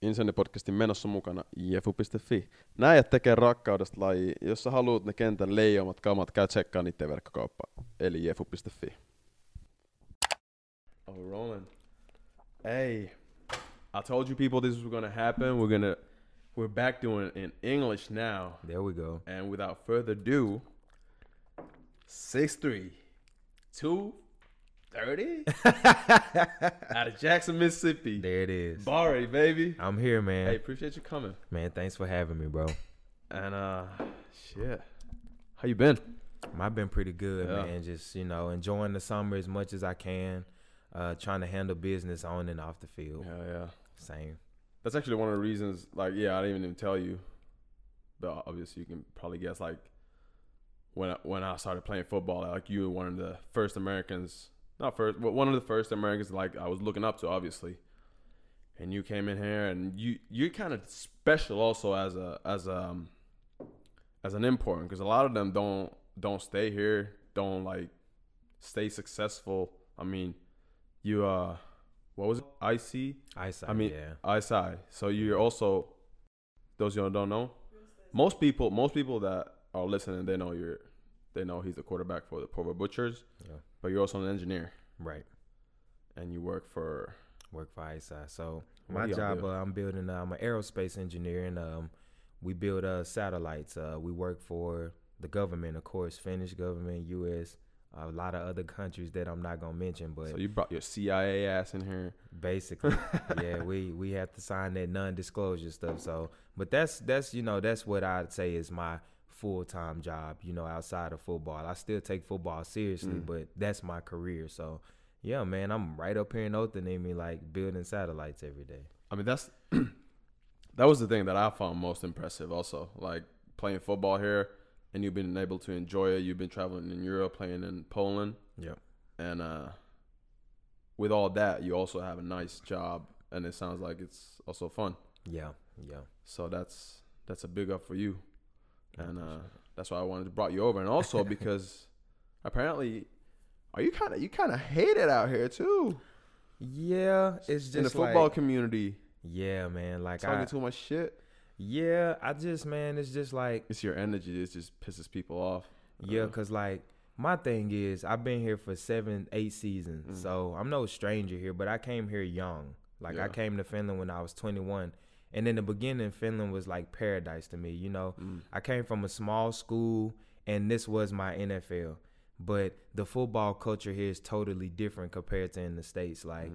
Insenni-podcastin menossa mukana jefu.fi. Nää äijät tekee rakkaudesta laji. Jos sä haluut ne kentän leijomat kamat, käy tsekkaa niiden verkkokauppaa. Eli jefu.fi. Oh, we're rolling. Hey, I told you people this was gonna happen. We're back doing it in English now. There we go. And without further ado, 6'3", 230 out of Jackson, Mississippi. There it is. Bari, baby. I'm here, man. Hey, appreciate you coming. Man, thanks for having me, bro. And shit, how you been? I've been pretty good, Yeah. man. Just, enjoying the summer as much as I can. Trying to handle business on and off the field. Yeah. Same. That's actually one of the reasons. Like, yeah, I didn't even tell you, but obviously you can probably guess. Like, when I started playing football, like you were one of the first Americans. Not first, but one of the first Americans. Like I was looking up to, obviously. And you came in here, and you're kind of special also as an import, because a lot of them don't stay here, don't like stay successful. I mean, you what was it? IC? Eyesight, I mean, yeah. ISI. So you're also, those you don't know. Most people that are listening, they know he's the quarterback for the Provo Butchers. Yeah. But you're also an engineer, Right. and you work for Eyesight. So What my do y'all job, do? I'm an aerospace engineer, and we build satellites. We work for the government, of course, Finnish government, U.S., a lot of other countries that I'm not gonna mention, but So you brought your CIA ass in here. basically, yeah, we have to sign that non-disclosure stuff. So, but that's what I'd say is my full-time job. Outside of football, I still take football seriously, but that's my career. So, yeah, man, I'm right up here in Othaniemi, like building satellites every day. I mean, that's that was the thing that I found most impressive. Also, like playing football here, and you've been able to enjoy it. You've been traveling in Europe, playing in Poland. Yep. And with all that, you also have a nice job, and it sounds like it's also fun. Yeah. So that's a big up for you, and that's why I wanted to brought you over, and also because apparently, you kind of hate it out here too Yeah, it's just in the football like, community. yeah, man. Like Talking too much shit. yeah, it's just like, It's your energy. It just pisses people off. yeah, because like my thing is I've been here for 7-8 seasons, so I'm no stranger here, but I came here young. Like Yeah. I came to Finland when I was 21, and in the beginning Finland was like paradise to me. I came from a small school, and this was my NFL, but the football culture here is totally different compared to in the States. Like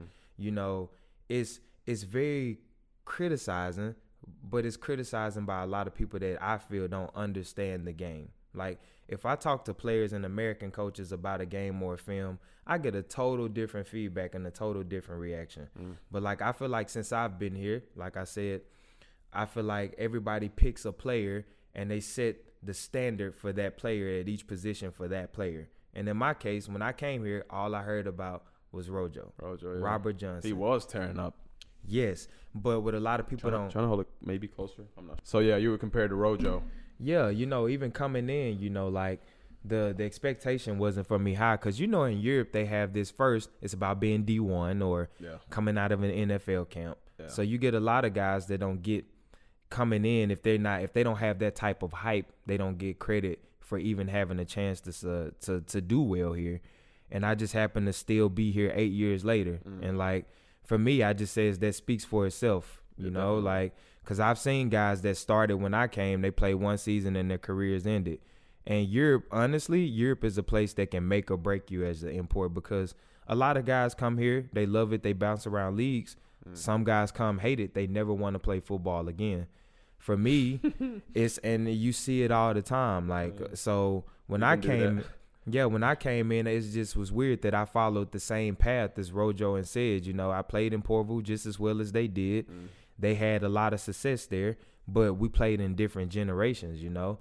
it's very criticizing, but it's criticizing by a lot of people that I feel don't understand the game. Like if I talk to players and American coaches about a game or a film, I get a total different feedback and a total different reaction. But like I feel like since I've been here, like I said, I feel like everybody picks a player and they set the standard for that player at each position for that player. And in my case, when I came here, all I heard about was Rojo, Rojo, yeah. Robert Johnson. He was tearing up. Yes, but what a lot of people don't. Trying to hold it maybe closer. I'm not. So yeah, you were compared to Rojo. Yeah, even coming in, like the expectation wasn't for me high, because in Europe they have this first. It's about being D1 or Yeah. coming out of an NFL camp. Yeah. So you get a lot of guys that don't get coming in if they don't have that type of hype. They don't get credit for even having a chance to do well here. And I just happen to still be here 8 years later, and like for me, I just says that speaks for itself. Definitely. Like. Because I've seen guys that started when I came, they played one season and their careers ended. And Europe is a place that can make or break you as an import, because a lot of guys come here, they love it, they bounce around leagues. Some guys come, hate it, they never want to play football again. For me, and you see it all the time. Like, so when I came in, it just was weird that I followed the same path as Rojo and Sedge. I played in Porvoo just as well as they did. They had a lot of success there, but we played in different generations, Yeah.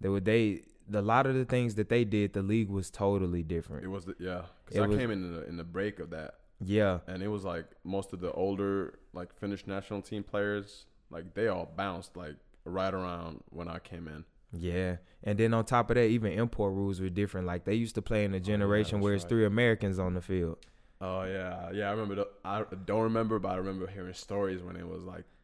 A lot of the things that they did, the league was totally different. It was because I came in the break of that. Yeah. And it was like most of the older like Finnish national team players, like they all bounced like right around when I came in. Yeah. And then on top of that, even import rules were different. Like they used to play in a generation where it's 3 Americans on the field. Oh yeah. I remember. I don't remember, but I remember hearing stories when it was like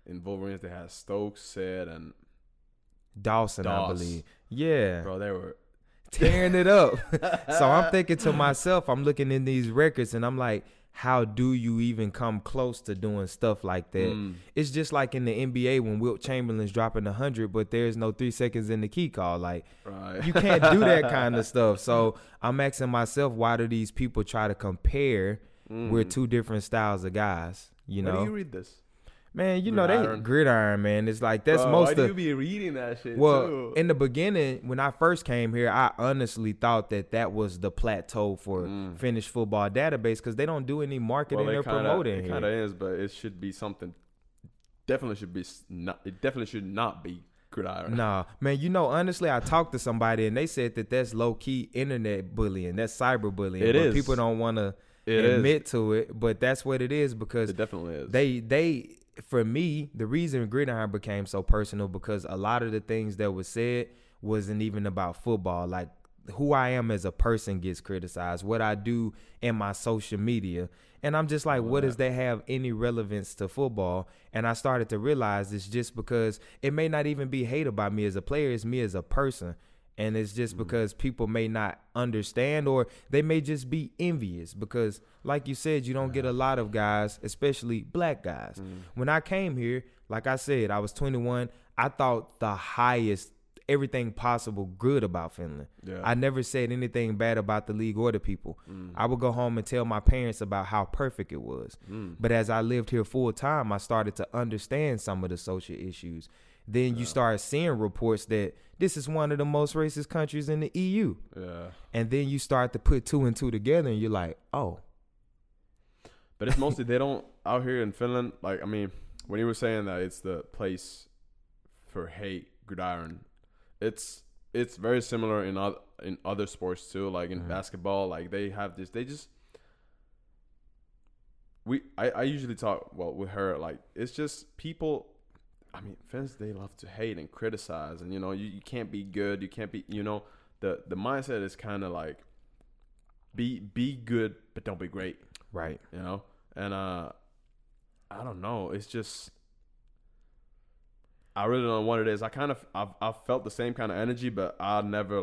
in Wolverines they had Stokes, Sid, and Dawson, I believe. Yeah. Bro, they were tearing it up. So I'm thinking to myself, I'm looking in these records and I'm like, how do you even come close to doing stuff like that? It's just like in the NBA when Wilt Chamberlain's dropping 100, but there's no 3 seconds in the key call. Like, you can't do that kind of stuff. So I'm asking myself, why do these people try to compare with two different styles of guys? You know? Where do you read this? Man, you know, they gridiron, man. It's like that's Bro, most why do you be reading that shit too? In the beginning, when I first came here, I honestly thought that was the plateau for Finnish football database because they don't do any marketing or promoting here. It kind of is, but it should be something. Definitely should be not. It definitely should not be gridiron. Nah, man. You know, honestly, I talked to somebody and they said that's low key internet bullying. That's cyber bullying. It is. People don't want to admit to it, but that's what it is because it definitely is. They. For me, the reason gridiron became so personal because a lot of the things that was said wasn't even about football. Like who I am as a person gets criticized, what I do in my social media. And I'm just like, what does that have any relevance to football? And I started to realize it's just because it may not even be hate about me as a player. It's me as a person. And it's just because people may not understand or they may just be envious because, like you said, you don't get a lot of guys, especially black guys. When I came here, like I said, I was 21. I thought the highest, everything possible good about Finland. Yeah. I never said anything bad about the league or the people. I would go home and tell my parents about how perfect it was. But as I lived here full time, I started to understand some of the social issues. Then you start seeing reports that this is one of the most racist countries in the EU. Yeah. And then you start to put 2 and 2 together and you're like, oh. But it's mostly they don't out here in Finland. Like, I mean, when you were saying that it's the place for hate, gridiron, it's very similar in other sports too. Like in basketball, like they have this. They just I usually talk with her. Like it's just people. I mean, fans, they love to hate and criticize, and you can't be good. You can't be. The mindset is kind of like be good, but don't be great. Right. And I don't know. It's just I really don't know what it is. I felt the same kind of energy, but I never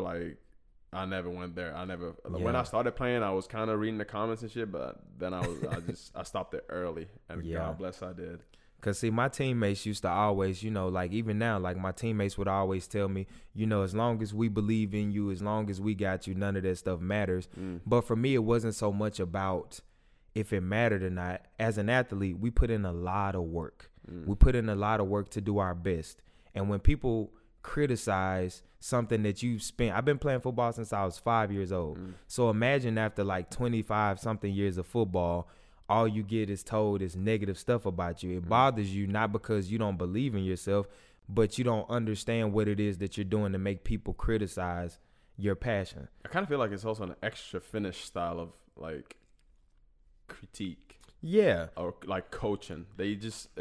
went there. When I started playing, I was kind of reading the comments and shit, but then I stopped it early, and God bless I did. Cause see, my teammates used to always, like even now, like my teammates would always tell me, as long as we believe in you, as long as we got you, none of that stuff matters. But for me, it wasn't so much about if it mattered or not. As an athlete, we put in a lot of work. We put in a lot of work to do our best. And when people criticize something that you've spent, I've been playing football since I was 5 years old. So imagine after like 25 something years of football, all you get is told is negative stuff about you. It bothers you not because you don't believe in yourself, but you don't understand what it is that you're doing to make people criticize your passion. I kind of feel like it's also an extra Finnish style of like critique. Yeah. Or like coaching. I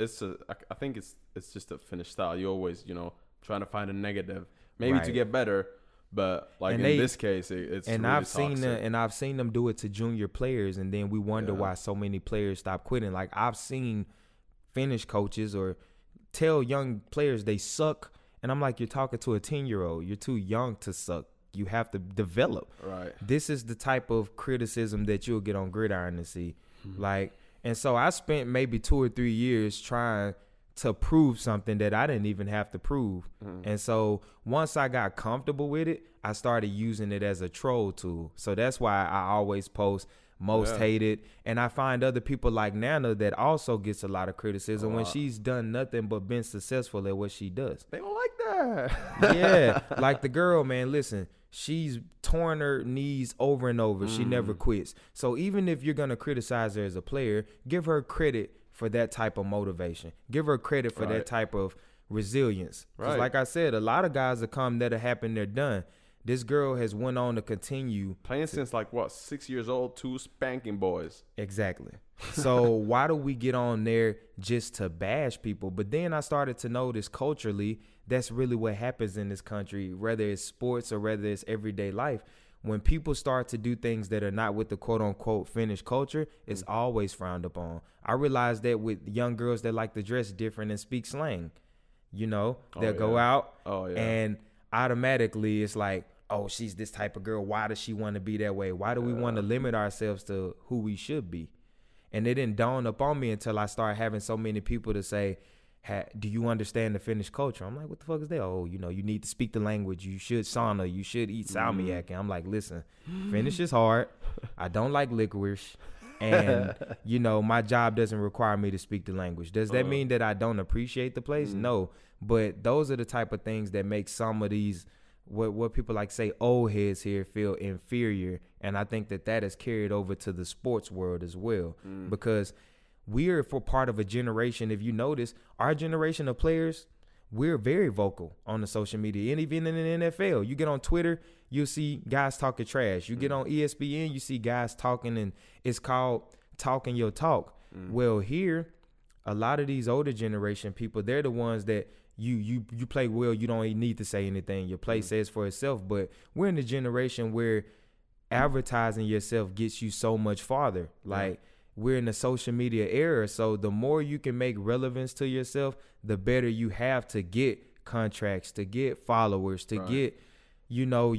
think it's just a Finnish style. You always, trying to find a negative, maybe to get better. But like this case, it's and really I've seen them do it to junior players, and then we wonder why so many players stop quitting. Like I've seen Finnish coaches or tell young players they suck, and I'm like, you're talking to a 10-year-old. You're too young to suck. You have to develop. Right. This is the type of criticism that you'll get on gridiron to see. And so I spent maybe 2 or 3 years trying to prove something that I didn't even have to prove. And so once I got comfortable with it, I started using it as a troll tool. So that's why I always post most hated. And I find other people like Nana that also gets a lot of criticism when she's done nothing but been successful at what she does. They don't like that. Yeah. Like the girl, man, listen, she's torn her knees over and over. She never quits. So even if you're going to criticize her as a player, give her credit for that type of motivation. Give her credit for that type of resilience. Because like I said, a lot of guys that come that'll happen, they're done. This girl has went on to continue. Playing since 6 years old, 2 spanking boys. Exactly. So why do we get on there just to bash people? But then I started to notice culturally, that's really what happens in this country, whether it's sports or whether it's everyday life. when people start to do things that are not with the quote unquote Finnish culture, it's always frowned upon. I realized that with young girls that like to dress different and speak slang, you know, they'll go out and automatically it's like, oh, she's this type of girl. Why does she want to be that way? Why do we want to limit ourselves to who we should be? And it didn't dawn upon me until I started having so many people to say, do you understand the Finnish culture? I'm like, what the fuck is that? Oh, you know, you need to speak the language. You should sauna. You should eat salmiak. And I'm like, listen, Finnish is hard. I don't like licorice. And, you know, my job doesn't require me to speak the language. Does that mean that I don't appreciate the place? No. But those are the type of things that make some of these, what people like say, old heads here feel inferior. And I think that is carried over to the sports world as well. Because we're for part of a generation. If you notice, our generation of players, we're very vocal on the social media. And even in the NFL, you get on Twitter, you'll see guys talking trash. You get on ESPN, you see guys talking, and it's called talking your talk. Well, here, a lot of these older generation people, they're the ones that you play well, you don't even need to say anything. Your play says for itself. But we're in the generation where advertising yourself gets you so much farther. Like, we're in the social media era, so the more you can make relevance to yourself, the better you have to get contracts, to get followers, to get, you know,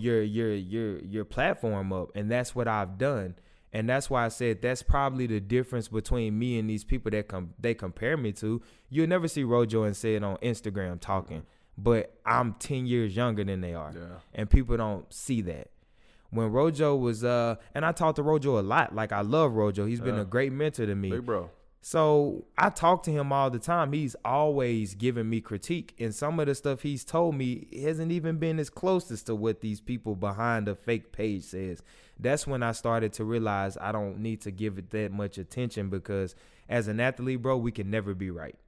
your platform up. And that's what I've done. And that's why I said that's probably the difference between me and these people that they compare me to. You'll never see Rojo and say it on Instagram talking, but I'm 10 years younger than they are. And people don't see that. When Rojo was, and I talked to Rojo a lot. Like, I love Rojo. He's been a great mentor to me. Big bro. So I talk to him all the time. He's always giving me critique. And some of the stuff he's told me hasn't even been as close as to what these people behind a fake page says. That's when I started to realize I don't need to give it that much attention, because as an athlete, bro, we can never be right.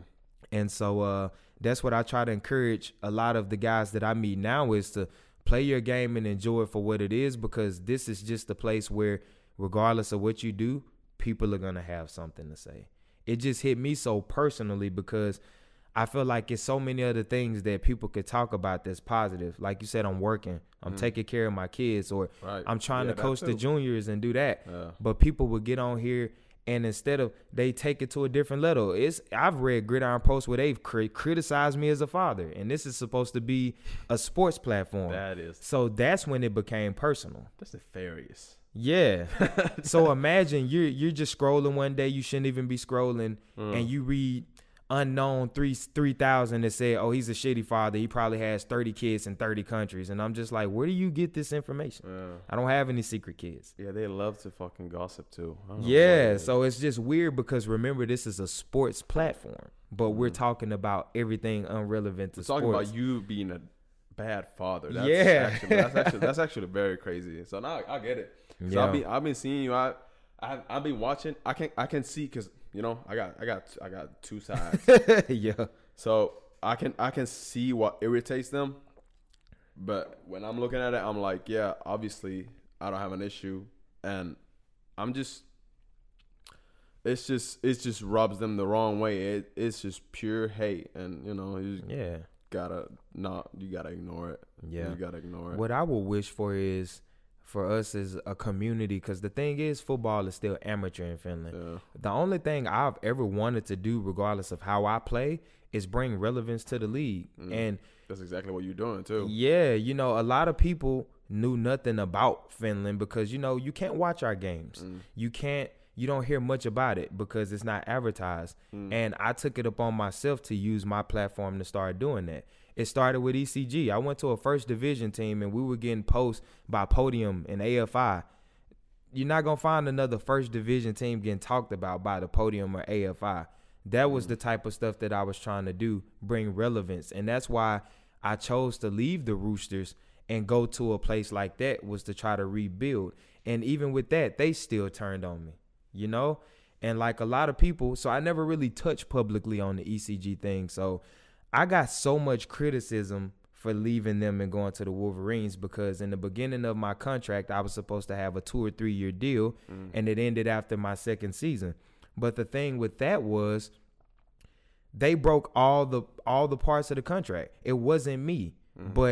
And so that's what I try to encourage a lot of the guys that I meet now, is to play your game and enjoy it for what it is, because this is just a place where, regardless of what you do, people are going to have something to say. It just hit me so personally, because I feel like it's so many other things that people could talk about that's positive. Like you said, I'm working, I'm taking care of my kids, or I'm trying to coach the juniors and do that. But people would get on here, and instead of, they take it to a different level. I've read Gridiron posts where they've criticized me as a father, and this is supposed to be a sports platform. That is. So that's when it became personal. That's nefarious. Yeah. So imagine you're just scrolling one day, you shouldn't even be scrolling, and you read unknown 3,000 that say, oh, he's a shitty father. He probably has 30 kids in 30 countries. And I'm just like, where do you get this information? I don't have any secret kids. Yeah, they love to fucking gossip too. Yeah, so it's just weird, because remember, this is a sports platform, but we're talking about everything irrelevant to sports. We're talking about you being a bad father. That's actually very crazy. So now I get it. So I've been seeing you. I've been watching. I can see, because, you know, I got two sides. Yeah. So I can see what irritates them, but when I'm looking at it, I'm like, yeah, obviously I don't have an issue, and it just rubs them the wrong way. It's just pure hate, and, you know, you gotta ignore it. Yeah, you gotta ignore it. What I would wish for is for us as a community, because the thing is, football is still amateur in Finland. The only thing I've ever wanted to do, regardless of how I play, is bring relevance to the league. And that's exactly what you're doing too. Yeah, you know, a lot of people knew nothing about Finland, because, you know, you can't watch our games. You don't hear much about it because it's not advertised. And I took it upon myself to use my platform to start doing that. It started with ECG. I went to a first division team, and we were getting posts by Podium and AFI. You're not going to find another first division team getting talked about by the Podium or AFI. That was the type of stuff that I was trying to do, bring relevance. And that's why I chose to leave the Roosters and go to a place like that, was to try to rebuild. And even with that, they still turned on me, you know? And like a lot of people, so I never really touched publicly on the ECG thing. So I got so much criticism for leaving them and going to the Wolverines, because in the beginning of my contract, I was supposed to have a 2 or 3 year deal, and it ended after my second season. But the thing with that was, they broke all the parts of the contract. It wasn't me, but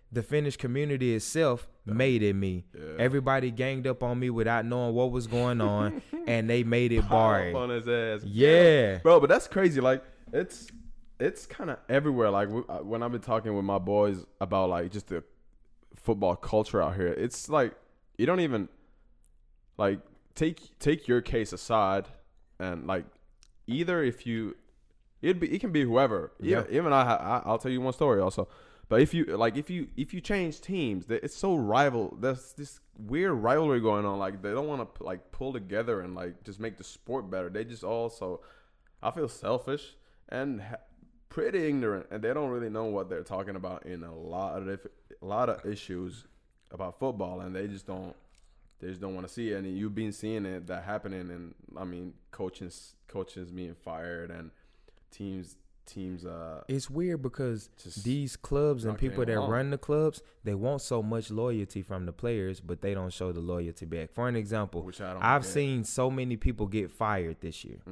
the Finnish community itself made it me. Yeah. Everybody ganged up on me without knowing what was going on, and they made it Bari. On his ass. Yeah. Bro, but that's crazy. Like, it's kind of everywhere. Like, when I've been talking with my boys about, like, just the football culture out here, it's like you don't even, like, take your case aside and, like, either if you – it can be whoever. Yeah. Even I'll tell you one story also. But if you change teams, it's so rival. There's this weird rivalry going on. Like, they don't want to like pull together and like just make the sport better. They just also, I feel, selfish and pretty ignorant, and they don't really know what they're talking about in a lot of issues about football, and they just don't want to see it. And you've been seeing that happening, and I mean, coaches being fired and teams. It's weird because these clubs and people that run the clubs, they want so much loyalty from the players, but they don't show the loyalty back. For an example, I've seen so many people get fired this year.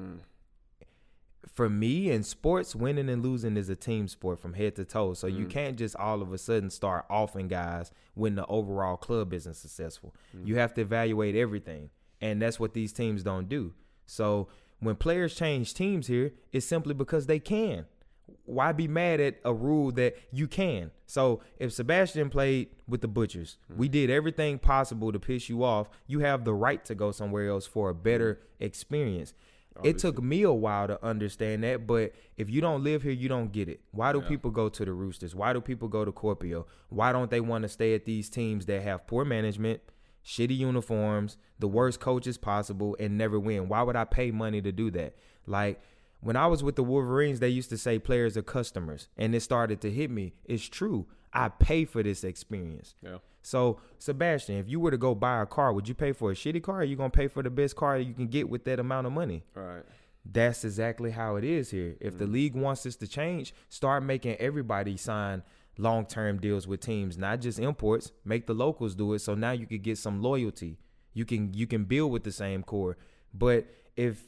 For me, in sports, winning and losing is a team sport from head to toe. So you can't just all of a sudden start offing guys when the overall club isn't successful. You have to evaluate everything, and that's what these teams don't do. So when players change teams here, it's simply because they can. Why be mad at a rule that you can? So if Sebastian played with the Butchers, we did everything possible to piss you off. You have the right to go somewhere else for a better experience. Obviously. It took me a while to understand that, but if you don't live here, you don't get it. Why do people go to the Roosters? Why do people go to Kuopio? Why don't they want to stay at these teams that have poor management, shitty uniforms, the worst coaches possible, and never win? Why would I pay money to do that? Like, when I was with the Wolverines, they used to say players are customers, and it started to hit me. It's true. I pay for this experience. Yeah. So, Sebastian, if you were to go buy a car, would you pay for a shitty car, or are you going to pay for the best car you can get with that amount of money? All right. That's exactly how it is here. If the league wants this to change, start making everybody sign long-term deals with teams, not just imports. Make the locals do it, so now you can get some loyalty. You can build with the same core. But if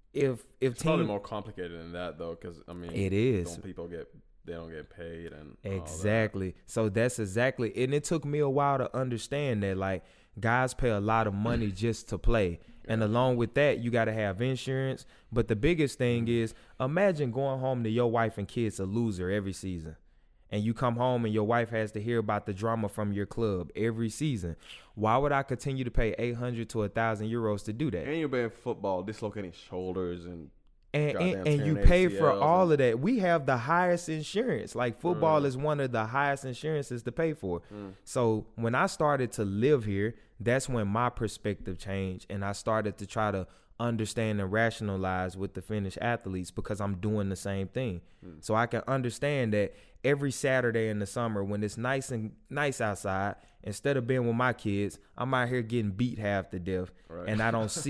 it's probably more complicated than that, though, because I mean, it is. They don't get paid and exactly. So that's exactly, and it took me a while to understand that, like, guys pay a lot of money just to play, and along with that, you got to have insurance. But the biggest thing is, imagine going home to your wife and kids a loser every season. And you come home and your wife has to hear about the drama from your club every season. Why would I continue to pay 800 to 1,000 euros to do that? And you're playing football, dislocating shoulders and you pay for all of that. We have the highest insurance. Like, football is one of the highest insurances to pay for. So when I started to live here, that's when my perspective changed, and I started to try to understand and rationalize with the Finnish athletes, because I'm doing the same thing. So I can understand that every Saturday in the summer when it's nice outside, instead of being with my kids, I'm out here getting beat half to death, and I don't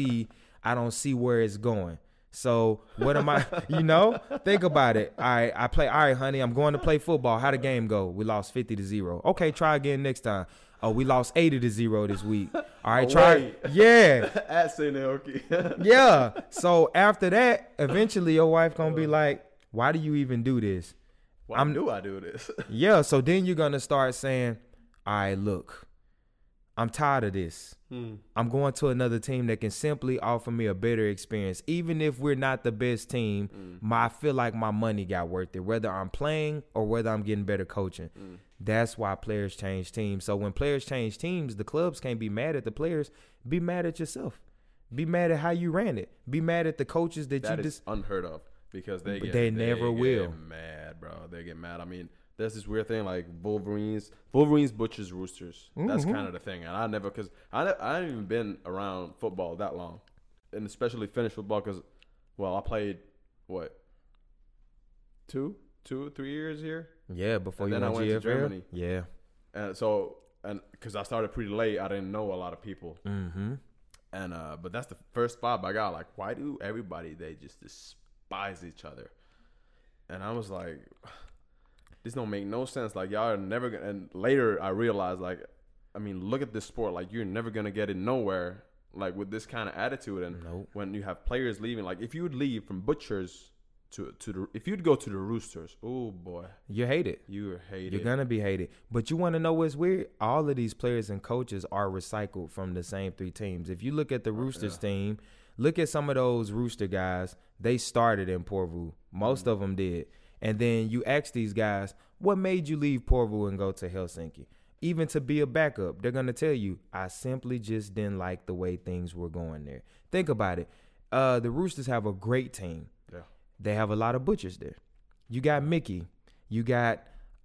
see where it's going. So what am I, think about it. All right, honey, I'm going to play football. How'd the game go? We lost 50-0. Okay, try again next time. Oh, we lost 80-0 this week. All right, try. Yeah. At St. Elke. Yeah. So after that, eventually your wife going to be like, why do you even do this? Why do I do this? Yeah. So then you're going to start saying, all right, look, I'm tired of this. I'm going to another team that can simply offer me a better experience. Even if we're not the best team, I feel like my money got worth it, whether I'm playing or whether I'm getting better coaching. That's why players change teams. So when players change teams, the clubs can't be mad at the players. Be mad at yourself. Be mad at how you ran it. Be mad at the coaches that you just unheard of, because they never will get mad, bro. They get mad. I mean, there's this weird thing like Wolverines, Butchers, Roosters. That's kind of the thing. And I haven't even been around football that long, and especially Finnish football, because, well, I played what, 3 years here. Yeah, before and you then went I went GFL. to Germany. Yeah, and because I started pretty late, I didn't know a lot of people. And but that's the first vibe I got. Like, why do everybody, they just despise each other? And I was like, this don't make no sense. Like, y'all are never gonna. And later I realized, like, I mean, look at this sport. Like, you're never gonna get it nowhere, like, with this kind of attitude. And when you have players leaving, like, if you would leave from Butchers if you'd go to the Roosters, oh boy, You hate it. you're hated. You're gonna be hated. But you want to know what's weird? All of these players and coaches are recycled from the same 3 teams. If you look at the Roosters team, look at some of those Rooster guys. They started in Porvoo. Most of them did. And then you ask these guys, what made you leave Porvoo and go to Helsinki? Even to be a backup, they're gonna tell you, I simply just didn't like the way things were going there. Think about it. The Roosters have a great team. Yeah. They have a lot of butchers there. You got Mickey. You got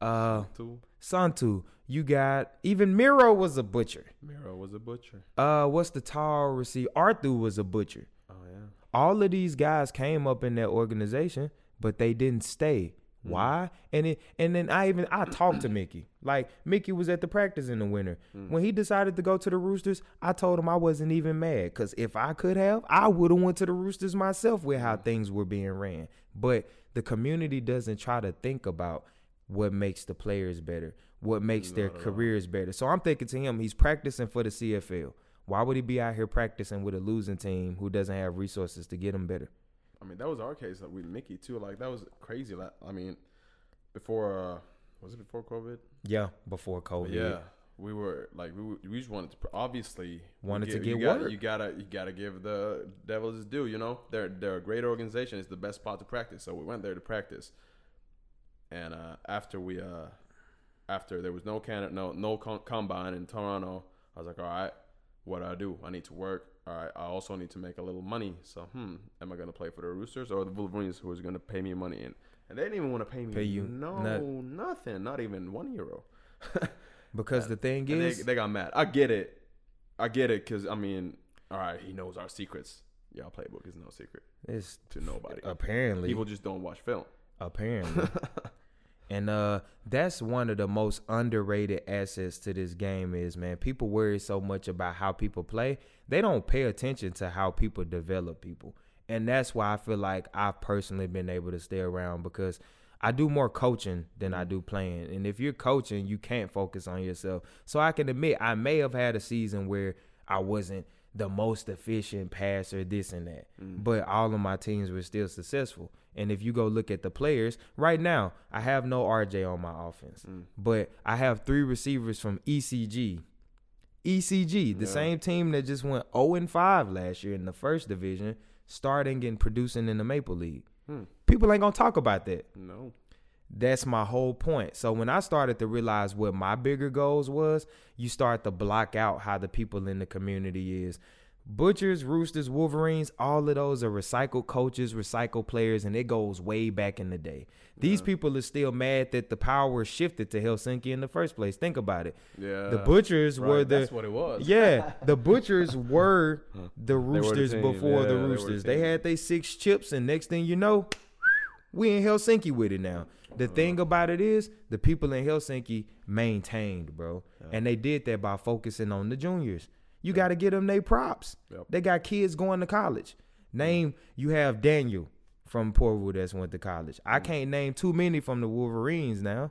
Santu. You got even Miro was a butcher. Miro was a butcher. What's the tall receiver? Arthur was a butcher. Oh yeah. All of these guys came up in that organization, but they didn't stay. Why? And then I talked to Mickey. Like Mickey was at the practice in the winter. When he decided to go to the Roosters, I told him I wasn't even mad, because if I could have, I would have went to the Roosters myself with how things were being ran. But the community doesn't try to think about what makes the players better, what makes their careers better. So I'm thinking to him, he's practicing for the CFL. Why would he be out here practicing with a losing team who doesn't have resources to get him better? I mean, that was our case with Mickey too. Like that was crazy. Like, I mean, before was it before COVID? Yeah, before COVID. Yeah, we were like we just wanted to obviously to get work. You gotta give the Devils his due. You know, they're a great organization. It's the best spot to practice. So we went there to practice. And after there was no combine in Toronto, I was like, all right, what do I do? I need to work. All right, I also need to make a little money. So, am I going to play for the Roosters or the Wolverines, who is going to pay me money? And they didn't even want to pay me. Nothing. Not even €1. Because the thing is, they got mad. I get it, because I mean, all right, he knows our secrets. Y'all playbook is no secret. It's to nobody. Apparently, people just don't watch film. Apparently. And that's one of the most underrated assets to this game is, man, people worry so much about how people play. They don't pay attention to how people develop people. And that's why I feel like I've personally been able to stay around, because I do more coaching than I do playing. And if you're coaching, you can't focus on yourself. So I can admit I may have had a season where I wasn't the most efficient passer, this and that. But all of my teams were still successful. And if you go look at the players, right now, I have no RJ on my offense. But I have 3 receivers from ECG. The same team that just went 0-5 last year in the first division, starting and producing in the Maple League. People ain't going to talk about that. No. That's my whole point. So when I started to realize what my bigger goals was, you start to block out how the people in the community is. Butchers, Roosters, Wolverines, all of those are recycled coaches, recycled players, and it goes way back in the day. These people are still mad that the power shifted to Helsinki in the first place. Think about it. Yeah. The Butchers were that's what it was. Yeah. The Butchers were the Roosters before the Yeah, Roosters. They had their 6 chips, and next thing you know, we in Helsinki with it now. The thing about it is the people in Helsinki maintained, bro. And they did that by focusing on the juniors. You got to get them their props. They got kids going to college. You have Daniel from Portwood that's went to college. I can't name too many from the Wolverines now.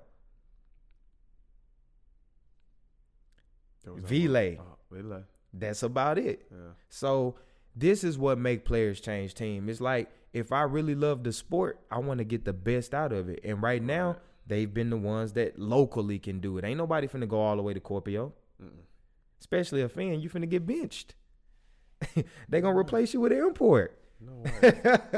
Vile. That's about it. Yeah. So this is what make players change team. It's like, if I really love the sport, I want to get the best out of it. And right now, they've been the ones that locally can do it. Ain't nobody finna go all the way to Corpio. Especially a fan, you finna get benched. They gonna replace you with an import. No way.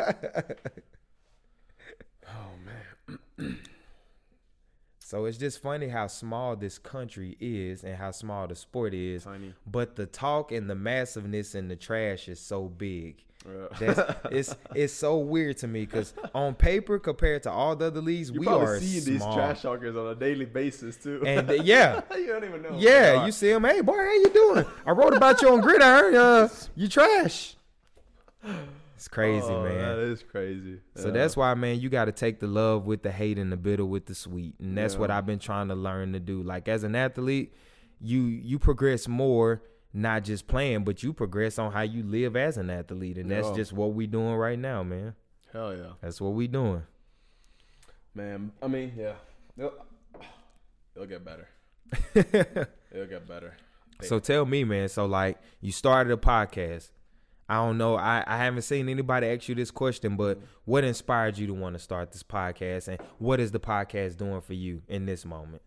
Oh, man. So it's just funny how small this country is and how small the sport is. Tiny. But the talk and the massiveness and the trash is so big. It's so weird to me, because on paper, compared to all the other leagues, we are seeing small. These trash talkers on a daily basis too. And you don't even know. Yeah, you see them. Hey, boy, how you doing? I wrote about you on Gridiron. You trash. It's crazy, man. That is crazy. So that's why, man, you got to take the love with the hate and the bitter with the sweet. And that's what I've been trying to learn to do. Like, as an athlete, you progress more, not just playing, but you progress on how you live as an athlete. And that's just what we doing right now, man. Hell yeah. That's what we doing. Man, I mean, yeah. It'll get better. It'll get better. So tell me, man, so like you started a podcast. I don't know. I haven't seen anybody ask you this question, but what inspired you to want to start this podcast, and what is the podcast doing for you in this moment?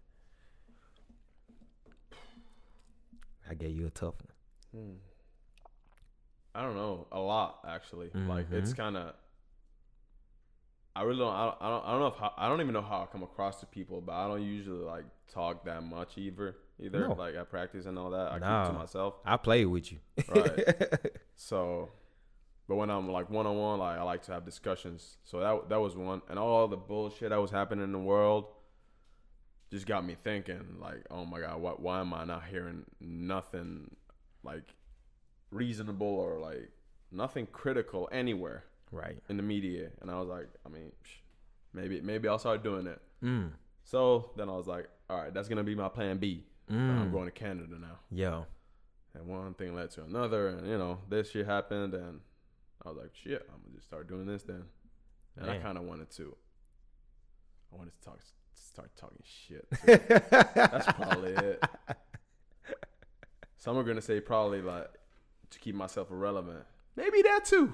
I gave you a tough one. I don't know. A lot, actually. Mm-hmm. Like, it's kind of. I really don't. I don't know if I don't even know how I come across to people, but I don't usually like talk that much either. No. Like at practice and all that. I keep No. to myself. I play with you. Right. So, but when I'm like one on one, like I like to have discussions. So that was one, and all the bullshit that was happening in the world just got me thinking. Like, oh my God, why am I not hearing nothing like reasonable or like nothing critical anywhere? Right. In the media. And I was like, I mean, maybe I'll start doing it. Mm. So then I was like, all right, that's gonna be my plan B. I'm going to Canada now. Yeah. And one thing led to another, and this shit happened, and I was like, shit, I'm gonna just start doing this then. And Man. I kind of wanted to start talking shit. That's probably it. Some are gonna say probably like to keep myself irrelevant. Maybe that too.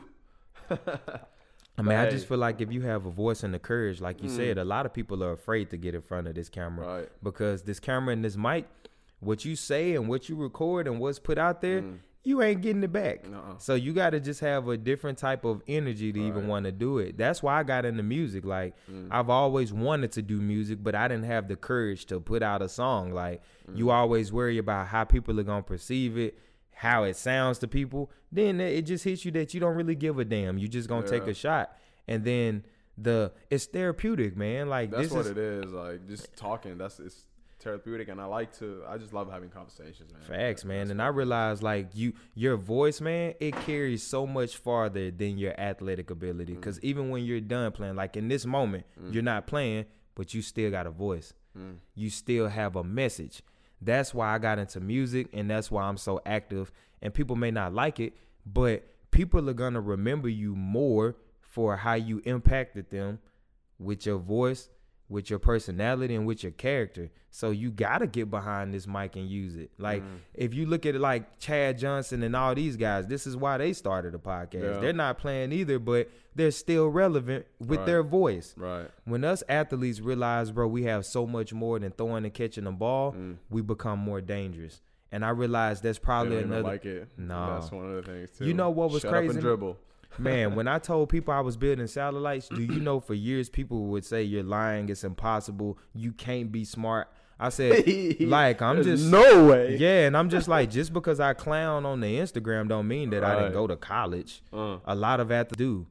I mean, I just feel like if you have a voice and the courage, like you said, a lot of people are afraid to get in front of this camera, right? Because this camera and this mic, what you say and what you record and what's put out there, you ain't getting it back. So you got to just have a different type of energy to even want to do it. That's why I got into music. Like, I've always wanted to do music, but I didn't have the courage to put out a song. Like, you always worry about how people are going to perceive it, how it sounds to people. Then it just hits you that you don't really give a damn. You just gonna take a shot, and then it's therapeutic, man. Like, that's what it is. Like, just talking. It's therapeutic, and I just love having conversations, man. Facts, man. And I realize, like, your voice, man, it carries so much farther than your athletic ability. Because even when you're done playing, like in this moment, you're not playing, but you still got a voice. You still have a message. That's why I got into music, and that's why I'm so active. And people may not like it, but people are going to remember you more for how you impacted them with your voice, with your personality, and with your character. So you got to get behind this mic and use it. Like, if you look at it like Chad Johnson and all these guys, this is why they started a podcast. Yeah. They're not playing either, but they're still relevant with their voice. Right. When us athletes realize, bro, we have so much more than throwing and catching the ball, we become more dangerous. And I realized that's probably another. Like it. No. That's one of the things, too. You know what was Shut crazy? Up and dribble. Man, when I told people I was building satellites, do you know for years people would say you're lying, it's impossible, you can't be smart. I said, like, I'm just no way. Yeah, and I'm just like, just because I clown on the Instagram don't mean that I didn't go to college. A lot of athletes do.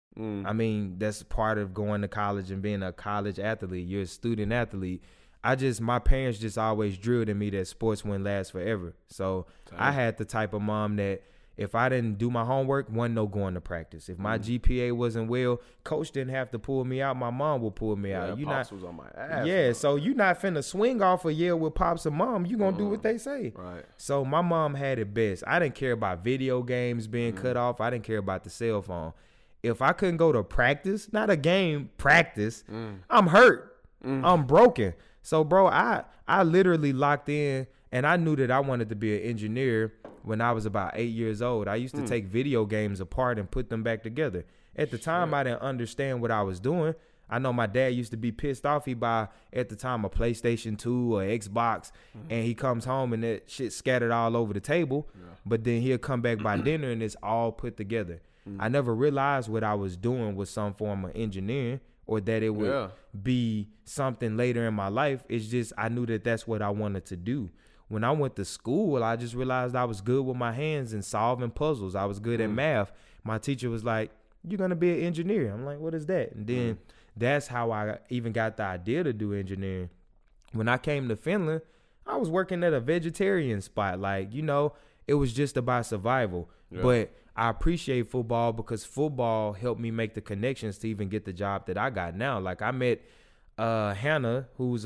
I mean, that's part of going to college and being a college athlete. You're a student athlete. My parents just always drilled in me that sports wouldn't last forever. So I had the type of mom that if I didn't do my homework, wasn't no going to practice. If my GPA wasn't well, coach didn't have to pull me out. My mom would pull me out. Pops was on my ass. Yeah, so you're not finna swing off a year with Pops and Mom. You gonna do what they say. Right. So my mom had it best. I didn't care about video games being cut off. I didn't care about the cell phone. If I couldn't go to practice, not a game, practice, I'm hurt. I'm broken. So, bro, I literally locked in, and I knew that I wanted to be an engineer when I was about 8 years old. I used to take video games apart and put them back together. At the time, I didn't understand what I was doing. I know my dad used to be pissed off. He buy, at the time, a PlayStation 2 or Xbox, and he comes home and that shit scattered all over the table. Yeah. But then he'll come back by dinner, and it's all put together. I never realized what I was doing was some form of engineering or that it would be something later in my life. It's just I knew that that's what I wanted to do. When I went to school, I just realized I was good with my hands and solving puzzles. I was good at math. My teacher was like, you're going to be an engineer. I'm like, what is that? And then that's how I even got the idea to do engineering. When I came to Finland, I was working at a vegetarian spot. Like, it was just about survival. Yeah. But I appreciate football because football helped me make the connections to even get the job that I got now. Like, I met Hannah, who's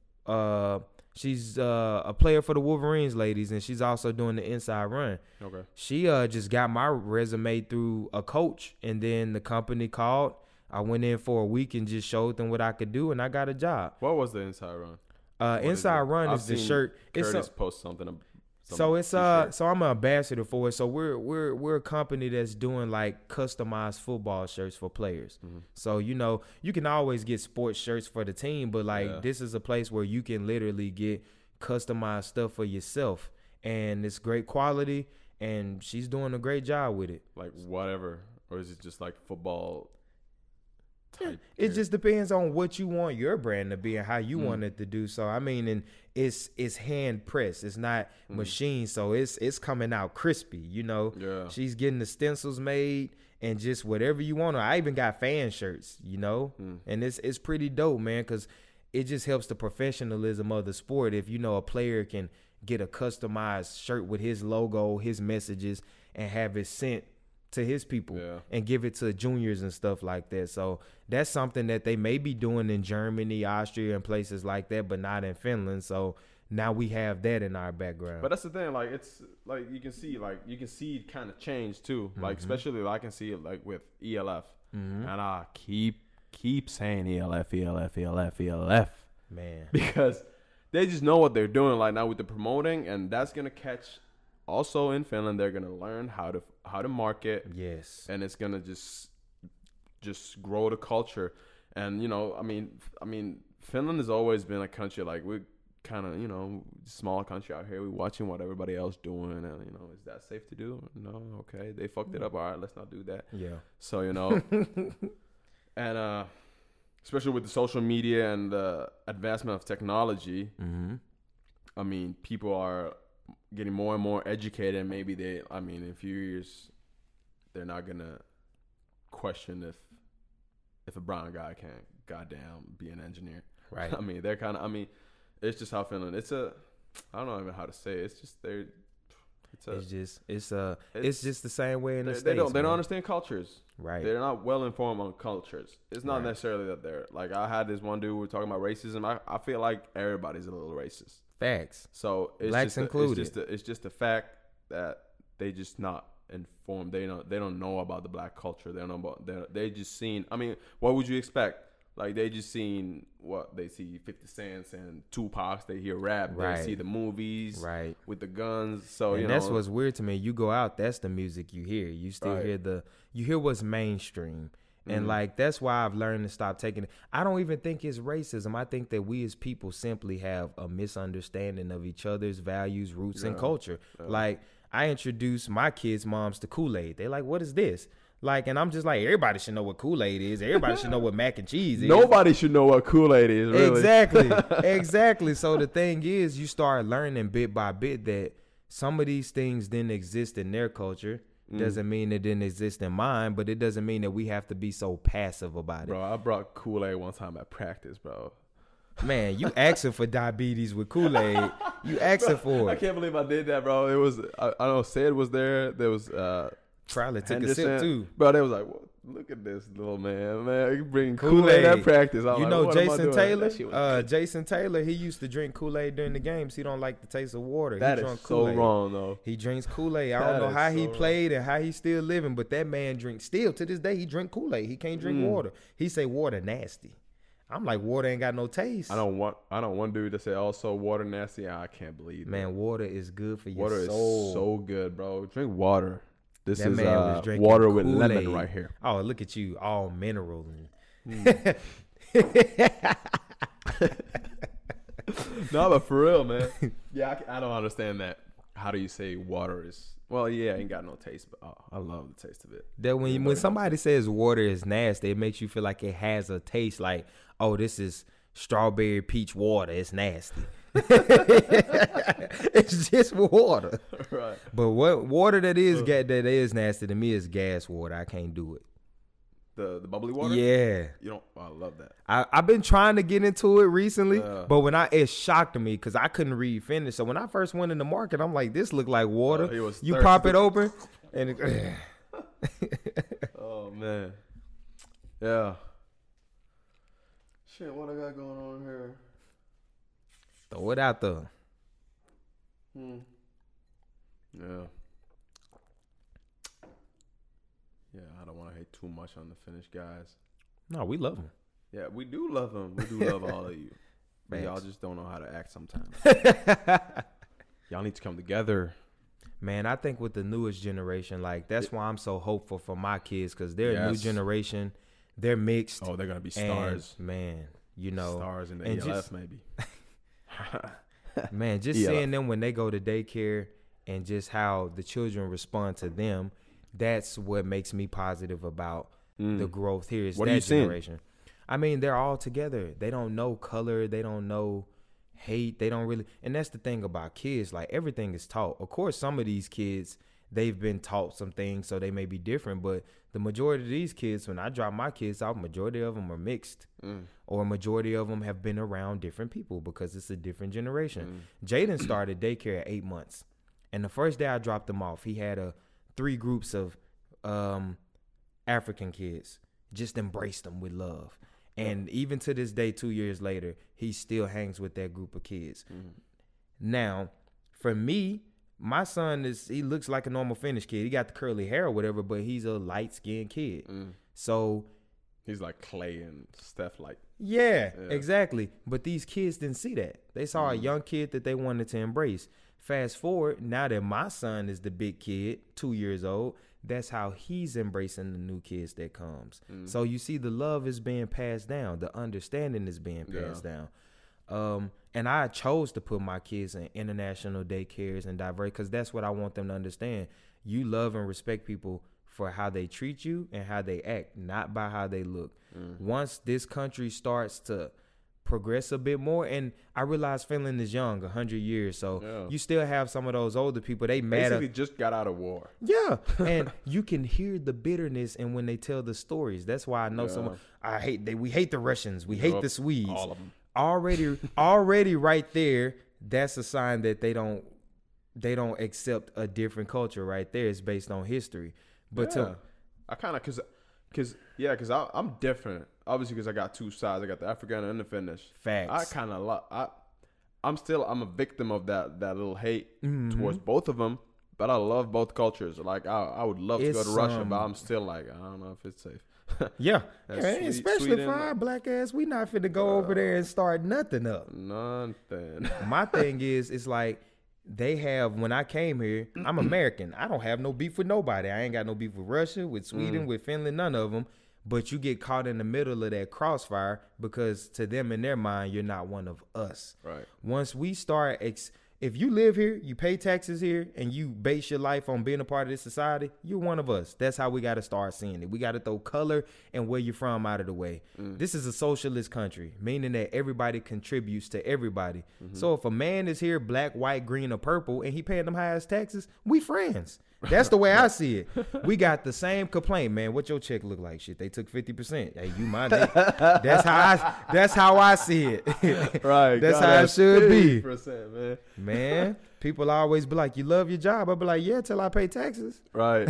she's a player for the Wolverines ladies, and she's also doing the inside run. Okay. She just got my resume through a coach, and then the company called. I went in for a week and just showed them what I could do, and I got a job. What was the inside run? Inside run is the shirt. Curtis post something So it's so I'm an ambassador for it. So we're a company that's doing like customized football shirts for players. Mm-hmm. So you can always get sports shirts for the team, but like this is a place where you can literally get customized stuff for yourself, and it's great quality. And she's doing a great job with it. Like whatever, or is it just like football? It just depends on what you want your brand to be and how you want it to do. So I mean, and it's hand pressed. It's not machine, so it's coming out crispy. Yeah. She's getting the stencils made and just whatever you want. I even got fan shirts. And it's pretty dope, man, because it just helps the professionalism of the sport. If a player can get a customized shirt with his logo, his messages, and have it sent to his people and give it to juniors and stuff like that. So that's something that they may be doing in Germany, Austria, and places like that, but not in Finland. So now we have that in our background. But that's the thing, like it's like you can see it kind of change too. Like especially I can see it like with ELF. And I keep saying ELF. Man. Because they just know what they're doing like now with the promoting, and that's gonna catch. Also in Finland, they're gonna learn how to market. Yes. And it's gonna just grow the culture. And I mean, Finland has always been a country like we're kind of small country out here. We're watching what everybody else doing, and is that safe to do? No, okay, they fucked it up. All right, let's not do that. Yeah. So and especially with the social media and the advancement of technology, I mean, people are getting more and more educated, and maybe in a few years, they're not gonna question if a brown guy can't goddamn be an engineer. Right. I mean, it's just how Finland. I don't know even how to say it. It's just it's just the same way in the States. They don't understand cultures. Right. They're not well informed on cultures. It's not necessarily that they're like I had this one dude we were talking about racism. I feel like everybody's a little racist. Facts. So it's Blacks just included. It's just the fact that they just not informed. They don't know about the black culture. They don't know about they just seen. I mean, what would you expect? Like they just seen what they see 50 Cents and Tupac. They hear rap. Right. They see the movies. Right. With the guns. So and that's what's weird to me. You go out, that's the music you hear. You still hear what's mainstream. And like that's why I've learned to stop taking it. I don't even think it's racism. I think that we as people simply have a misunderstanding of each other's values, roots, and culture. Like I introduced my kids' moms to Kool-Aid. They're like, "What is this?" Like, and I'm just like, everybody should know what Kool-Aid is. Everybody should know what mac and cheese is. Nobody should know what Kool-Aid is, really. Exactly. So the thing is, you start learning bit by bit that some of these things didn't exist in their culture. Doesn't mean it didn't exist in mine, but it doesn't mean that we have to be so passive about it. Bro, I brought Kool-Aid one time at practice, bro. Man, you asking for diabetes with Kool-Aid. You asking for it. I can't believe I did that, bro. It was, I don't know, Sid was there. There was, probably took Henderson. a sip too. Bro, they was like, well, look at this little man. You bring Kool-Aid at practice. Jason Taylor, he used to drink Kool-Aid during the games. He don't like the taste of water. That is so wrong, though. He drinks Kool-Aid. I don't know how he played and how he's still living, but that man still to this day, he drink Kool-Aid. He can't drink water. He say water nasty. I'm like, water ain't got no taste. I don't want one dude to say also water nasty. I can't believe that. Man, water is good for your water soul. Water is so good, bro. Drink water. This that is man was drinking water with Kool-Aid. lemon right here. Oh, look at you, all mineral. No, but for real, man. Yeah, I don't understand that. How do you say water is? Well, yeah, ain't got no taste, but I love the taste of it. That when somebody says water is nasty, it makes you feel like it has a taste. Like, oh, this is strawberry peach water. It's nasty. It's just water, right? But what water that is nasty to me is gas water. I can't do it. The bubbly water. Yeah, you don't. I love that. I've been trying to get into it recently, but it shocked me because I couldn't read Finnish. So when I first went in the market, I'm like, this look like water. You pop it open, and oh man, yeah. Shit, what I got going on here? Throw it out there. Yeah. Yeah, I don't want to hate too much on the Finnish guys. No, we love them. Yeah, we do love them. We do love all of you. But y'all just don't know how to act sometimes. y'all need to come together. Man, I think with the newest generation, like that's why I'm so hopeful for my kids, because they're a new generation. They're mixed. Oh, they're gonna be stars. And, man, you know, stars in the ELF maybe. Man, just seeing them when they go to daycare and just how the children respond to them, that's what makes me positive about the growth here. Is what that are you generation? Seeing? I mean, they're all together. They don't know color. They don't know hate. They don't really. And that's the thing about kids. Like, everything is taught. Of course, some of these kids, they've been taught some things, so they may be different. But the majority of these kids, when I drop my kids off, majority of them are mixed. Or majority of them have been around different people because it's a different generation. Jaden started daycare at 8 months. And the first day I dropped him off, he had 3 groups of African kids. Just embraced them with love. And even to this day, 2 years later, he still hangs with that group of kids. Now, for me, my son he looks like a normal Finnish kid. He got the curly hair or whatever, but he's a light-skinned kid. So he's like Clay and Steph, like. Yeah, exactly. But these kids didn't see that. They saw a young kid that they wanted to embrace. Fast forward, now that my son is the big kid, 2 years old, that's how he's embracing the new kids that comes. So you see, the love is being passed down. The understanding is being passed down. And I chose to put my kids in international daycares and diverse, because that's what I want them to understand. You love and respect people for how they treat you and how they act, not by how they look. Once this country starts to progress a bit more, and I realize Finland is young, 100 years, so you still have some of those older people. They mad basically just got out of war. Yeah, and you can hear the bitterness, and when they tell the stories, that's why I know someone. We hate the Russians, we hate the Swedes. All of them. Already, right there, that's a sign that they don't accept a different culture. Right there, it's based on history. But I kind of because I'm different. Obviously, because I got two sides. I got the African and the Finnish. Facts. I kind of I'm a victim of that little hate towards both of them. But I love both cultures. Like I would love to go to Russia, but I'm still like, I don't know if it's safe. Especially for our black ass, we not finna go over there and start nothing up. Nothing. My thing is, it's like they have. When I came here, I'm American. I don't have no beef with nobody. I ain't got no beef with Russia, with Sweden, with Finland, none of them. But you get caught in the middle of that crossfire because to them, in their mind, you're not one of us. Right. Once we start, if you live here, you pay taxes here, and you base your life on being a part of this society, you're one of us. That's how we got to start seeing it. We got to throw color and where you're from out of the way. This is a socialist country, meaning that everybody contributes to everybody. So if a man is here, black, white, green, or purple, and he paying them highest taxes, we friends. That's the way I see it. We got the same complaint, man. What your check look like? Shit, they took 50%. Hey, you mind it? That's how I see it. Right. That's how it should be. 50%, man, people always be like, "You love your job." I be like, "Yeah, till I pay taxes." Right.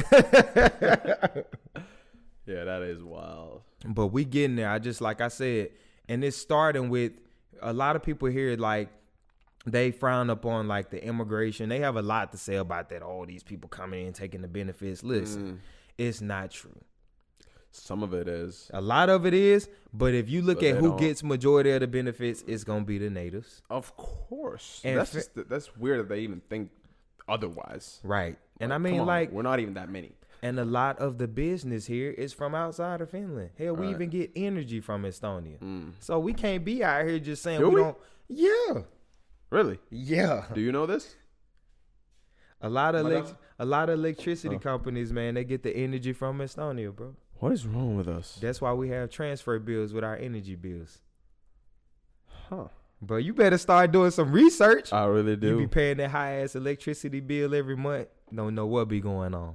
Yeah, that is wild. But we getting there. Like I said, and it's starting with a lot of people here, like, they frown upon like the immigration. They have a lot to say about that. All these people coming in and taking the benefits. Listen, it's not true. Some of it is. A lot of it is. But if you look at who gets majority of the benefits, it's gonna be the natives. Of course. And that's weird that they even think otherwise. Right. And I mean, like, we're not even that many. And a lot of the business here is from outside of Finland. Hell, we even get energy from Estonia. So we can't be out here just saying we don't. Yeah. Really? Yeah. Do you know this? A lot of electricity companies, man, they get the energy from Estonia, bro. What is wrong with us? That's why we have transfer bills with our energy bills. Huh. Bro, you better start doing some research. I really do. You be paying that high ass electricity bill every month. Don't know what be going on.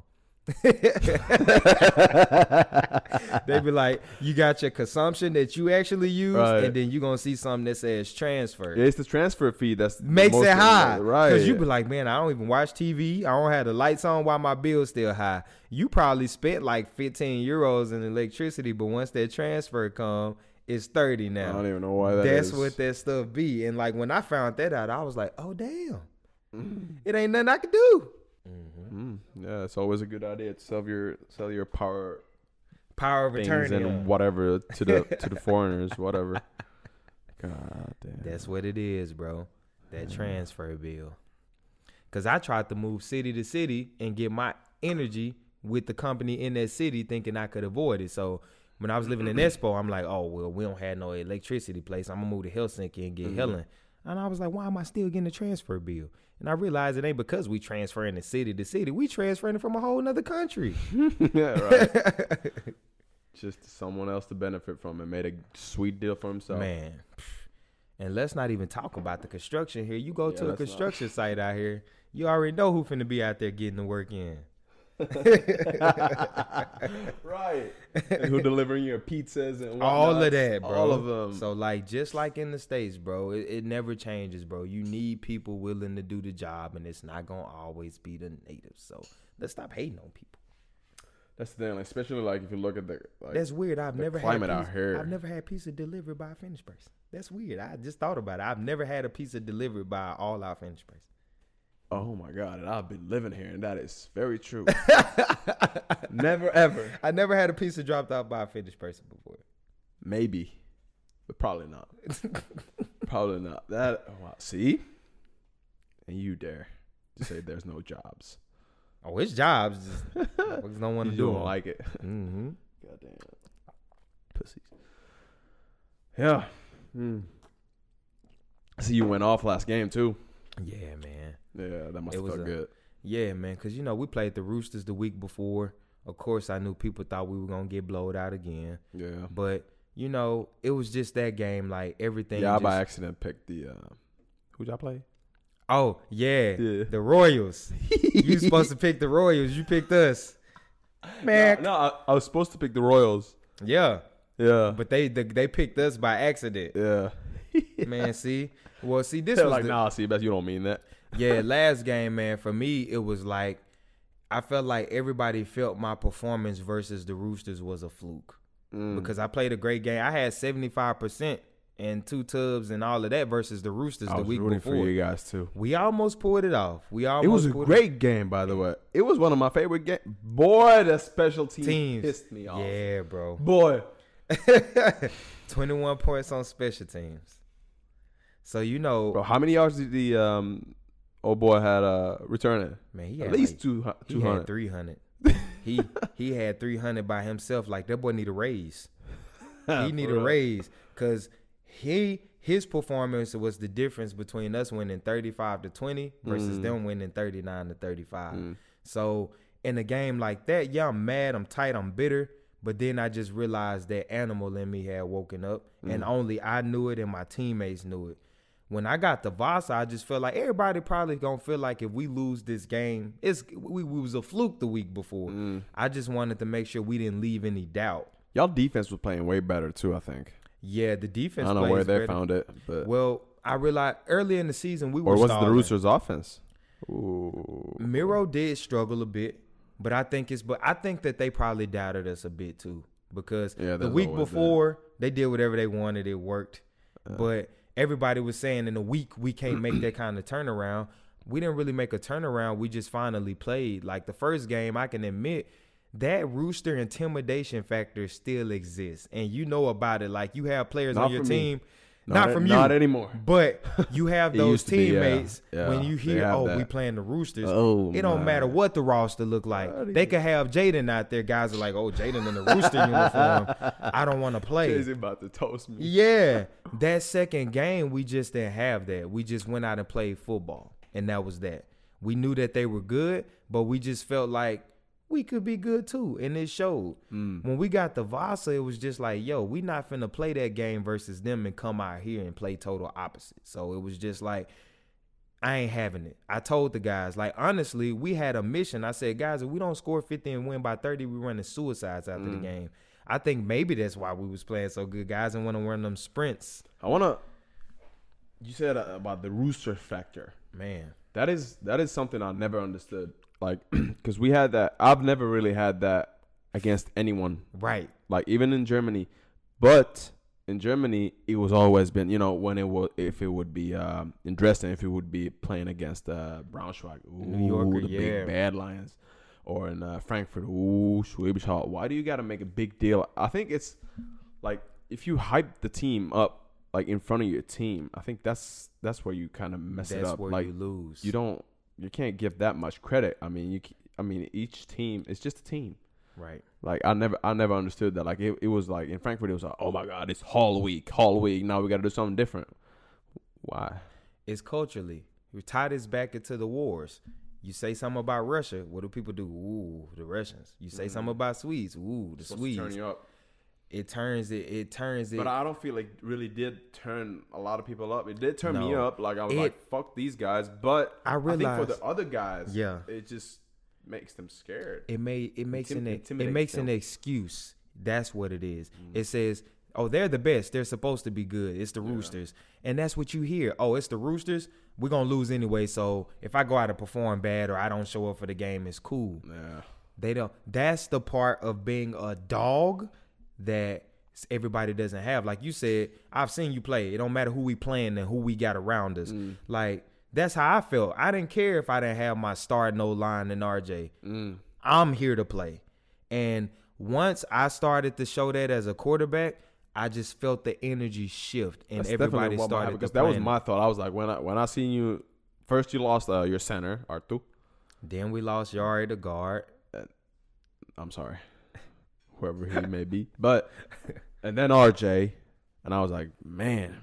They be like, you got your consumption that you actually use, and then you gonna see something that says transfer. Yeah, it's the transfer fee that's makes it high, right? Because you be like, man, I don't even watch TV. I don't have the lights on while my bill's still high. You probably spent like 15 euros in electricity, but once that transfer come, it's 30 now. I don't even know why that's what that stuff be. And like when I found that out, I was like, oh damn, it ain't nothing I could do. Yeah, it's always a good idea to sell your power of attorney and whatever to the foreigners, whatever. God damn. That's what it is, bro. That transfer bill. Because I tried to move city to city and get my energy with the company in that city thinking I could avoid it. So when I was living in Espoo, I'm like, oh, well, we don't have no electricity place. I'm going to move to Helsinki and get Helen. And I was like, why am I still getting a transfer bill? And I realized it ain't because we transferring the city to city. We transferring it from a whole nother country. Yeah, right. Just someone else to benefit from it. Made a sweet deal for himself. Man. And let's not even talk about the construction here. You go to a construction site out here, you already know who finna be out there getting the work in. Right. And who delivering your pizzas and whatnot. All of that, bro. All of them. So, like, just like in the States, bro, it never changes, bro. You need people willing to do the job, and it's not going to always be the natives. So, let's stop hating on people. That's the thing, like, especially like if you look at the that's weird. I've never climate out here. I've never had pizza delivered by a Finnish person. That's weird. I just thought about it. I've never had a pizza delivered by an all-out Finnish person. Oh my God, and I've been living here, and that is very true. Never ever. I never had a pizza dropped off by a Finnish person before. Maybe, but probably not. Probably not. That wow. See, and you dare to say there's no jobs. Oh, it's jobs. Just don't want to do You it. don't like it. Mm-hmm. Goddamn pussies. Yeah. See, you went off last game too. Yeah, man. Yeah, that must have felt good. Yeah, man, because, you know, we played the Roosters the week before. Of course, I knew people thought we were going to get blowed out again. Yeah. But, you know, it was just that game, like, everything. Yeah, I by accident picked the who'd y'all play? Oh, yeah. The Royals. You supposed to pick the Royals. You picked us. Man. No, I was supposed to pick the Royals. Yeah. Yeah. But they picked us by accident. Yeah. Man, see? Well, see, this They're was like, nah, see, bet you don't mean that. Yeah, last game, man, for me, it was like, I felt like everybody felt my performance versus the Roosters was a fluke. Because I played a great game. I had 75% and 2 tubs and all of that versus the Roosters the week before. For you guys too. We almost pulled it off. It was a great game, by the way. It was one of my favorite games. Boy, the special teams pissed me off. Yeah, bro. Boy. 21 points on special teams. So, you know. Bro, how many yards did the old boy had returning? Man, he had at least like, 200. He had 300. he had 300 by himself. Like, that boy need a raise. He need a raise because his performance was the difference between us winning 35-20 versus them winning 39-35. So in a game like that, yeah, I'm mad, I'm tight, I'm bitter. But then I just realized that animal in me had woken up, and only I knew it and my teammates knew it. When I got to Vasa, I just felt like everybody probably gonna feel like if we lose this game, we was a fluke the week before. I just wanted to make sure we didn't leave any doubt. Y'all defense was playing way better too, I think. Yeah, the defense. I don't know where they found it, but well, I realized early in the season we were. Or was it stalling. the Roosters' offense? Ooh. Miro did struggle a bit, but I think that they probably doubted us a bit too because the week before they did whatever they wanted, it worked. But everybody was saying in a week we can't make that kind of turnaround. We didn't really make a turnaround. We just finally played. Like the first game, I can admit that Rooster intimidation factor still exists, and you know about it. Like you have players on your team. Not from you. Not anymore. But you have those teammates when you hear, we playing the Roosters. It don't matter what the roster look like. They could have Jaden out there. Guys are like, Jaden in the Rooster uniform. I don't want to play. He's about to toast me. Yeah. That second game, we just didn't have that. We just went out and played football, and that was that. We knew that they were good, but we just felt like we could be good too, and it showed. When we got to Vasa, it was just like, we not finna play that game versus them and come out here and play total opposite. So it was just like, I ain't having it. I told the guys, like, honestly, we had a mission. I said, guys, if we don't score 50 and win by 30, we running suicides after the game. I think maybe that's why we was playing so good. Guys didn't want to run them sprints. You said about the Rooster factor. Man. That is something I never understood. Like, because we had that. I've never really had that against anyone. Right. Like, even in Germany. But in Germany, it was always been, if it would be in Dresden, if it would be playing against Braunschweig. New Yorker, the big bad Lions. Or in Frankfurt. Schwäbisch Hall. Why do you got to make a big deal? I think it's, like, if you hype the team up, like, in front of your team, I think that's where you kind of mess it up. That's where like, you lose. You you can't give that much credit. I mean, each team, it's just a team. Right. Like I never understood that. Like it was like in Frankfurt, it was like, oh my God, it's Hall Week. Now we got to do something different. Why? It's culturally. We tie this back into the wars. You say something about Russia, what do people do? Ooh, the Russians. You say something about Swedes. Ooh, the Swedes. Turn you up. It turns it. But I don't feel like it really did turn a lot of people up. It did turn me up. Like I was like, fuck these guys. But I think for the other guys, it just makes them scared. It makes an excuse. That's what it is. It says, oh, they're the best. They're supposed to be good. It's the Roosters. And that's what you hear. Oh, it's the Roosters. We're going to lose anyway. So if I go out and perform bad or I don't show up for the game, it's cool. Yeah. They don't. That's the part of being a dog that everybody doesn't have. Like you said, I've seen you play. It don't matter who we playing and who we got around us. Like, that's how I felt. I didn't care if I didn't have my starting O-line and RJ. I'm here to play. And once I started to show that as a quarterback, I just felt the energy shift, and everybody started to because that was my thought. I was like, when I seen you first, you lost your center, Arthur. Then we lost Yari, the guard. I'm sorry, whoever he may be, and then RJ, and I was like, man,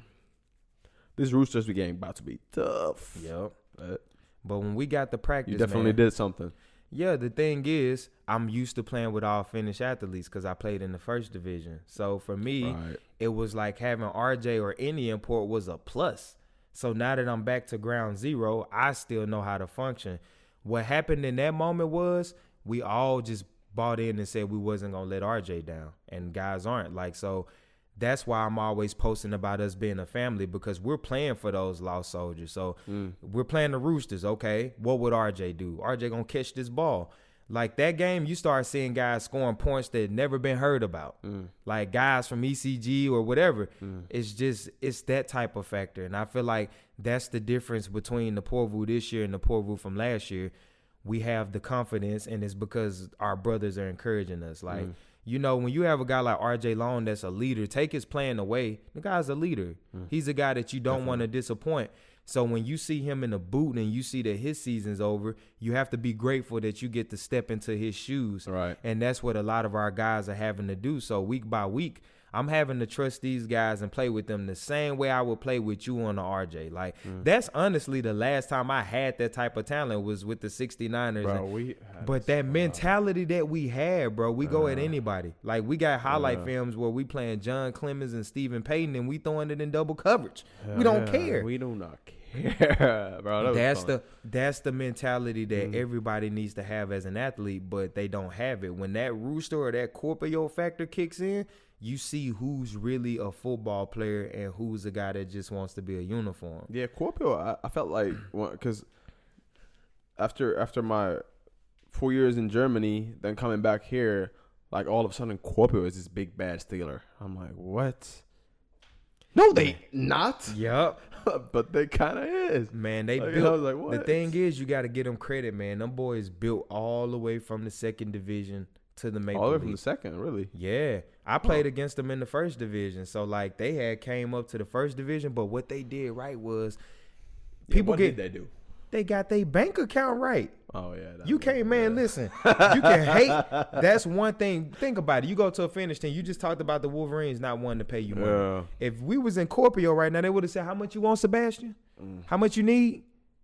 this Roosters game about to be tough. Yep. But when we got the practice, you definitely did something. Yeah, the thing is, I'm used to playing with all Finnish athletes because I played in the first division. So for me, it was like having RJ or any import was a plus. So now that I'm back to ground zero, I still know how to function. What happened in that moment was we all just bought in and said we wasn't going to let RJ down. And guys aren't. Like, so that's why I'm always posting about us being a family, because we're playing for those lost soldiers. So we're playing the Roosters. Okay, what would RJ do? RJ going to catch this ball. Like that game, you start seeing guys scoring points that never been heard about. Like guys from ECG or whatever. It's that type of factor. And I feel like that's the difference between the Porvoo this year and the Porvoo from last year. We have the confidence, and it's because our brothers are encouraging us. Like, you know, when you have a guy like RJ Long that's a leader, take his playing away, the guy's a leader. He's a guy that you don't want to disappoint. So when you see him in the boot and you see that his season's over, you have to be grateful that you get to step into his shoes. Right. And that's what a lot of our guys are having to do. So week by week, I'm having to trust these guys and play with them the same way I would play with you on the RJ. Like, that's honestly the last time I had that type of talent was with the 69ers. Bro, but that mentality that we had, bro, we go at anybody. Like, we got highlight films where we playing John Clemens and Stephen Payton, and we throwing it in double coverage. We don't care. We do not care, bro. That's the mentality that everybody needs to have as an athlete, but they don't have it. When that Rooster or that Corpio factor kicks in, you see who's really a football player and who's a guy that just wants to be a uniform. Yeah, Corpio, I felt like, because after my 4 years in Germany, then coming back here, like all of a sudden Corpio is this big bad Steeler. I'm like, what? No, they not. Yup. But they kind of is. Man, they built. I was like, what? The thing is, you got to give them credit, man. Them boys built all the way from the second division to the Maple League. All the way from the second, really? Yeah. I played against them in the first division. So, like, they had came up to the first division, but what they did right was what did they do? They got their bank account right. Oh, yeah. You can't, man, listen. You can hate. That's one thing. Think about it. You go to a Finnish team. You just talked about the Wolverines not wanting to pay you money. Yeah. If we was in Corpio right now, they would have said, how much you want, Sebastian? How much you need?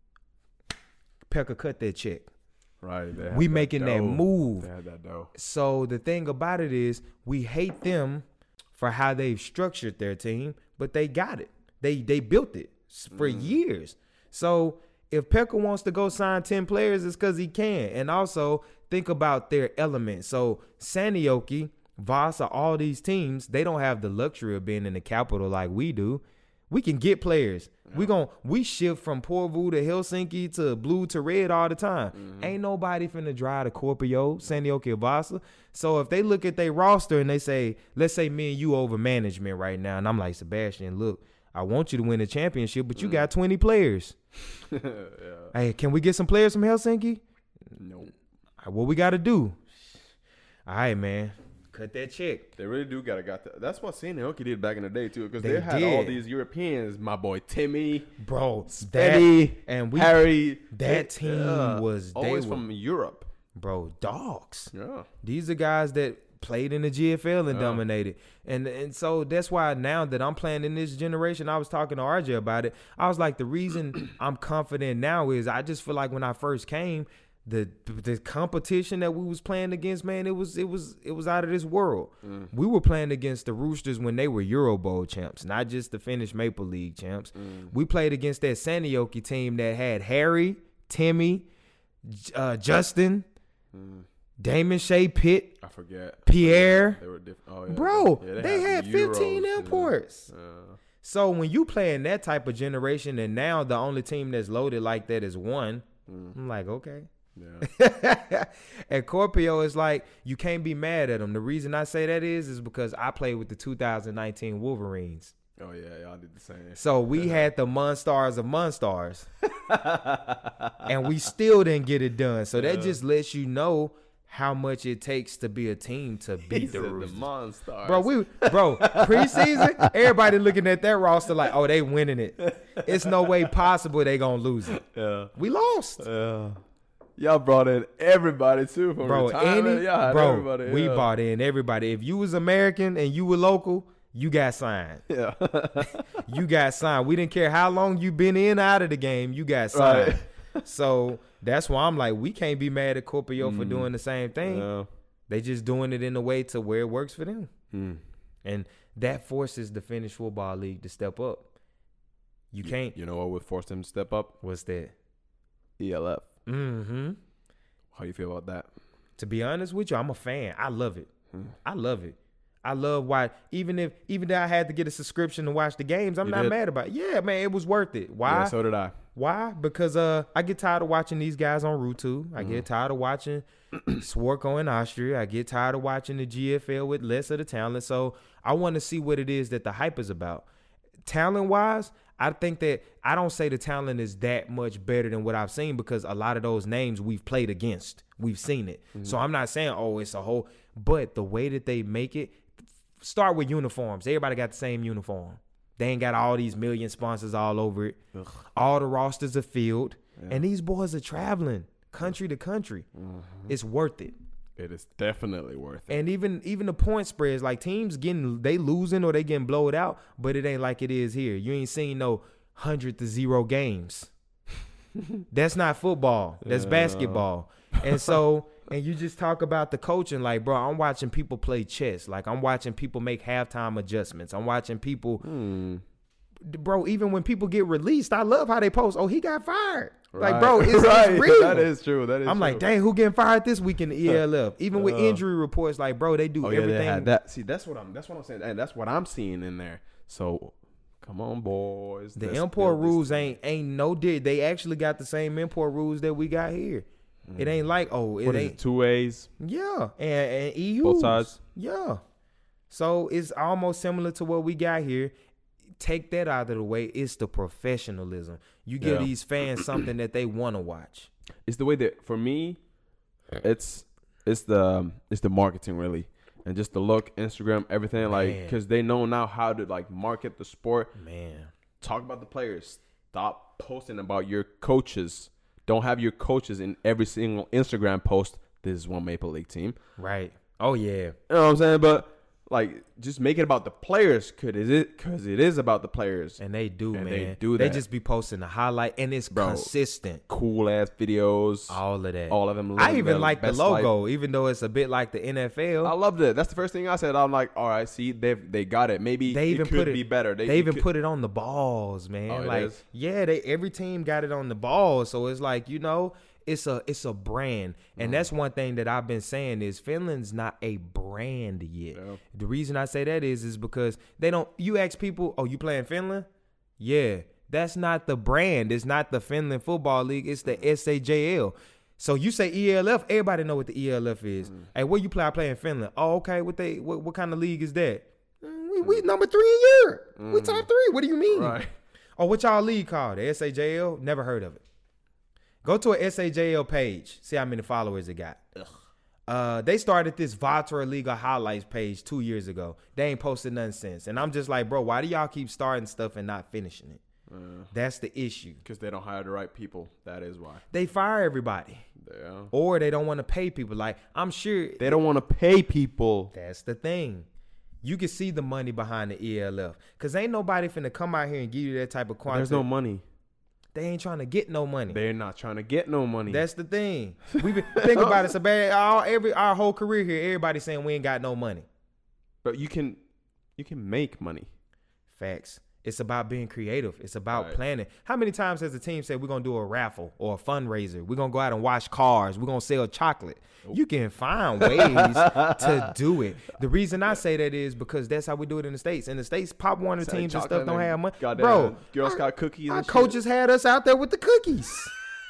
Pekka cut that check. Right. We making that move. They had that dough. So the thing about it is we hate them for how they've structured their team, but they got it. They built it for years. So if Pekka wants to go sign 10 players, it's because he can. And also think about their element. So Sanioki, Vasa, all these teams, they don't have the luxury of being in the capital like we do. We can get players. Yeah. We shift from Porvoo to Helsinki to blue to red all the time. Ain't nobody finna drive to Corpio, Sanioki, or Vasa. So if they look at their roster and they say, let's say me and you over management right now, and I'm like, Sebastian, look, I want you to win the championship, but you got 20 players. Yeah. Hey, can we get some players from Helsinki? No. What we got to do? All right, man. cut that check. They really do got that. That's what Senior Hockey did back in the day too, because They they had did. all these Europeans. My boy Timmy, Bro, Benny, and Harry. that team was always from Europe. bro, dogs. Yeah, These are guys that played in the GFL and Yeah. dominated. And so that's why now that I'm playing in this generation, I was talking to RJ about it. I was like, the reason I'm confident now is I just feel like when I first came, the competition that we was playing against, man, it was out of this world. We were playing against the Roosters when they were Euro Bowl champs, not just the Finnish Maple League champs. We played against that Seinäjoki team that had Harry, Timmy, Justin, Damon Shea Pitt, I forget. Pierre. They were different. Oh, yeah. Bro, Yeah, they had 15 Euros, imports. Yeah. So when you play in that type of generation, and now the only team that's loaded like that is one, I'm like, okay. Yeah. And Corpio is like, you can't be mad at them. The reason I say that is because I played with the 2019 Wolverines. Oh yeah, y'all did the same. So we had the Monstars of Monstars. And we still didn't get it done. So that just lets you know how much it takes to be a team to beat the Roosters. Monstars. Bro, preseason, everybody looking at that roster like, oh, they winning it. It's no way possible they gonna lose it. Yeah. We lost. Yeah. Y'all brought in everybody too from retirement. Everybody. We Yeah. bought in everybody. If you was American and you were local, you got signed. Yeah. You got signed. We didn't care how long you been in or out of the game. You got signed. Right. So that's why I'm like, we can't be mad at Corpio for doing the same thing. Yeah. They just doing it in a way to where it works for them. Mm. And that forces the Finnish Football League to step up. You can't. You know what would force them to step up? What's that? ELF. Mm-hmm. How do you feel about that? To be honest with you, I'm a fan. I love it. I love it. I love why even though I had to get a subscription to watch the games, I'm You not did? mad about it. Yeah, man, it was worth it. Why? Yeah, so did I. Why? Because I get tired of watching these guys on Route 2. I get tired of watching Swarko in Austria. I get tired of watching the GFL with less of the talent. So I want to see what it is that the hype is about. Talent-wise, I think that I don't say the talent is that much better than what I've seen because a lot of those names we've played against. We've seen it. So I'm not saying, oh, it's a whole. But the way that they make it, start with uniforms. Everybody got the same uniform. They ain't got all these million sponsors all over it. Ugh. All the rosters are filled. Yeah. And these boys are traveling country to country. It's worth it. It is definitely worth it. And even the point spreads, like teams they losing or they getting blowed out, but it ain't like it is here. You ain't seen no 100-0 games. That's not football. That's basketball. And so, and you just talk about the coaching, like, bro, I'm watching people play chess. Like, I'm watching people make halftime adjustments. I'm watching people, bro, even when people get released, I love how they post, oh, he got fired. Like, bro, it's real. That is true. I'm like, dang, who getting fired this week in the ELF? Even with injury reports, like, bro, they do everything. They had that. See, that's what I'm saying, and that's what I'm seeing in there. So, come on, boys. The import rules ain't no did. They actually got the same import rules that we got here. It ain't like, oh, it What ain't. is it, 2 ways? Yeah, and EU. Both sides? Yeah. So it's almost similar to what we got here. Take that out of the way. It's the professionalism. You give Yeah. these fans something that they want to watch. It's the way that for me, it's the marketing really, and just the look, Instagram, everything, like, Man. because they know now how to like market the sport. Man. Talk about the players. Stop posting about your coaches. Don't have your coaches in every single Instagram post. This is one Maple League team. Right. Oh, yeah. You know what I'm saying? But like, just make it about the players, because it is about the players. And they do, And man. they do They that. just be posting the highlight, and it's Bro. consistent. Cool ass videos. All of that. All of them. I living even their like the best logo, life. even though it's a bit like the NFL. I loved it. That's the first thing I said. I'm like, all right, see, they got it. Maybe They even it could put it be better. They even put it on the balls, man. Oh, it like, is? yeah, every team got it on the balls. So it's like, you know, it's a brand. And that's one thing that I've been saying is Finland's not a brand yet. Yeah. The reason I say that is because they don't, you ask people, oh, you playing Finland? Yeah. That's not the brand. It's not the Finland Football League. It's the SAJL. So you say ELF, everybody know what the ELF is. Hey, where you play? I play in Finland. Oh, okay. What kind of league is that? We number 3 in Europe. We top 3. What do you mean? Right. Oh, what y'all league called? The SAJL? Never heard of it. Go to a SAJL page. See how many followers it got. They started this Vatra Liga highlights page 2 years ago. They ain't posted nothing since. And I'm just like, bro, why do y'all keep starting stuff and not finishing it? That's the issue. Because they don't hire the right people. That is why. They fire everybody. Yeah. Or they don't want to pay people. Like, I'm sure. They don't want to pay people. That's the thing. You can see the money behind the ELF. Because ain't nobody finna come out here and give you that type of quantity. There's no money. They ain't trying to get no money. They're not trying to get no money. That's the thing. Think about it. So bad. Our whole career here, everybody saying we ain't got no money. But you can make money. Facts. It's about being creative. It's about planning. How many times has the team said we're going to do a raffle or a fundraiser? We're going to go out and wash cars. We're going to sell chocolate. You can find ways to do it. The reason I say that is because that's how we do it in the States. In the States, Pop Warner teams and stuff don't have money. Bro, Girl Scout cookies. Our coaches had us out there with the cookies.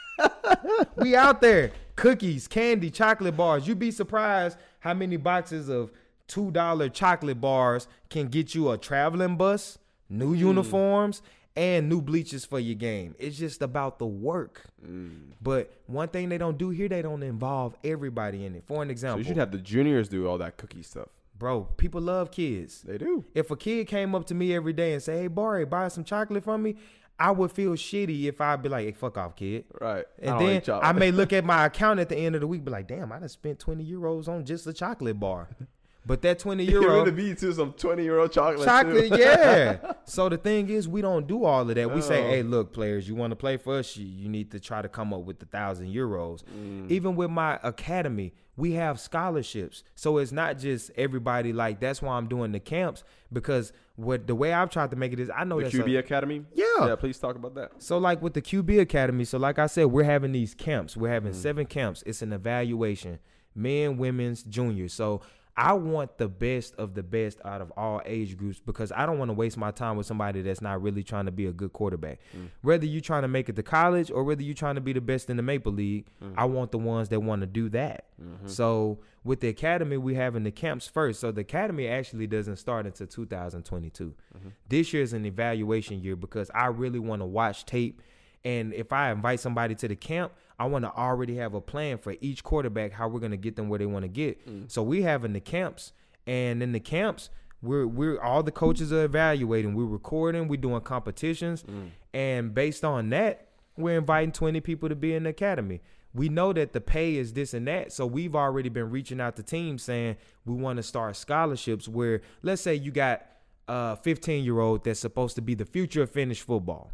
We out there. Cookies, candy, chocolate bars. You'd be surprised how many boxes of $2 chocolate bars can get you a traveling bus, new uniforms, and new bleachers for your game. It's just about the work. But one thing they don't do here, they don't involve everybody in it. For an example. So you should have the juniors do all that cookie stuff. Bro, people love kids. They do. If a kid came up to me every day and say, hey, Barry, buy some chocolate from me, I would feel shitty if I'd be like, hey, fuck off, kid. Right. And then I may look at my account at the end of the week, be like, damn, I done spent 20 euros on just a chocolate bar. But that 20 euro. It would be to some 20-euro chocolate. Chocolate, too. Yeah. So the thing is, we don't do all of that. We say, hey, look, players, you want to play for us? You need to try to come up with the 1,000 euros. Even with my academy, we have scholarships. So it's not just everybody. Like, that's why I'm doing the camps, because the way I've tried to make it is, I know the QB Academy. Yeah. Please talk about that. So like with the QB Academy, so like I said, we're having these camps. We're having 7 camps. It's an evaluation, men, women's, juniors. So I want the best of the best out of all age groups, because I don't want to waste my time with somebody that's not really trying to be a good quarterback. Whether you're trying to make it to college or whether you're trying to be the best in the Maple League, I want the ones that want to do that. So with the academy, we having the camps first. So the academy actually doesn't start until 2022. This year is an evaluation year because I really want to watch tape. And if I invite somebody to the camp, I want to already have a plan for each quarterback, how we're going to get them where they want to get. So we having the camps, and in the camps, we're all the coaches are evaluating. We're recording. We're doing competitions. And based on that, we're inviting 20 people to be in the academy. We know that the pay is this and that. So we've already been reaching out to teams saying we want to start scholarships where, let's say you got a 15-year-old that's supposed to be the future of Finnish football.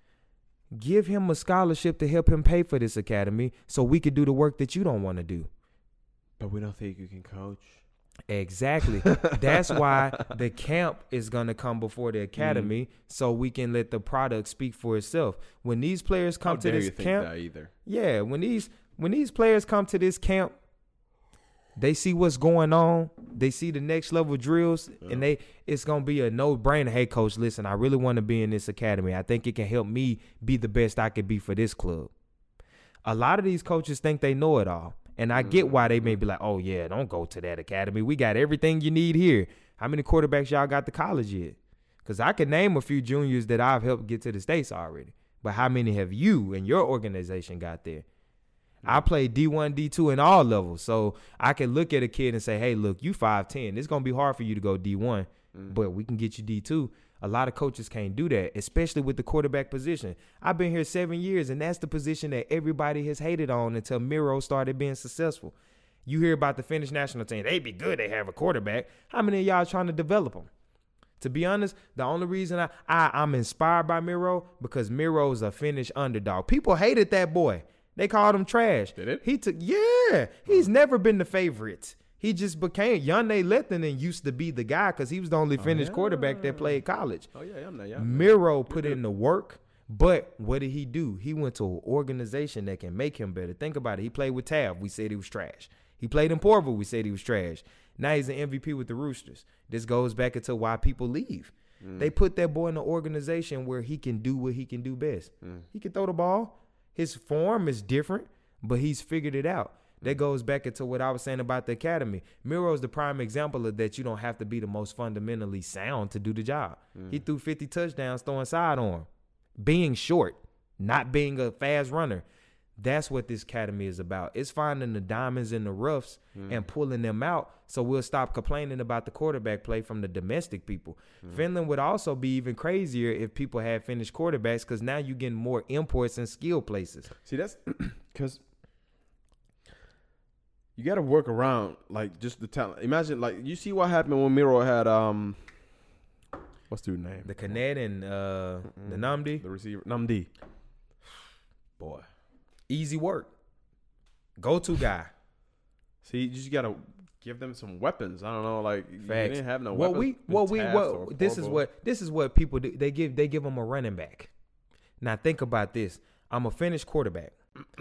Give him a scholarship to help him pay for this academy so we could do the work that you don't want to do. But we don't think you can coach. Exactly. That's why the camp is going to come before the academy so we can let the product speak for itself. When these players come to this camp, yeah, when these players come to this camp, they see what's going on. They see the next level drills, and it's going to be a no-brainer. Hey, coach, listen, I really want to be in this academy. I think it can help me be the best I could be for this club. A lot of these coaches think they know it all, and I get why they may be like, oh, yeah, don't go to that academy. We got everything you need here. How many quarterbacks y'all got to college yet? Because I can name a few juniors that I've helped get to the States already, but how many have you and your organization got there? I played D1, D2 in all levels. So I can look at a kid and say, hey, look, you 5'10". It's going to be hard for you to go D1, but we can get you D2. A lot of coaches can't do that, especially with the quarterback position. I've been here 7 years, and that's the position that everybody has hated on until Miro started being successful. You hear about the Finnish national team. They'd be good. They have a quarterback. How many of y'all trying to develop them? To be honest, the only reason I'm inspired by Miro, because Miro's a Finnish underdog. People hated that boy. They called him trash. Did it? He's never been the favorite. He just became Janne Lehtinen used to be the guy because he was the only Finnish quarterback that played college. Miro put in the work, but what did he do? He went to an organization that can make him better. Think about it. He played with Tav. We said he was trash. He played in Porville. We said he was trash. Now he's an MVP with the Roosters. This goes back into why people leave. They put that boy in an organization where he can do what he can do best. He can throw the ball. His form is different, but he's figured it out. That goes back into what I was saying about the academy. Miro is the prime example of that. You don't have to be the most fundamentally sound to do the job. He threw 50 touchdowns throwing sidearm, being short, not being a fast runner. That's what this academy is about. It's finding the diamonds in the roughs and pulling them out, so we'll stop complaining about the quarterback play from the domestic people. Finland would also be even crazier if people had finished quarterbacks, because now you're getting more imports and skill places. See, that's because you got to work around, like, just the talent. Imagine, like, you see what happened when Miro had what's the dude's name? The Canet and the Namdi. The receiver. Namdi. Boy. Easy work. Go-to guy. See, you just got to give them some weapons. I don't know, like, Facts. you didn't have no weapons. This is what people do. They give them a running back. Now think about this. I'm a finished quarterback.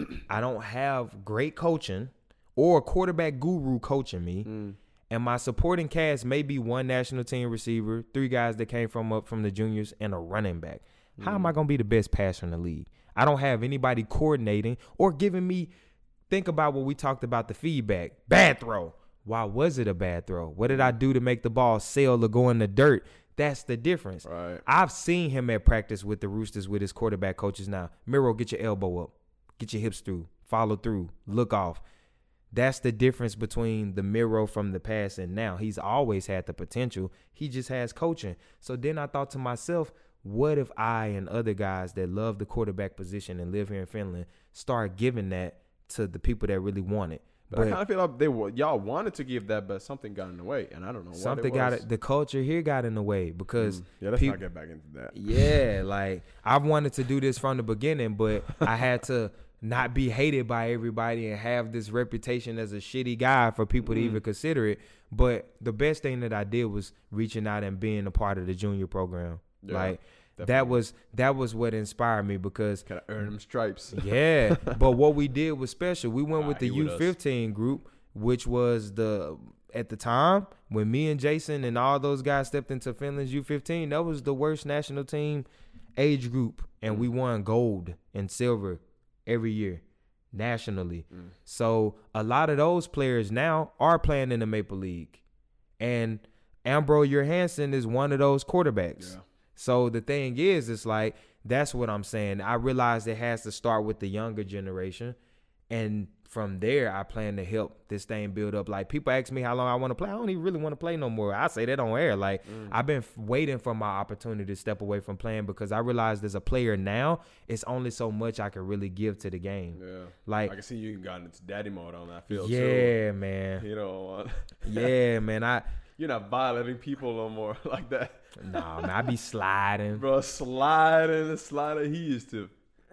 I don't have great coaching or a quarterback guru coaching me. And my supporting cast may be one national team receiver, 3 guys that came up from the juniors, and a running back. How am I going to be the best passer in the league? I don't have anybody coordinating or giving me. Think about what we talked about, the feedback. Bad throw. Why was it a bad throw? What did I do to make the ball sail or go in the dirt? That's the difference. Right. I've seen him at practice with the Roosters with his quarterback coaches now. Miro, get your elbow up. Get your hips through. Follow through. Look off. That's the difference between the Miro from the past and now. He's always had the potential. He just has coaching. So then I thought to myself, what if I and other guys that love the quarterback position and live here in Finland start giving that to the people that really want it? But I kind of feel like y'all wanted to give that, but something got in the way, and I don't know what it was. The culture here got in the way because let's not get back into that. Yeah, like I've wanted to do this from the beginning, but I had to not be hated by everybody and have this reputation as a shitty guy for people to even consider it. But the best thing that I did was reaching out and being a part of the junior program. Yeah, like definitely. that was what inspired me, because gotta earn them stripes. Yeah, but what we did was special. We went with the U15 group, which was at the time when me and Jason and all those guys stepped into Finland's U15, that was the worst national team age group, and we won gold and silver every year nationally. So a lot of those players now are playing in the Maple League, and Ambro Johansson is one of those quarterbacks. Yeah. So the thing is, it's like, that's what I'm saying. I realize it has to start with the younger generation, and from there, I plan to help this thing build up. Like, people ask me how long I want to play. I don't even really want to play no more. I say that on air. Like, I've been waiting for my opportunity to step away from playing, because I realize as a player now, it's only so much I can really give to the game. Yeah. Like, I can see you got into daddy mode on that field. Yeah, man. You know. Yeah, man. You're not violating people no more like that. Nah, man, I be sliding. Bro, sliding. He used to.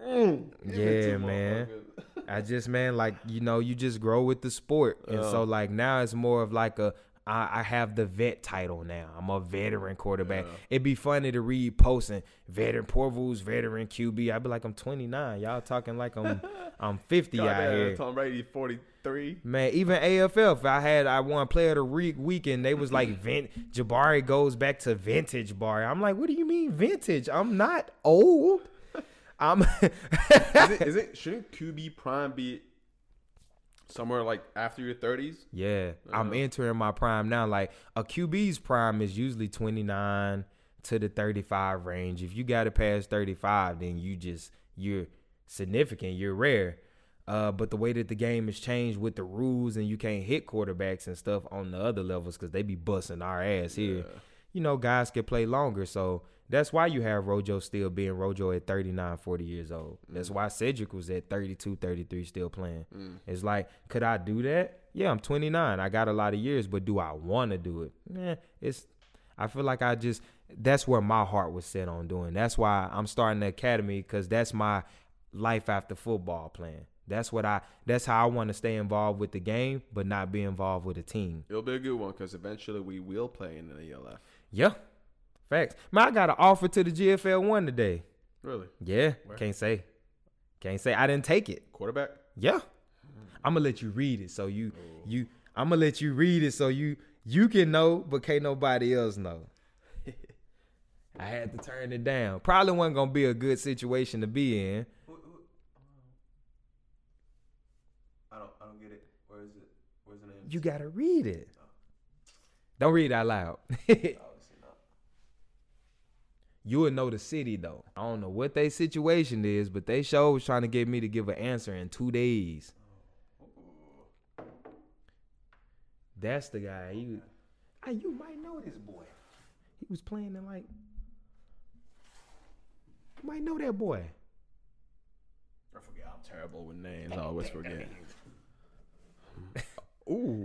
Yeah, man. I just, man, like, you just grow with the sport. And so, like, now it's more of like I have the vet title now. I'm a veteran quarterback. Yeah. It'd be funny to read posting veteran Porvoo's veteran QB. I'd be like, I'm 29. Y'all talking like I'm 50 out here. Tom Brady 43. Man, even AFL, I won Player of the Week, and they was like, Jabari goes back to vintage Barry. I'm like, what do you mean vintage? I'm not old. Shouldn't QB prime be somewhere like after your 30s? Yeah, I'm entering my prime now. Like, a QB's prime is usually 29 to the 35 range. If you got to pass 35, then you're significant. You're rare. But the way that the game has changed with the rules, and you can't hit quarterbacks and stuff on the other levels because they be busting our ass here. Guys can play longer. So that's why you have Rojo still being Rojo at 39, 40 years old. That's why Cedric was at 32, 33 still playing. It's like, could I do that? Yeah, I'm 29. I got a lot of years, but do I want to do it? I feel like that's where my heart was set on doing. That's why I'm starting the academy, because that's my life after football plan. That's how I want to stay involved with the game, but not be involved with a team. It'll be a good one, because eventually we will play in the ELF. Yeah. Facts. Man, I got an offer to the GFL 1 today. Really? Yeah. Where? Can't say. I didn't take it. Quarterback? Yeah. I'm gonna let you read it, so I'm gonna let you read it so you can know, but can't nobody else know. I had to turn it down. Probably wasn't gonna be a good situation to be in. I don't get it. Where is it? Where's the name? You gotta read it. Don't read it out loud. You would know the city though. I don't know what their situation is, but they show was trying to get me to give an answer in 2 days. That's the guy. You might know this boy. He was playing in like. You might know that boy. I forget. I'm terrible with names. I always forget. Ooh.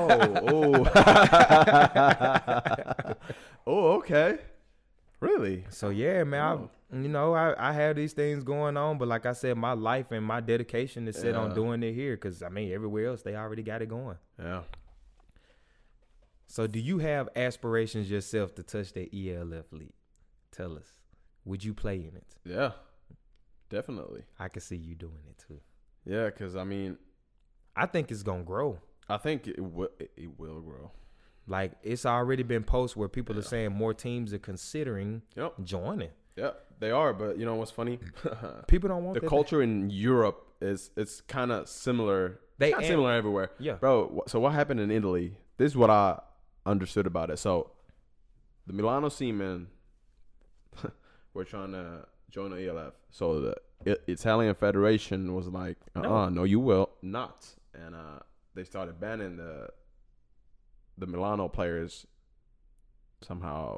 Oh, okay. Really? So yeah, man. I have these things going on, but like I said, my life and my dedication is set on doing it here, because I mean, everywhere else they already got it going. Yeah. So do you have aspirations yourself to touch the ELF league? Tell us. Would you play in it? Yeah, definitely. I can see you doing it too. Yeah, because I mean, I think it's gonna grow. I think it will grow. Like, it's already been posts where people are saying more teams are considering joining. Yeah, they are. But you know what's funny? People don't want the culture in Europe it's kind of similar. It's similar everywhere. Yeah, bro. So what happened in Italy? This is what I understood about it. So the Milano Seamen were trying to join the ELF. So the Italian Federation was like, no, you will not. And they started banning the Milano players somehow.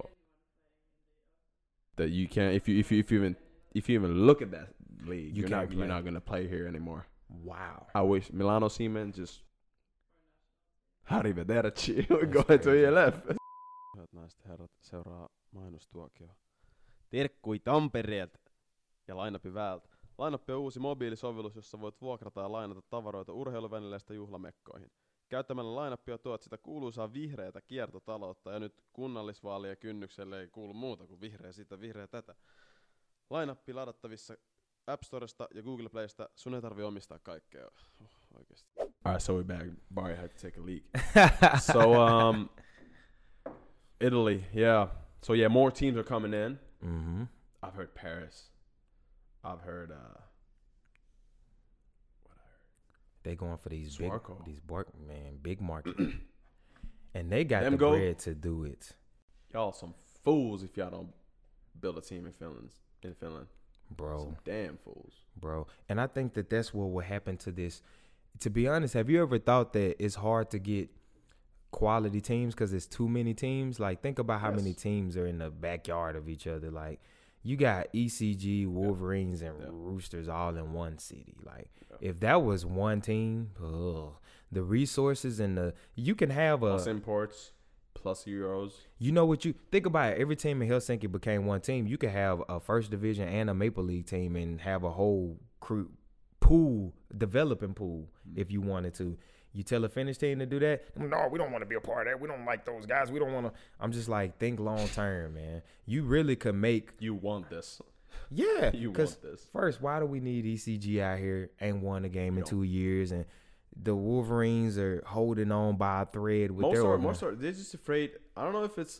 That you can't if you even look at that league, you're not gonna play here anymore. Wow. I wish Milano Seamen just arrivederci going to ELF. Hyvät naiset ja herrat, seuraa mainostuokio. Terkkui Tampereelta ja Lainapi Väältä. Lainapi on uusi mobiilisovellus, jossa voit vuokrata ja lainata tavaroita urheiluvälineistä juhlamekkoihin. Käyttämällä Lainapia tuot sitä kuuluisaa vihreätä kiertotaloutta, ja nyt kunnallisvaalien kynnykselle ei kuulu muuta kuin vihreä sitä, vihreä tätä. Lainappi ladattavissa App Storesta ja Google Playsta. Sun ei tarvitse omistaa kaikkea. Oikeasti. Alright, so we're back. Barry had to take a leak. So, Italy, yeah. So, yeah, more teams are coming in. Mm-hmm. I've heard Paris. I've heard, they going for these Swarco. big market. And they got them the bread to do it. Y'all some fools if y'all don't build a team in Finland. Bro. Some damn fools. Bro. And I think that's what will happen to this. To be honest, have you ever thought that it's hard to get quality teams because there's too many teams? Like, think about how many teams are in the backyard of each other. Like, you got ECG, Wolverines, and Roosters all in one city. Like, if that was one team, the resources and you can have plus imports, plus Euros. You know what you think about it? Every team in Helsinki became one team. You could have a first division and a Maple League team and have a whole developing pool if you wanted to. You tell a Finnish team to do that? No, we don't want to be a part of that. We don't like those guys. We don't want to. I'm just like, think long term, man. You really could make. You want this. Yeah. You want this. First, why do we need ECG out here? Ain't won a game in 2 years. And the Wolverines are holding on by a thread with most are they're just afraid. I don't know if it's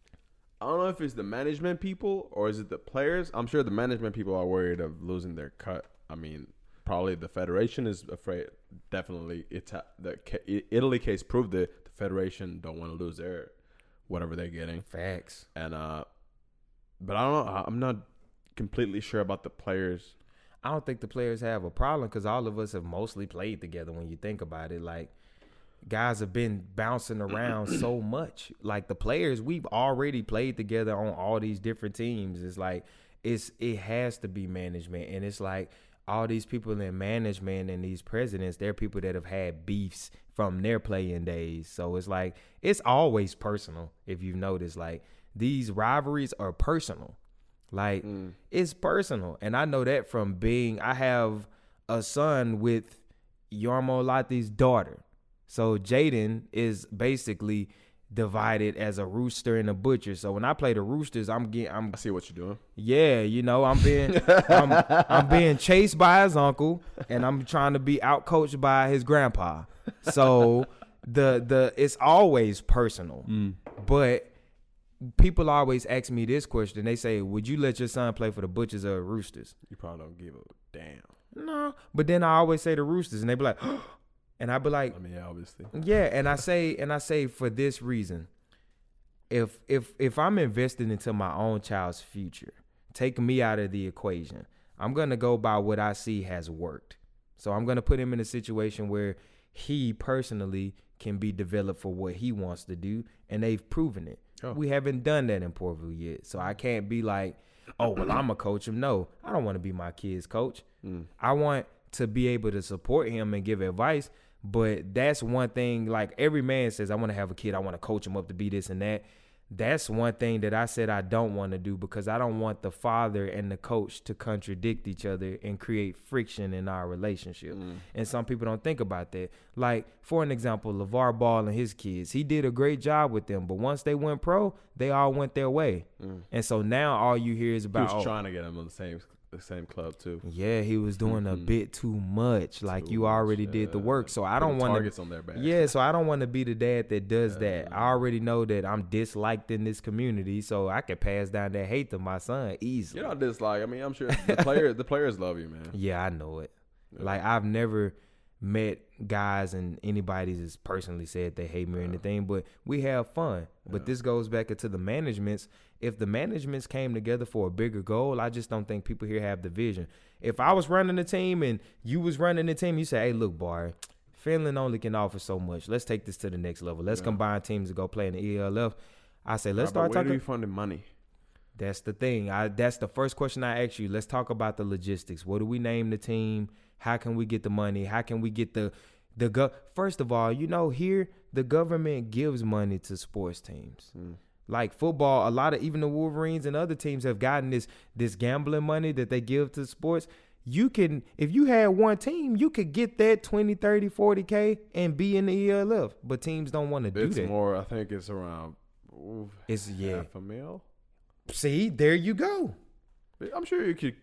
the management people or is it the players. I'm sure the management people are worried of losing their cut. I mean, probably the federation is afraid. Definitely, the Italy case proved that the federation don't want to lose their whatever they're getting. Facts. And but I don't know. I'm not completely sure about the players. I don't think the players have a problem because all of us have mostly played together. When you think about it, like, guys have been bouncing around so much. Like, the players, we've already played together on all these different teams. It's like it has to be management, and it's like all these people in management and these presidents, they're people that have had beefs from their playing days. So it's like it's always personal. If you've noticed, like, these rivalries are personal. Like, it's personal. And I know that from I have a son with Jarmo Latti's daughter. So Jaden is basically divided as a rooster and a butcher. So when I play the Roosters, I see what you're doing. Yeah, I'm being chased by his uncle and I'm trying to be outcoached by his grandpa. So the it's always personal. But people always ask me this question. They say, would you let your son play for the Butchers or the Roosters? You probably don't give a damn. No. But then I always say the Roosters, and they be like, and I be like, I mean, yeah, obviously. Yeah, and I say for this reason. if I'm investing into my own child's future, take me out of the equation. I'm gonna go by what I see has worked. So I'm gonna put him in a situation where he personally can be developed for what he wants to do, and they've proven it. Oh. We haven't done that in Portville yet, so I can't be like, oh, well, I'm gonna coach him. No, I don't want to be my kid's coach. I want to be able to support him and give advice, but that's one thing. Like every man says, I want to have a kid. I want to coach him up to be this and that. That's one thing that I said I don't want to do, because I don't want the father and the coach to contradict each other and create friction in our relationship. And some people don't think about that. Like, for an example, LeVar Ball and his kids, he did a great job with them, but once they went pro, they all went their way. And so now all you hear is about, he was trying to get them on the same club too. Yeah, he was doing a bit too much. Like, you already did the work. So I don't want targets on their back. Yeah, so I don't want to be the dad that does that. I already know that I'm disliked in this community, so I can pass down that hate to my son easily. You're not disliked. I mean, I'm sure the players love you, man. Yeah, I know it. Yeah. Like, I've never met guys and anybody that's personally said they hate me or anything, but we have fun. But this goes back into the managements. If the managements came together for a bigger goal, I just don't think people here have the vision. If I was running the team and you was running the team, you say, hey, look, Barry, Finland only can offer so much. Let's take this to the next level. Let's combine teams to go play in the ELF. I say, let's start talking. Where do you find the money? That's the thing. That's the first question I ask you. Let's talk about the logistics. What do we name the team? How can we get the money? How can we get First of all, here the government gives money to sports teams. Like football, a lot of even the Wolverines and other teams have gotten this gambling money that they give to sports. You can, if you had one team, you could get that 20, 30, 40K and be in the ELF. But teams don't want to do that. It's more, I think it's around half a mil. See, there you go. I'm sure you could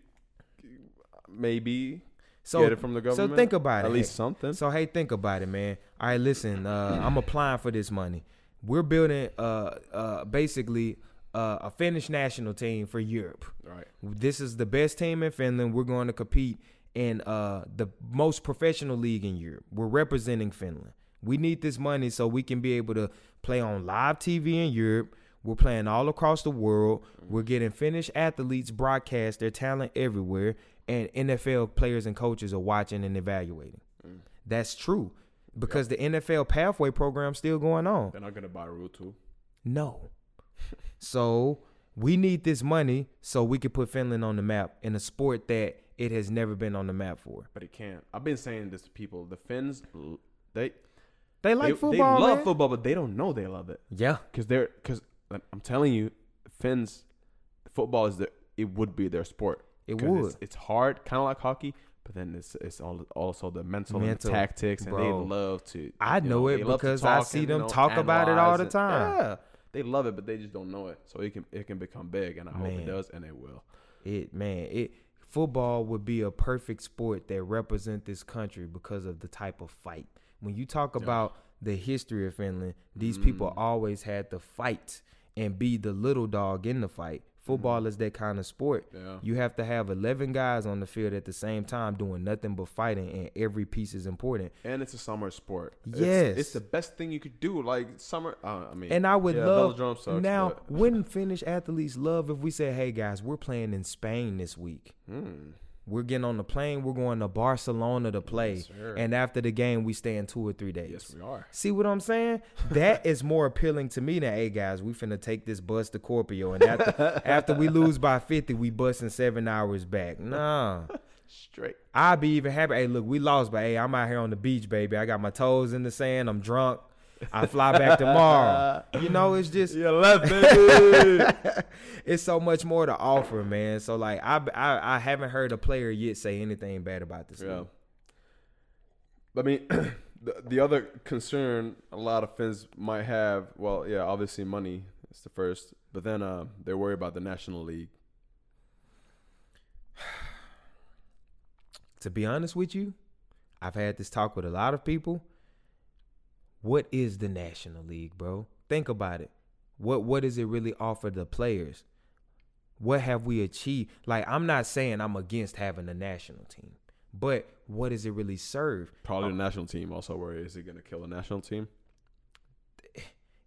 maybe get it from the government. So think about it. At least something. So, hey, think about it, man. All right, listen, I'm applying for this money. We're building basically a Finnish national team for Europe. Right. This is the best team in Finland. We're going to compete in the most professional league in Europe. We're representing Finland. We need this money so we can be able to play on live TV in Europe. We're playing all across the world. We're getting Finnish athletes broadcast their talent everywhere, and NFL players and coaches are watching and evaluating. That's true. Because the NFL pathway program's still going on. They're not going to buy Rule 2. No. So we need this money so we can put Finland on the map in a sport that it has never been on the map for. But it can't. I've been saying this to people. The Finns, they like football. They love football, but they don't know they love it. Yeah. Because I'm telling you, Finns, football it would be their sport. It would. It's hard, kind of like hockey. But then it's also the mental and the tactics, and they love to. I know it because I see them talk about it all the time. Yeah, they love it, but they just don't know it. So it can become big, and I hope it does, and it will. Football would be a perfect sport that represent this country because of the type of fight. When you talk about the history of Finland, these people always had to fight and be the little dog in the fight. Football is that kind of sport. Yeah. You have to have 11 guys on the field at the same time doing nothing but fighting, and every piece is important. And it's a summer sport. Yes. It's the best thing you could do. Like summer, and I would love, sucks, now, wouldn't Finnish athletes love if we said, hey, guys, we're playing in Spain this week. We're getting on the plane. We're going to Barcelona to play. Yes, and after the game, we stay in 2 or 3 days. Yes, we are. See what I'm saying? That is more appealing to me than, hey, guys, we finna take this bus to Corpio. And after we lose by 50, we busting 7 hours back. Nah. Straight. I'd be even happy. Hey, look, we lost, but, hey, I'm out here on the beach, baby. I got my toes in the sand. I'm drunk. I fly back tomorrow. It's just you left, baby. It's so much more to offer, man. So like I haven't heard a player yet say anything bad about this league. I mean, the other concern a lot of Finns might have, obviously money is the first, but then they're worried about the National League. To be honest with you, I've had this talk with a lot of people. What is the National League, bro? Think about it. What does it really offer the players? What have we achieved? Like, I'm not saying I'm against having a national team, but what does it really serve? Probably the national team also. Where is it going to kill the national team?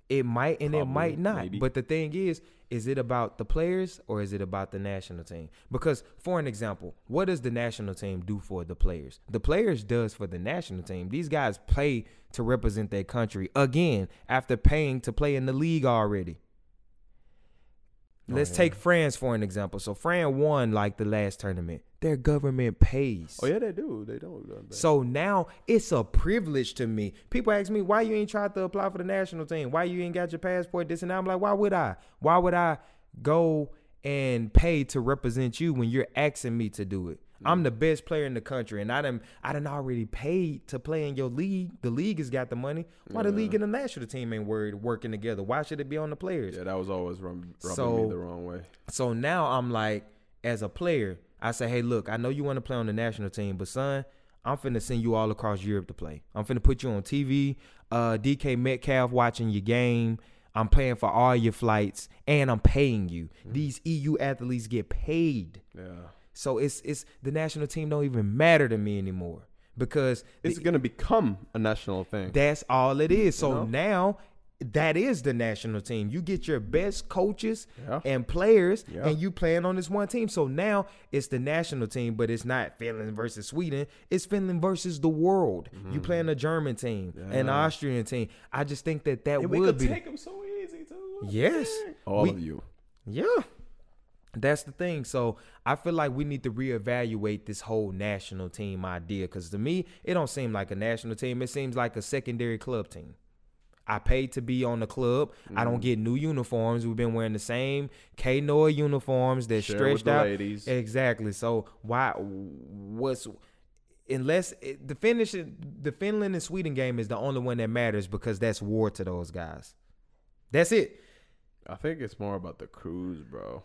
It might and Probably, it might not. maybe. But the thing is it about the players or is it about the national team? Because, for an example, what does the national team do for the players? The players does for the national team. These guys play to represent their country, again, after paying to play in the league already. Let's take France for an example. So France won like the last tournament. Their government pays. Oh yeah, they do. They don't. So now it's a privilege to me. People ask me, why you ain't tried to apply for the national team? Why you ain't got your passport, this and that? I'm like, why would I? Why would I go and pay to represent you when you're asking me to do it? I'm the best player in the country, and I done already paid to play in your league. The league has got the money. Why the league and the national team ain't working together? Why should it be on the players? Yeah, that was always rubbing me the wrong way. So now I'm like, as a player, I say, hey, look, I know you want to play on the national team, but son, I'm finna send you all across Europe to play. I'm finna put you on TV, DK Metcalf watching your game. I'm paying for all your flights, and I'm paying you. These EU athletes get paid. Yeah. So it's the national team don't even matter to me anymore because it's going to become a national thing. That's all it is. So now that is the national team. You get your best coaches and players and you playing on this one team. So now it's the national team, but it's not Finland versus Sweden. It's Finland versus the world. You playing a German team, an Austrian team. I just think that and would we could be take them so easy too. Yes. All of you. Yeah. That's the thing. So I feel like we need to reevaluate this whole national team idea because to me, it don't seem like a national team. It seems like a secondary club team. I paid to be on the club. I don't get new uniforms. We've been wearing the same K-Noah uniforms that stretched out. Ladies. Exactly. So unless the Finland and Sweden game is the only one that matters because that's war to those guys. That's it. I think it's more about the cruise, bro.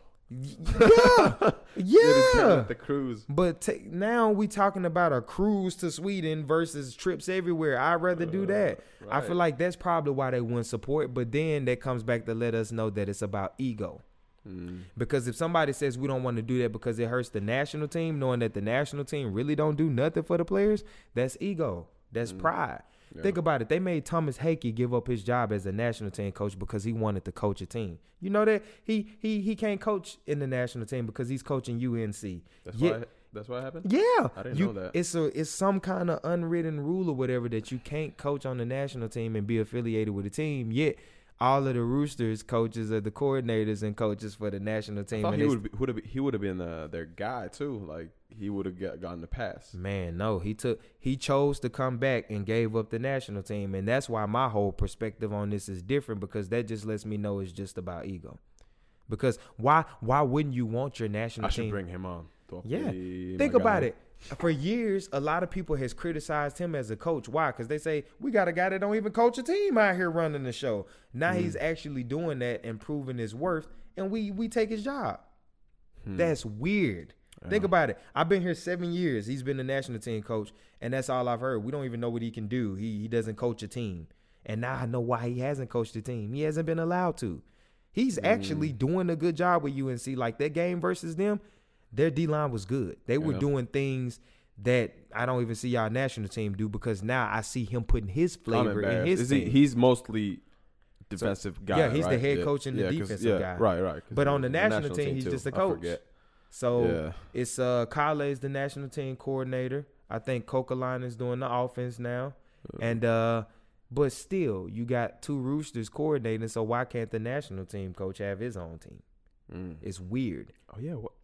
Yeah. The cruise. But now we talking about a cruise to Sweden versus trips everywhere. I'd rather do that. Right. I feel like that's probably why they wouldn't support. But then that comes back to let us know that it's about ego. Because if somebody says we don't want to do that because it hurts the national team, knowing that the national team really don't do nothing for the players, that's ego. That's pride. Yeah. Think about it. They made Thomas Hakey give up his job as a national team coach because he wanted to coach a team. You know that he can't coach in the national team because he's coaching UNC. That's what happened? Yeah. I didn't know that. It's some kind of unwritten rule or whatever that you can't coach on the national team and be affiliated with a team. Yet all of the Roosters coaches are the coordinators and coaches for the national team. I thought he would have been their guy too. Like he would have gotten the pass. Man, no, he chose to come back and gave up the national team, and that's why my whole perspective on this is different because that just lets me know it's just about ego. Because why wouldn't you want your national team? I should bring him on. Yeah, think about it. For years, a lot of people has criticized him as a coach. Why? Because they say, we got a guy that don't even coach a team out here running the show. Now he's actually doing that and proving his worth, and we take his job. That's weird. Yeah. Think about it. I've been here 7 years. He's been the national team coach, and that's all I've heard. We don't even know what he can do. He doesn't coach a team. And now I know why he hasn't coached a team. He hasn't been allowed to. He's actually doing a good job with UNC. Like that game versus them, their D-line was good. They were doing things that I don't even see y'all national team do because now I see him putting his flavor in his team. He's mostly defensive guy. Yeah, he's the head coach and the defensive guy. Right. But on the national team, he's just a coach. So it's Kale is the national team coordinator. I think Kokalainen is doing the offense now. And but still, you got two Roosters coordinating, so why can't the national team coach have his own team? It's weird. Oh, yeah. What?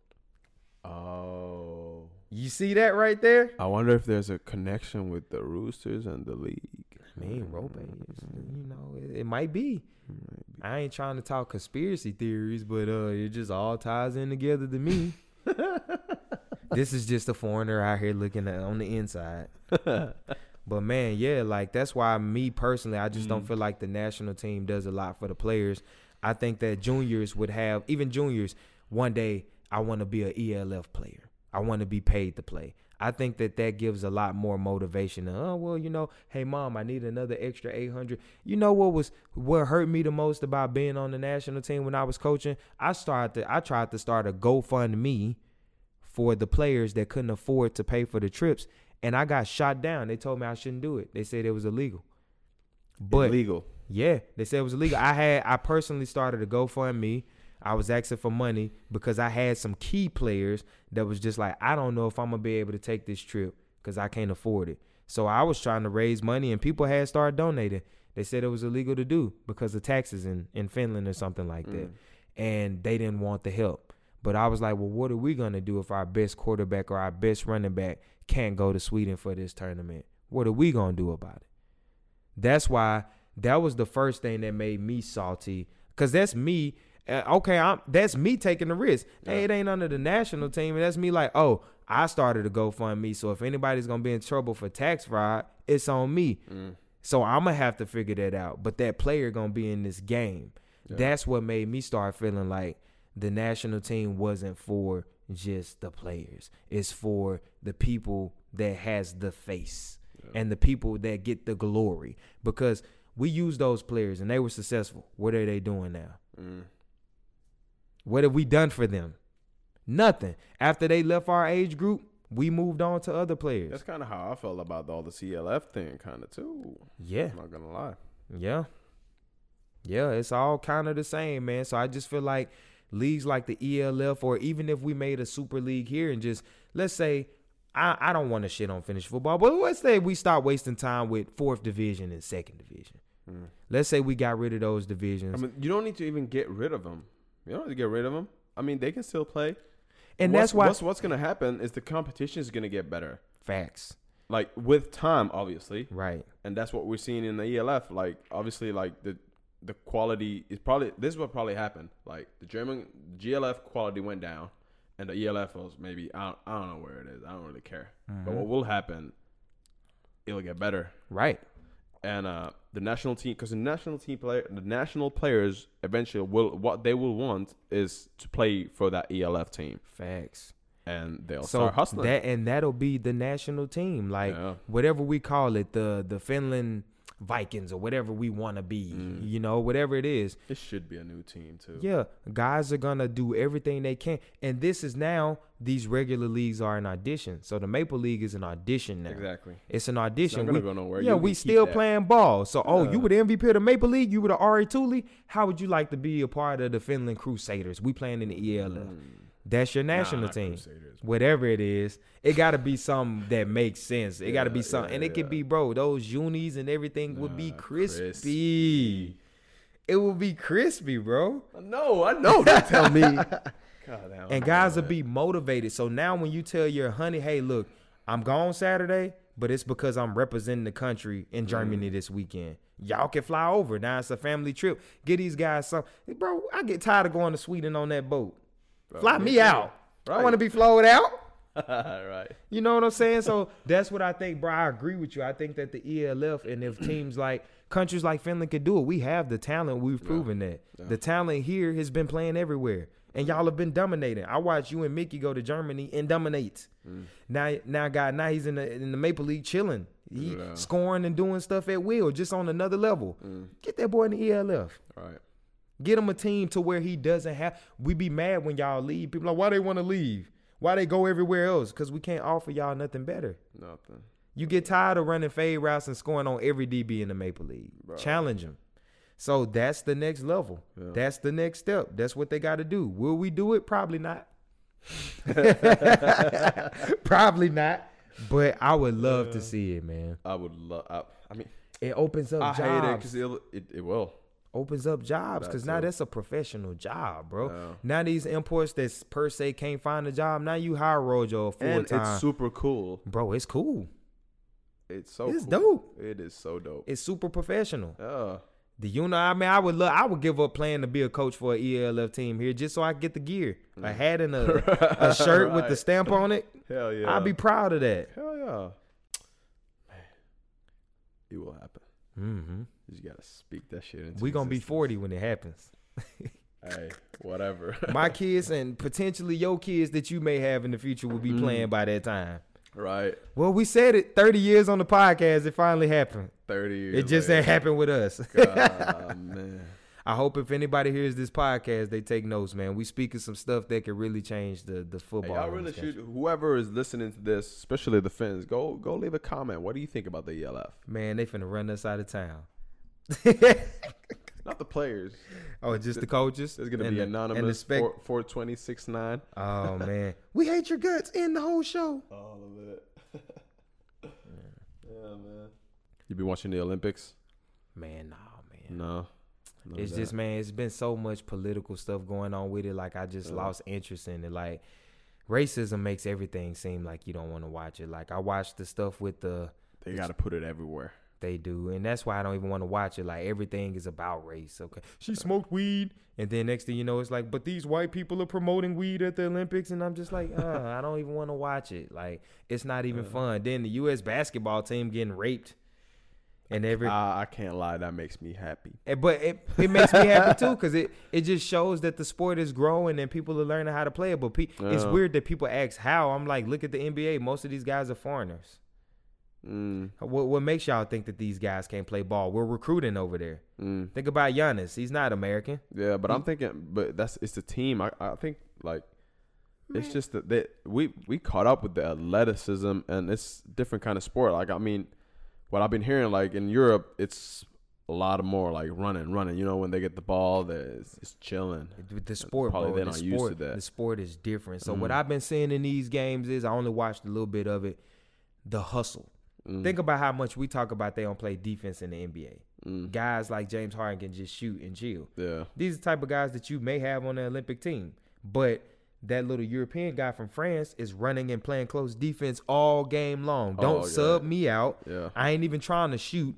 Oh. You see that right there? I wonder if there's a connection with the Roosters and the league. I mean, it might be. I ain't trying to talk conspiracy theories, but it just all ties in together to me. This is just a foreigner out here looking at on the inside. But man, yeah, like that's why me personally, I just don't feel like the national team does a lot for the players. I think that juniors would have, even juniors, one day I want to be an ELF player. I want to be paid to play. I think that gives a lot more motivation. Hey mom, I need another extra 800. You know what hurt me the most about being on the national team when I was coaching? I tried to start a GoFundMe for the players that couldn't afford to pay for the trips, and I got shot down. They told me I shouldn't do it. They said it was illegal. But illegal. Yeah, they said it was illegal. I personally started a GoFundMe. I was asking for money because I had some key players that was just like, I don't know if I'm gonna be able to take this trip because I can't afford it. So I was trying to raise money, and people had started donating. They said it was illegal to do because of taxes in Finland or something like that, and they didn't want the help. But I was like, well, what are we gonna do if our best quarterback or our best running back can't go to Sweden for this tournament? What are we gonna do about it? That's why that was the first thing that made me salty, because that's me. That's me taking the risk. Yeah. Hey, it ain't under the national team, and that's me like, oh, I started a GoFundMe, so if anybody's gonna be in trouble for tax fraud, it's on me. So I'm gonna have to figure that out. But that player gonna be in this game. Yeah. That's what made me start feeling like the national team wasn't for just the players. It's for the people that has the face and the people that get the glory, because we used those players and they were successful. What are they doing now? What have we done for them? Nothing. After they left our age group, we moved on to other players. That's kind of how I felt about all the CLF thing, kind of too. Yeah. I'm not going to lie. Yeah. Yeah, it's all kind of the same, man. So I just feel like leagues like the ELF, or even if we made a super league here and just, let's say, I don't want to shit on Finnish football, but let's say we start wasting time with 4th division and 2nd division. Let's say we got rid of those divisions. I mean, you don't need to even get rid of them. You don't need to get rid of them. I mean, they can still play. And that's why what's going to happen is the competition is going to get better. Facts. Like with time, obviously. Right. And that's what we're seeing in the ELF. Like, obviously, like the quality is probably, this is what probably happened. Like the German GLF quality went down, and the ELF was maybe, I don't know where it is. I don't really care. But what will happen, it'll get better. Right. And the national team, because the national players eventually what they will want is to play for that ELF team. Facts. And they'll start hustling. That'll be the national team, like whatever we call it, the Finland Vikings or whatever we want to be, whatever it is. It should be a new team too. Yeah, guys are gonna do everything they can, and this is now, these regular leagues are an audition. So the Maple League is an audition now. Exactly, it's an audition. It's not gonna go nowhere. Yeah, we still playing ball. So you were the MVP of the Maple League. You were the Ari Tulli. How would you like to be a part of the Finland Crusaders? We playing in the ELF. That's your national team. Crusaders. Whatever it is, it got to be something that makes sense. It got to be something. And it could be, bro, those unis and everything would be crispy. It will be crispy, bro. No, I know. Don't tell me. God, and guys will be motivated. So now when you tell your honey, hey, look, I'm gone Saturday, but it's because I'm representing the country in Germany this weekend. Y'all can fly over. Now it's a family trip. Get these guys some. Bro, I get tired of going to Sweden on that boat. Bro, fly me out. Right. I want to be flowed out. Right. You know what I'm saying? So that's what I think, bro. I agree with you. I think that the ELF, and if teams like countries like Finland could do it, we have the talent. We've proven that. Yeah. The talent here has been playing everywhere. And y'all have been dominating. I watched you and Mickey go to Germany and dominate. Now he's in the Maple League chilling. He scoring and doing stuff at will, just on another level. Get that boy in the ELF. Right. Get him a team to where he doesn't have. We be mad when y'all leave. People like, why they want to leave? Why they go everywhere else? Because we can't offer y'all nothing better. Nothing. You get tired of running fade routes and scoring on every DB in the Maple League. Bro. Challenge them. So that's the next level. Yeah. That's the next step. That's what they got to do. Will we do it? Probably not. Probably not. But I would love to see it, man. I would love. I mean, it opens up jobs. I hate it because it will. Opens up jobs, because now that's a professional job, bro. Yeah. Now these imports that per se can't find a job, now you hire Rojo full and time. It's super cool. Bro, it's cool. It's so it's cool. Dope. It is so dope. It's super professional. Yeah. I would give up playing to be a coach for an ELF team here just so I get the gear. A hat and a shirt with the stamp on it. Hell yeah. I'd be proud of that. Hell yeah. Man, it will happen. Mm-hmm. You just gotta speak that shit into we gonna be 40 when it happens. Hey, whatever. My kids and potentially your kids that you may have in the future will be playing by that time. Right. Well, we said it 30 years on the podcast. It finally happened. 30 years. It just ain't happened with us. God, man. I hope if anybody hears this podcast, they take notes, man. We speaking some stuff that could really change the football. Hey, y'all really should. Whoever is listening to this, especially the Finns, go leave a comment. What do you think about the ELF? Man, they finna run us out of town. Not the players. Oh, just the coaches. There's gonna be anonymous 42069. Oh man, we hate your guts in the whole show. All of it. Yeah, man. You been watching the Olympics? Man, nah, man. No. It's just, man, it's been so much political stuff going on with it. Like, I just lost interest in it. Like, racism makes everything seem like you don't want to watch it. Like, I watched the stuff with They got to put it everywhere. They do. And that's why I don't even want to watch it. Like, everything is about race. Okay. She smoked weed. And then next thing you know, it's like, but these white people are promoting weed at the Olympics. And I'm just like, I don't even want to watch it. Like, it's not even fun. Then the U.S. basketball team getting raped. And I can't lie, that makes me happy. But it makes me happy too, because it just shows that the sport is growing and people are learning how to play it. But it's weird that people ask how. I'm like, look at the NBA. Most of these guys are foreigners. What makes y'all think that these guys can't play ball? We're recruiting over there. Think about Giannis. He's not American. Yeah, but I'm thinking, it's the team. I think like it's just that we caught up with the athleticism, and it's different kind of sport. Like, I mean, what I've been hearing, like in Europe, it's a lot more like running. You know, when they get the ball, it's chilling. The sport, probably bro, they're not used to that. The sport is different. So what I've been seeing in these games is, I only watched a little bit of it, the hustle. Think about how much we talk about they don't play defense in the NBA. Guys like James Harden can just shoot and chill. Yeah, these are the type of guys that you may have on the Olympic team, but that little European guy from France is running and playing close defense all game long. Don't sub me out. Yeah. I ain't even trying to shoot.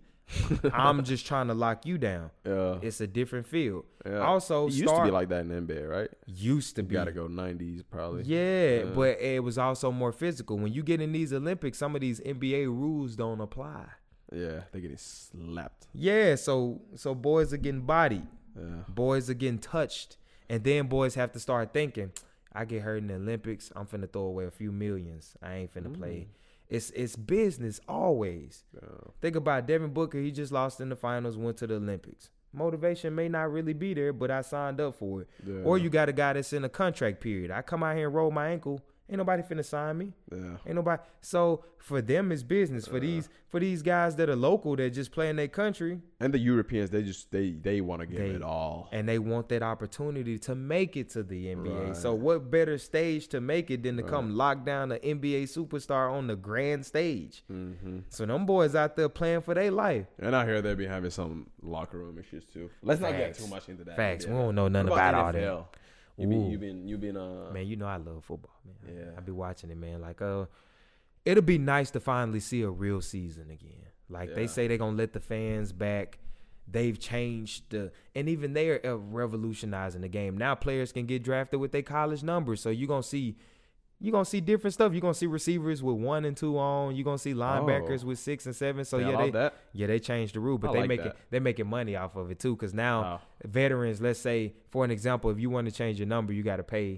I'm just trying to lock you down. Yeah. It's a different field. Yeah. Also, it used to be like that in the NBA, right? Used to be. You got to go 90s probably. Yeah, but it was also more physical. When you get in these Olympics, some of these NBA rules don't apply. Yeah, they're getting slapped. Yeah, so boys are getting bodied. Yeah. Boys are getting touched. And then boys have to start thinking, I get hurt in the Olympics, I'm finna throw away a few millions. I ain't finna play. It's business always. Yeah. Think about Devin Booker. He just lost in the finals, went to the Olympics. Motivation may not really be there, but I signed up for it. Yeah. Or you got a guy that's in a contract period. I come out here and roll my ankle. Ain't nobody finna sign me. Yeah. Ain't nobody. So for them, it's business. For these guys that are local, that just play in their country. And the Europeans, they want to give it all. And they want that opportunity to make it to the NBA. Right. So what better stage to make it than to come lock down an NBA superstar on the grand stage? So them boys out there playing for their life. And I hear they be having some locker room issues too. Let's not get too much into that. Facts. We don't know nothing about all that. You been man, you know I love football, man. Yeah. I be watching it, man. Like it'll be nice to finally see a real season again. Like they say they're gonna let the fans back. They've changed and even they are revolutionizing the game. Now players can get drafted with their college numbers. So you're gonna see different stuff. You're gonna see receivers with 1 and 2 on. You're gonna see linebackers with 6 and 7. So they changed the rule, but they're making money off of it too. Because now veterans, let's say for an example, if you want to change your number, you got to pay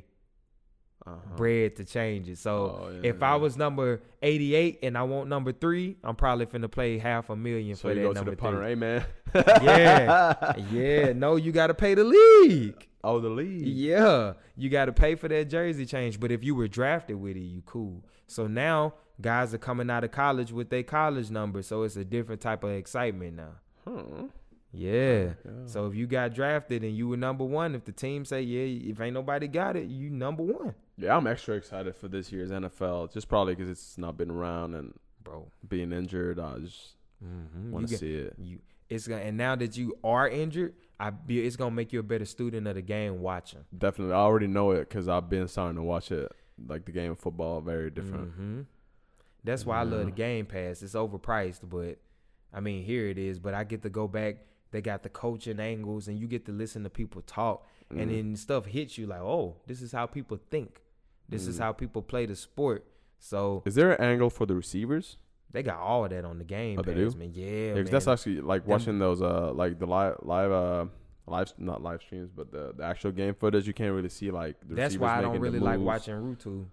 bread to change it. So if I was number 88 and I want number 3, I'm probably finna pay $500,000 for that number 3. So you go to the punter, hey man. yeah. No, you got to pay the league. Oh, the league. Yeah. You got to pay for that jersey change. But if you were drafted with it, you cool. So now guys are coming out of college with their college number. So it's a different type of excitement now. Yeah. So if you got drafted and you were number 1, if the team say, if ain't nobody got it, you number 1. Yeah, I'm extra excited for this year's NFL. Just probably because it's not been around and being injured. I just want to see it. And now that you are injured, it's gonna make you a better student of the game watching. Definitely, I already know it because I've been starting to watch it. Like the game of football, very different. That's why I love the Game Pass. It's overpriced, but I mean, here it is. But I get to go back. They got the coaching angles, and you get to listen to people talk, and then stuff hits you like, oh, this is how people think. This is how people play the sport. So, is there an angle for the receivers? They got all of that on the Game Pass, man. Yeah, man. That's actually like watching those like the live not live streams, but the actual game footage. You can't really see like the that's why I don't really like watching Rutu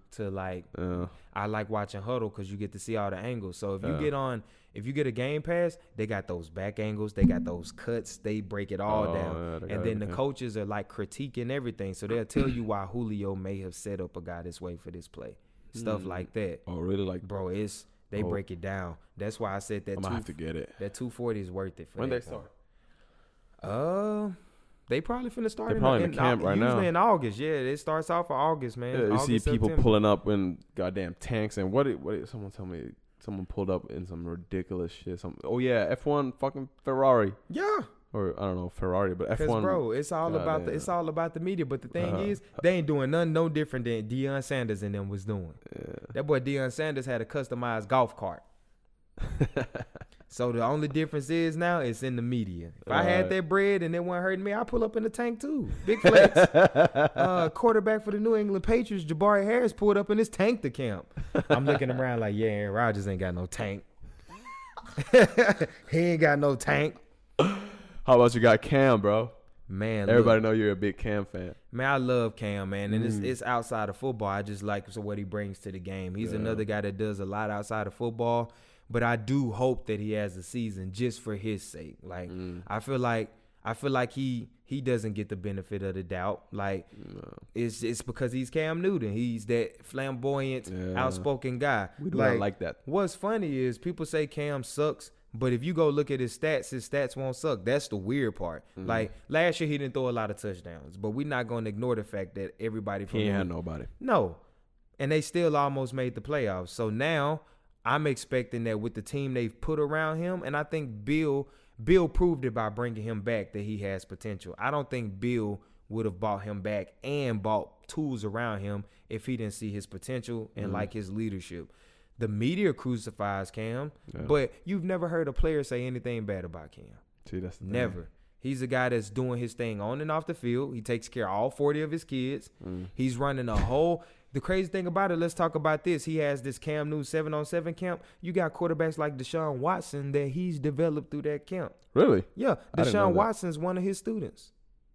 I like watching Huddle because you get to see all the angles. So if you get a Game Pass, they got those back angles, they got those cuts, they break it all down. And then the coaches are like critiquing everything. So they'll tell you why Julio may have set up a guy this way for this play. Stuff like that. Oh, really? Like, bro, They break it down. That's why I said that. I'm gonna have to get it. That 240 is worth it. When they start? They probably finna start They're probably in camp right now. Usually in August. Yeah, it starts off in August, man. Yeah, you August, see people September. pulling up in goddamn tanks and what someone tell me someone pulled up in some ridiculous shit. Oh yeah, F1 fucking Ferrari. Yeah. Or I don't know Ferrari, but F1. Because bro, it's all about the media. But the thing is, they ain't doing nothing no different than Deion Sanders and them was doing. Yeah. That boy Deion Sanders had a customized golf cart. So the only difference is now it's in the media. If I had that bread and it wasn't hurting me, I'd pull up in the tank too. Big flex. Quarterback for the New England Patriots, Jabari Harris, pulled up in his tank to camp. I'm looking around like, yeah, Aaron Rodgers ain't got no tank. He ain't got no tank. How about you got Cam, bro? Man, everybody know you're a big Cam fan. Man, I love Cam, man, and it's outside of football. I just like what he brings to the game. He's another guy that does a lot outside of football. But I do hope that he has a season just for his sake. Like I feel like he doesn't get the benefit of the doubt. Like it's because he's Cam Newton. He's that flamboyant, outspoken guy. We do not like that. What's funny is people say Cam sucks, but if you go look at his stats won't suck. That's the weird part. Like last year he didn't throw a lot of touchdowns, but we're not going to ignore the fact that everybody from he ain't had nobody. No, and they still almost made the playoffs. So now I'm expecting that with the team they've put around him, and I think Bill proved it by bringing him back that he has potential. I don't think Bill would have bought him back and bought tools around him if he didn't see his potential and like his leadership. The media crucifies Cam, but you've never heard a player say anything bad about Cam. See, that's the never. thing. He's a guy that's doing his thing on and off the field. He takes care of all 40 of his kids. He's running a whole – the crazy thing about it, let's talk about this. He has this Cam Newton 7-on-7 camp. You got quarterbacks like Deshaun Watson that he's developed through that camp. Really? Yeah. Deshaun Watson's one of his students.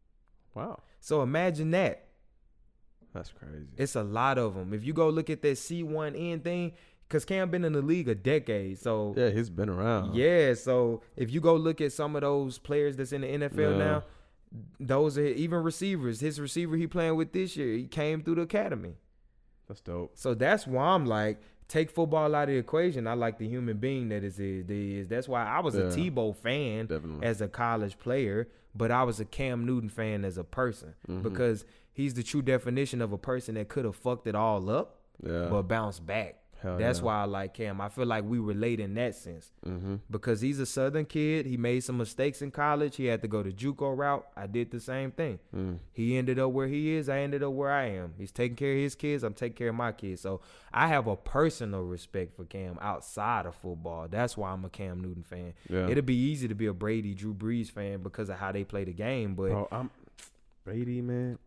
Wow. So imagine that. That's crazy. It's a lot of them. If you go look at that C1N thing, because Cam been in the league a decade. So yeah, he's been around. Yeah. So if you go look at some of those players that's in the NFL now, those are even receivers. His receiver he playing with this year, he came through the academy. That's dope. So that's why I'm like, take football out of the equation. I like the human being that is. That's why I was a Tebow fan as a college player, but I was a Cam Newton fan as a person because he's the true definition of a person that could have fucked it all up, but bounced back. That's why I like Cam. I feel like we relate in that sense because he's a Southern kid. He made some mistakes in college. He had to go the JUCO route. I did the same thing. He ended up where he is. I ended up where I am. He's taking care of his kids. I'm taking care of my kids. So I have a personal respect for Cam outside of football. That's why I'm a Cam Newton fan. Yeah. It'll be easy to be a Brady, Drew Brees fan because of how they play the game. But bro, I'm Brady, man.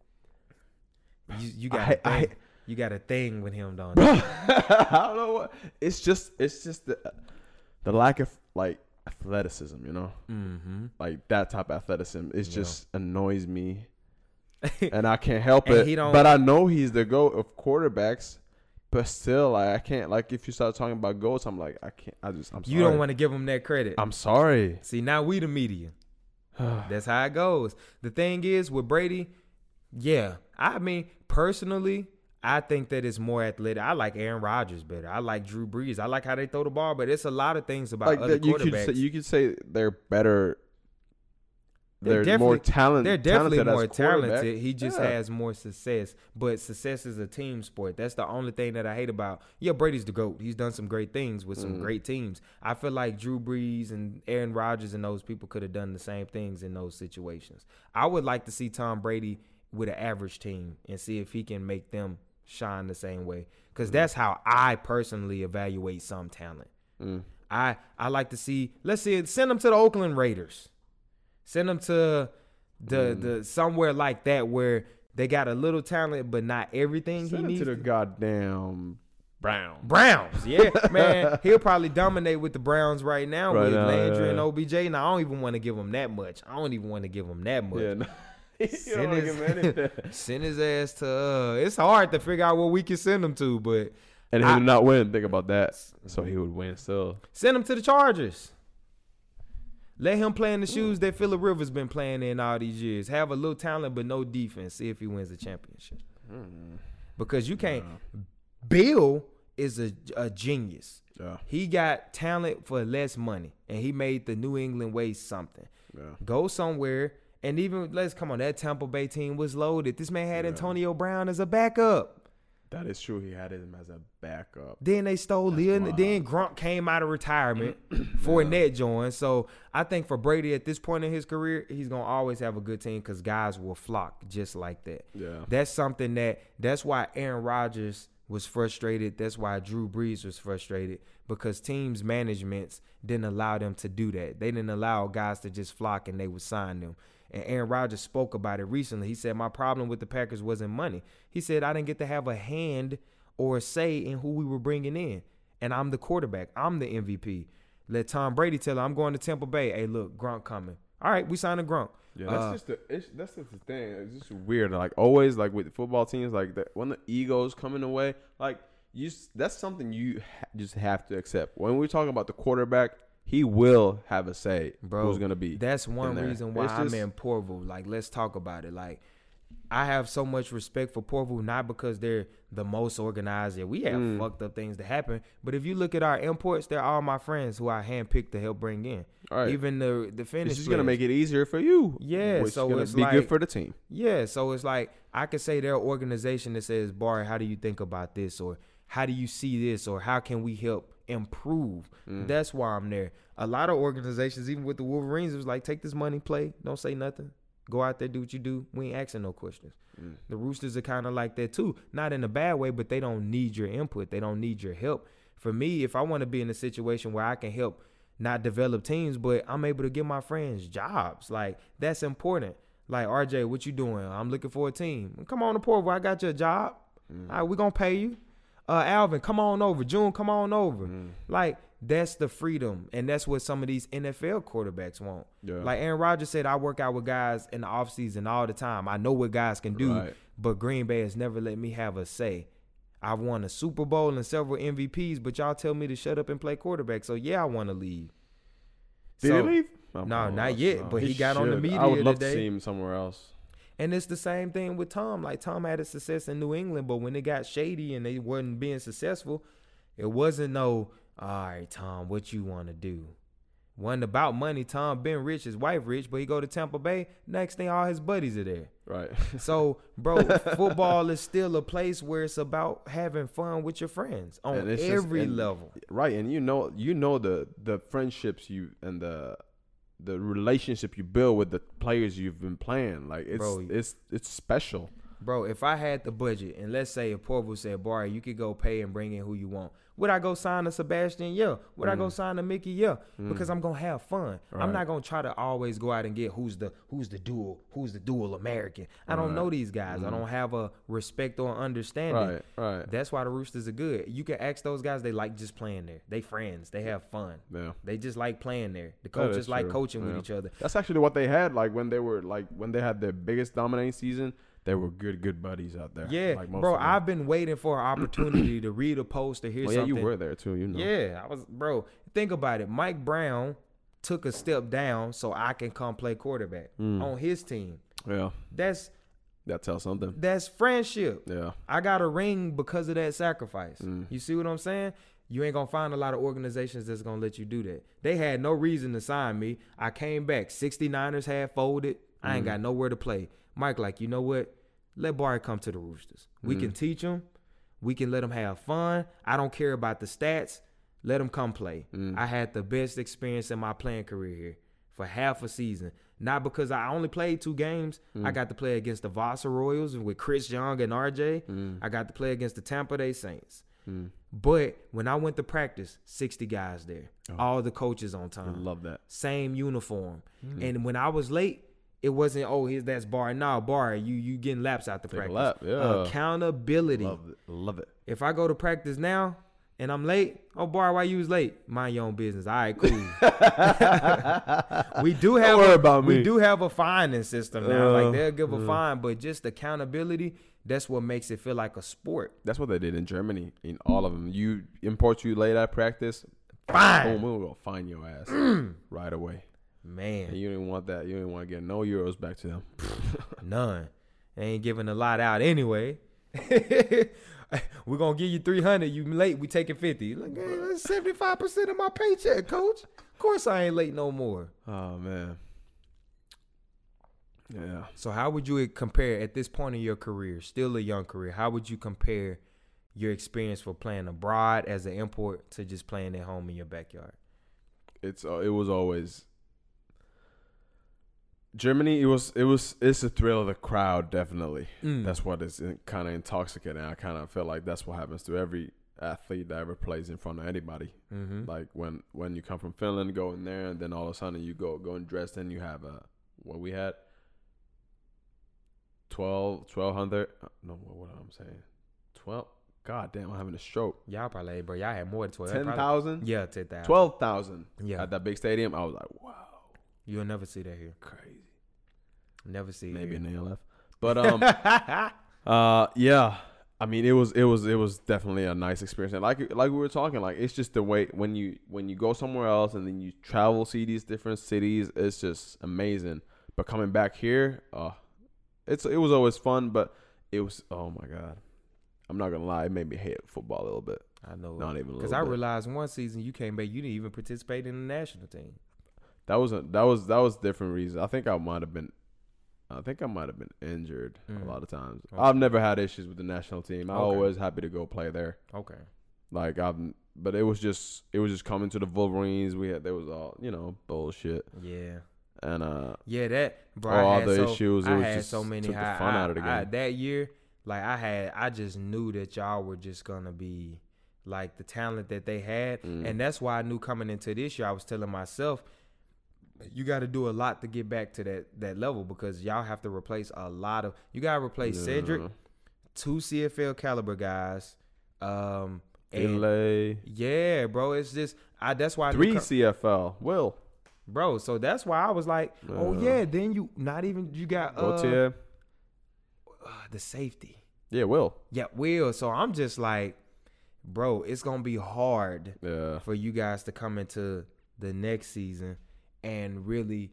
You got you got a thing with him, don't you? I don't know what. It's just the lack of like athleticism, you know, like that type of athleticism. It just annoys me, and I can't help it. But I know he's the GOAT of quarterbacks, but still, like I can't. Like if you start talking about GOATs, I'm like I can't. I'm sorry. You don't want to give him that credit. I'm sorry. See, now we the media. That's how it goes. The thing is with Brady, I mean personally. I think that it's more athletic. I like Aaron Rodgers better. I like Drew Brees. I like how they throw the ball, but it's a lot of things about like other quarterbacks. You could say they're better. They're more talented. They're definitely more talented. He just has more success. But success is a team sport. That's the only thing that I hate about. Yeah, Brady's the GOAT. He's done some great things with some great teams. I feel like Drew Brees and Aaron Rodgers and those people could have done the same things in those situations. I would like to see Tom Brady with an average team and see if he can make them shine the same way, because that's how I personally evaluate some talent. I like to see, let's see, send them to the Oakland Raiders, send them to the somewhere like that where they got a little talent but not everything. Send him to the goddamn Browns. Yeah, man, he'll probably dominate with the Browns right now with Landry and OBJ. Now I don't even want to give him that much. Yeah, no. Send his ass to it's hard to figure out what we can send him to, but and he would not win. Think about that. So he would win still. Send him to the Chargers. Let him play in the shoes that Phillip Rivers been playing in all these years. Have a little talent but no defense. See if he wins the championship. Because you can't. Bill is a genius. Yeah. He got talent for less money, and he made the New England way something. Yeah. Go somewhere, and even that Tampa Bay team was loaded. This man had Antonio Brown as a backup. That is true. He had him as a backup. Then they stole Leon. Then Gronk came out of retirement. Fournette joined. So I think for Brady at this point in his career, he's going to always have a good team because guys will flock just like that. Yeah. That's something that's why Aaron Rodgers was frustrated. That's why Drew Brees was frustrated, because teams' managements didn't allow them to do that. They didn't allow guys to just flock and they would sign them. And Aaron Rodgers spoke about it recently. He said, my problem with the Packers wasn't money. He said, I didn't get to have a hand or a say in who we were bringing in. And I'm the quarterback. I'm the MVP. Let Tom Brady tell him, I'm going to Tampa Bay. Hey, look, Gronk coming. All right, we signed a Gronk. Yeah, that's just the thing. It's just weird. Like always, like with football teams, like when the egos come in the way, like that's something you just have to accept. When we're talking about the quarterback, he will have a say. Bro, who's gonna be? That's one reason why I'm in Porvoo. Like, let's talk about it. Like, I have so much respect for Porvoo, not because they're the most organized. Yeah, we have fucked up things that happen. But if you look at our imports, they're all my friends who I handpicked to help bring in. All right. Even the finish. It's just gonna make it easier for you. Yeah, which so it's it's be like, good for the team. Yeah, so it's like I could say their organization that says, Barry, how do you think about this? Or how do you see this? Or how can we help improve? That's why I'm there. A lot of organizations, even with the Wolverines, it was like, take this money, play, don't say nothing. Go out there, do what you do. We ain't asking no questions. The Roosters are kind of like that too. Not in a bad way, but they don't need your input. They don't need your help. For me, if I want to be in a situation where I can help not develop teams, but I'm able to give my friends jobs, like that's important. Like, RJ, what you doing? I'm looking for a team. Come on to Portland. I got you a job. All right, we going to pay you. Alvin, come on over. June, come on over. Like, that's the freedom, and that's what some of these NFL quarterbacks want. Yeah. Like Aaron Rodgers said, I work out with guys in the offseason all the time. I know what guys can do, but Green Bay has never let me have a say. I've won a Super Bowl and several MVPs, but y'all tell me to shut up and play quarterback. So, yeah, I want to leave. Did he leave? No, not yet, but he got on the media I would love today. to see him somewhere else. And it's the same thing with Tom. Like, Tom had a success in New England, but when it got shady and they wasn't being successful, it wasn't no, all right, Tom, what you want to do? Wasn't about money. Tom been rich, his wife rich, but he go to Tampa Bay. Next thing, all his buddies are there. Right. So, bro, football is still a place where it's about having fun with your friends on every level. Right, and you know the friendships you and the relationship you build with the players you've been playing. Like it's special. Bro, if I had the budget, and let's say if Porvoo said, Barry, you could go pay and bring in who you want, would I go sign a Sebastian? Yeah. Would I go sign a Mickey? Yeah. Because I'm gonna have fun. Right. I'm not gonna try to always go out and get who's the dual American. I don't know these guys. I don't have a respect or understanding. Right. That's why the Roosters are good. You can ask those guys, they like just playing there. They friends. They have fun. Yeah. They just like playing there. The coaches like coaching with each other. That's actually what they had. Like when they had their biggest dominating season. They were good buddies out there. Yeah, like bro, I've been waiting for an opportunity to read a post or hear something. Yeah, you were there too, you know. Yeah, I was, bro. Think about it. Mike Brown took a step down so I can come play quarterback on his team. Yeah. That tells something. That's friendship. Yeah. I got a ring because of that sacrifice. You see what I'm saying? You ain't going to find a lot of organizations that's going to let you do that. They had no reason to sign me. I came back. 69ers had folded. I ain't got nowhere to play. Mike, like, you know what? Let Barry come to the Roosters. We can teach him. We can let him have fun. I don't care about the stats. Let him come play. I had the best experience in my playing career here for half a season. Not because I only played 2 games. I got to play against the Vasa Royals with Chris Young and RJ. I got to play against the Tampa Bay Saints. But when I went to practice, 60 guys there. All the coaches on time. I love that. Same uniform. And when I was late, it wasn't, that's Barry. No, Barry, you getting laps out the practice. Lap, yeah. Accountability. Love it. If I go to practice now and I'm late, Barry, why you was late? Mind your own business. All right, cool. We do have a fining system now. Like they'll give a fine, but just accountability, that's what makes it feel like a sport. That's what they did in Germany. In all of them, you late at practice, fine. Boom, we'll fine your ass right away. Man. And you didn't want that. You didn't want to get no euros back to them. None. They ain't giving a lot out anyway. We're gonna give you 300. You late? We taking 50. Like, hey, that's 75% of my paycheck, coach. Of course I ain't late no more. Oh man. Yeah. So how would you compare at this point in your career, still a young career? How would you compare your experience for playing abroad as an import to just playing at home in your backyard? It was always Germany. It's a thrill of the crowd, definitely. That's what is kind of intoxicating. I kind of feel like that's what happens to every athlete that ever plays in front of anybody. Like when you come from Finland, go in there, and then all of a sudden you go in Dresden, you have what we had 1,200. No, what I'm saying, 12. God damn, I'm having a stroke. Y'all probably, bro. Y'all had more than 12. 10,000? Yeah, 10,000. 12,000. Yeah. At that big stadium, I was like, wow. You'll never see that here. Crazy. Never see Maybe it in the ALF. But yeah. I mean, it was definitely a nice experience. And like we were talking, like it's just the way when you go somewhere else and then you travel, see these different cities, it's just amazing. But coming back here, it was always fun, but it was, oh my God. I'm not gonna lie, it made me hate football a little bit. I know. Not even a little bit. Because I realized one season you came back, you didn't even participate in the national team. That was different reasons. I think I might have been injured a lot of times. Okay. I've never had issues with the national team. I'm always happy to go play there. Okay. Like but it was just coming to the Wolverines. There was all, bullshit. Yeah. And that bro, all the issues. I had so many. Took the fun out of the game. That year, like I just knew that y'all were just gonna be like the talent that they had, and that's why I knew coming into this year. I was telling myself, you got to do a lot to get back to that level because y'all have to replace a lot of. You got to replace Cedric, 2 CFL caliber guys. Yeah, bro. It's just that's why 3 CFL. Will. Bro, so that's why I was like, oh yeah. Then you got the safety. Yeah, Will. Yeah, Will. So I'm just like, bro, it's gonna be hard for you guys to come into the next season and really.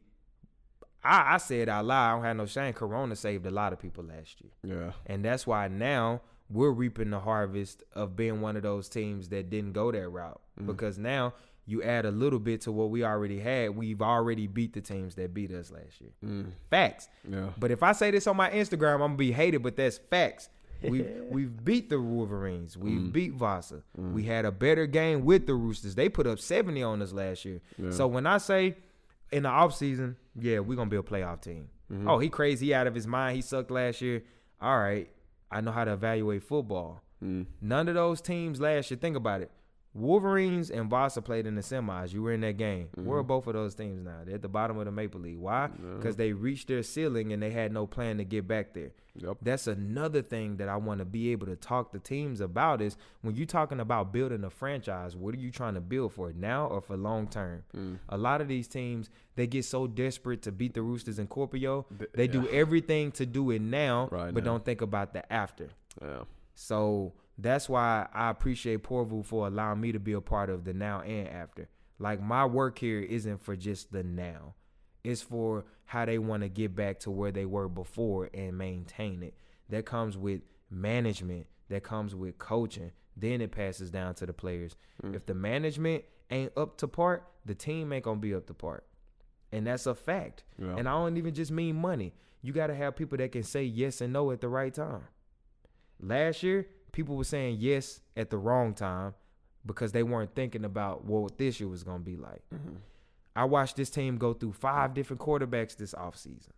I said out loud, I don't have no shame. Corona saved a lot of people last year. Yeah, and that's why now we're reaping the harvest of being one of those teams that didn't go that route because now. You add a little bit to what we already had. We've already beat the teams that beat us last year. Facts. Yeah. But if I say this on my Instagram, I'm gonna be hated. But that's facts. We've beat the Wolverines. We've beat Vasa. We had a better game with the Roosters. They put up 70 on us last year. Yeah. So when I say in the offseason, yeah, we're gonna be a playoff team. Oh, he crazy, he out of his mind. He sucked last year. All right, I know how to evaluate football. None of those teams last year. Think about it. Wolverines and Vasa played in the semis. You were in that game. Where are both of those teams now? They're at the bottom of the Maple League. Why? Because they reached their ceiling and they had no plan to get back there. Yep. That's another thing that I want to be able to talk to teams about is when you're talking about building a franchise, what are you trying to build for now or for long term? A lot of these teams, they get so desperate to beat the Roosters and Corpio, they do everything to do it now, but don't think about the after. Yeah. So that's why I appreciate Porvu for allowing me to be a part of the now and after. Like my work here isn't for just the now. It's for how they want to get back to where they were before and maintain it. That comes with management. That comes with coaching. Then it passes down to the players. If the management ain't up to par, the team ain't going to be up to par. And that's a fact. Yeah. And I don't even just mean money. You got to have people that can say yes and no at the right time. Last year, people were saying yes at the wrong time because they weren't thinking about what this year was going to be like. I watched this team go through 5 different quarterbacks this offseason.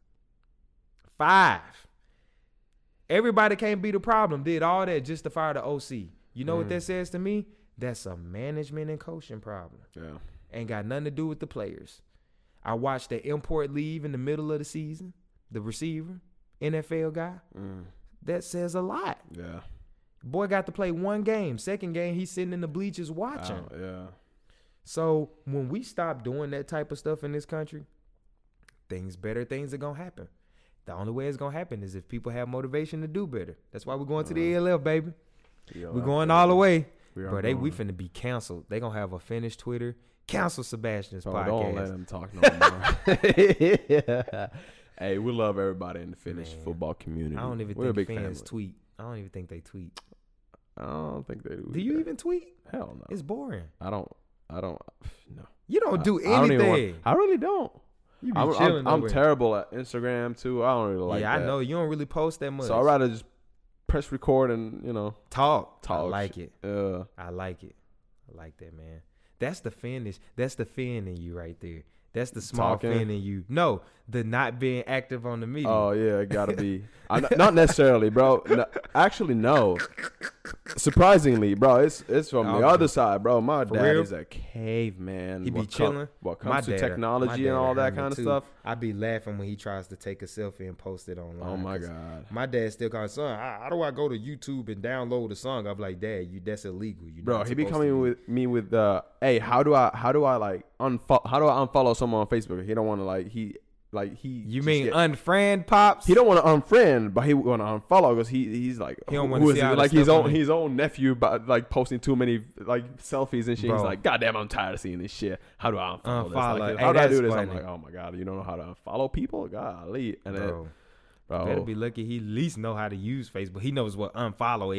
5. Everybody can't be the problem. Did all that just to fire the OC. You know what that says to me? That's a management and coaching problem. Yeah. Ain't got nothing to do with the players. I watched the import leave in the middle of the season, the receiver, NFL guy. That says a lot. Yeah. Boy got to play 1 game. Second game, he's sitting in the bleachers watching. Oh, yeah. So when we stop doing that type of stuff in this country, better things are going to happen. The only way it's going to happen is if people have motivation to do better. That's why we're going to the ALF, baby. We're going all the way. Bro, we finna be canceled. They going to have a finished Twitter. Cancel Sebastian's podcast. Don't let them talk no more. Hey, we love everybody in the Finnish football community. I don't even think fans tweet. I don't even think they tweet. I don't think they do. Do you even tweet? Hell no. It's boring. I don't. No. You don't do I don't even anything. I really don't. You be chilling. I'm terrible at Instagram too. I don't really like that. I know you don't really post that much. So I'd rather just press record and talk. Talk. I like it. Yeah. I like it. I like that, man. That's the finish. That's the fin in you right there. That's the small fin in you. No, the not being active on the media. Oh yeah, it gotta be. Not necessarily, bro. No, actually, no. Surprisingly, bro, it's from the other side, bro. My dad is a caveman. He be chilling. What comes to technology and all that kind of stuff. I be laughing when he tries to take a selfie and post it online. Oh my god. My dad still calls, son, how do I go to YouTube and download a song? I'm like, Dad, that's illegal. Bro, he be coming with me with hey, how do I like unfollow someone on Facebook? He don't want to You mean unfriend Pops? He don't want to unfriend, but he want to unfollow because he's like, he don't want to see like his own nephew, but like posting too many like selfies and shit. Bro. He's like, God damn, I'm tired of seeing this shit. How do I unfollow this? Like, how do I do this? Funny. I'm like, oh my god, you don't know how to unfollow people? Golly, and then. Bro. Better be lucky he at least know how to use Facebook. He knows what unfollow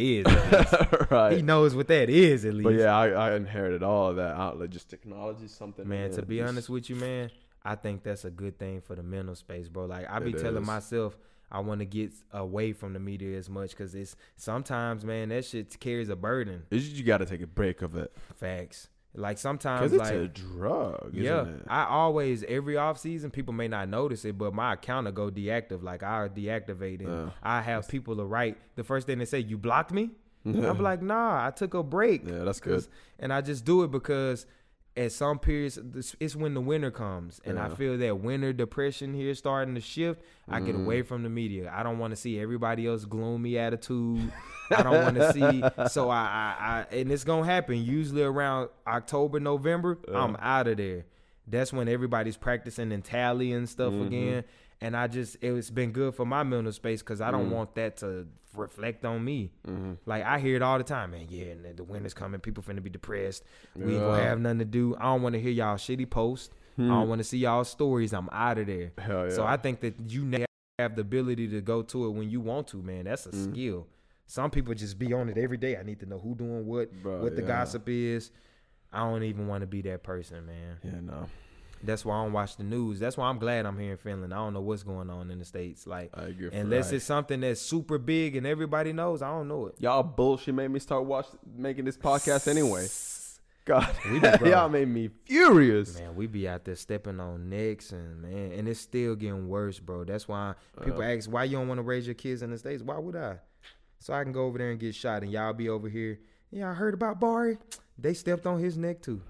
is. Right. He knows what that is at least. But yeah, I inherited all of that outlet, just technology, something. Man, to be honest with you, man, I think that's a good thing for the mental space, bro. Like I be telling myself I want to get away from the media as much because it's sometimes, man, that shit carries a burden. You got to take a break of it. Facts. Like sometimes, because it's a drug. Yeah, isn't it? I always every off season people may not notice it, but my account will go deactive. Like I deactivate it. I have people to write. The first thing they say, "You blocked me." I'm like, "Nah, I took a break." Yeah, that's good. And I just do it because at some periods, it's when the winter comes, and I feel that winter depression here starting to shift. I get away from the media. I don't want to see everybody else gloomy attitude. I don't want to see. So I and it's gonna happen. Usually around October, November, I'm out of there. That's when everybody's practicing and tally and stuff again. And it's been good for my mental space because I don't want that to reflect on me. Like I hear it all the time, man. Yeah, and the winter's coming. People finna be depressed. We ain't gonna have nothing to do. I don't want to hear y'all shitty posts. I don't want to see y'all stories. I'm out of there. Hell yeah. So I think that you have the ability to go to it when you want to, man. That's a skill. Some people just be on it every day. I need to know who doing what the gossip is. I don't even want to be that person, man. Yeah, no. That's why I don't watch the news. That's why I'm glad I'm here in Finland. I don't know what's going on in the States. Like, unless it's something that's super big and everybody knows, I don't know it. Y'all bullshit made me start making this podcast anyway. God, y'all made me furious. Man, we be out there stepping on necks and it's still getting worse, bro. That's why people ask, why you don't want to raise your kids in the States? Why would I? So I can go over there and get shot and y'all be over here. Yeah, I heard about Barry. They stepped on his neck too.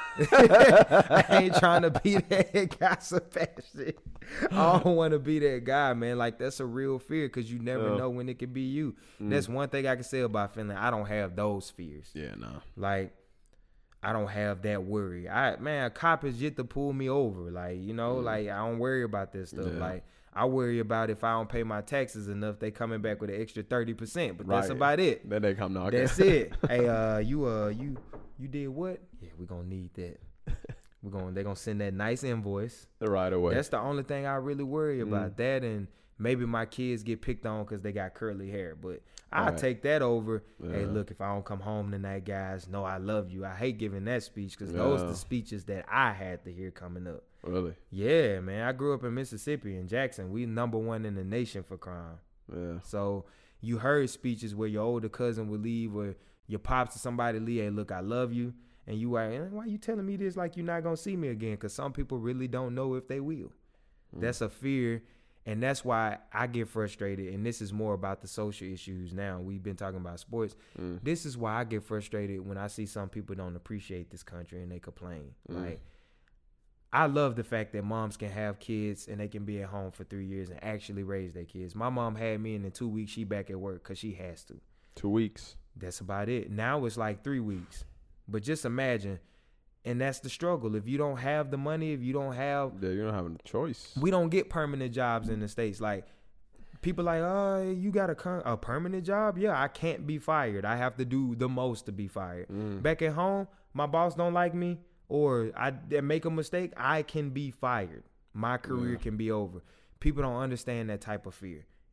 I ain't trying to be that gossip shit. I don't want to be that guy, man. Like that's a real fear because you never know when it could be you. That's one thing I can say about Finland. I don't have those fears. Yeah, no. Like I don't have that worry. A cop is yet to pull me over. Like, like I don't worry about this stuff. Yeah. Like I worry about if I don't pay my taxes enough, they coming back with an extra 30%. But that's about it. Then they come knocking. That's it. Hey, you did what? Yeah, we're gonna need that. They're gonna send that nice invoice right away. That's the only thing I really worry about. That and maybe my kids get picked on because they got curly hair. But I take that over. Yeah. Hey, look, if I don't come home tonight, guys, know I love you. I hate giving that speech because those are the speeches that I had to hear coming up. Really? Yeah, man. I grew up in Mississippi, in Jackson. We #1 in the nation for crime. Yeah. So you heard speeches where your older cousin would leave, where your pops or somebody leave, hey, look, I love you. And you are, why you telling me this like you're not going to see me again? Because some people really don't know if they will. That's a fear. And that's why I get frustrated. And this is more about the social issues now. We've been talking about sports. This is why I get frustrated when I see some people don't appreciate this country and they complain. Like, I love the fact that moms can have kids and they can be at home for 3 years and actually raise their kids. My mom had me and in 2 weeks she back at work because she has to. 2 weeks. That's about it. Now it's like 3 weeks. But just imagine, and that's the struggle. If you don't have the money, if you don't have... Yeah, you don't have a choice. We don't get permanent jobs in the States. Like, people like, oh, you got a permanent job? Yeah, I can't be fired. I have to do the most to be fired. Back at home, my boss don't like me or I make a mistake, I can be fired. My career can be over. People don't understand that type of fear.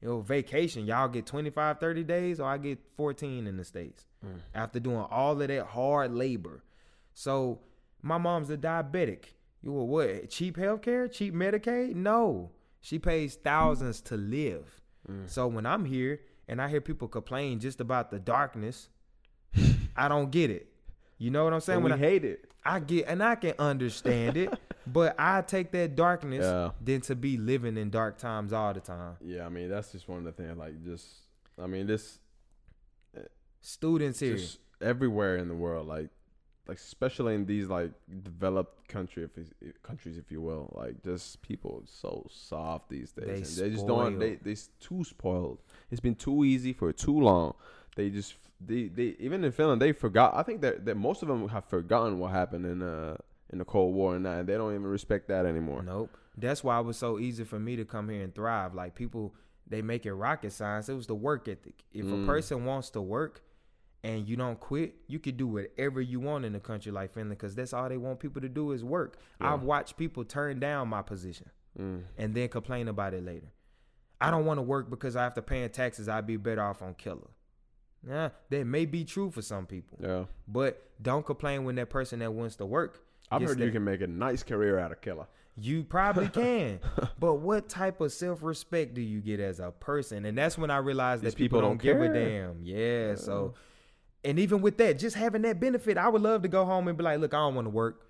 vacation. Y'all get 25, 30 days, or I get 14 in the States after doing all of that hard labor. So my mom's a diabetic. You were what? Cheap healthcare? Cheap Medicaid? No. She pays thousands to live. So when I'm here and I hear people complain just about the darkness, I don't get it. You know what I'm saying? When I hate it. I get, and I can understand it, but I take that darkness than to be living in dark times all the time. Yeah, I mean, that's just one of the things. Like, this students here, just everywhere in the world, like especially in these like developed countries, if you will, like just people are so soft these days. They just don't. They're too spoiled. It's been too easy for too long. They even in Finland, they forgot. I think that most of them have forgotten what happened in the Cold War and that, and they don't even respect that anymore. Nope. That's why it was so easy for me to come here and thrive. Like people, they make it rocket science. It was the work ethic. If a person wants to work and you don't quit, you could do whatever you want in a country like Finland, because that's all they want people to do is work. Yeah. I've watched people turn down my position and then complain about it later. I don't want to work because after paying taxes, I'd be better off on Killer. Yeah, that may be true for some people. Yeah. But don't complain when that person that wants to work. I've heard you can make a nice career out of Killer. You probably can. But what type of self-respect do you get as a person? And that's when I realized that people don't give a damn. Yeah. So, and even with that, just having that benefit, I would love to go home and be like, look, I don't want to work.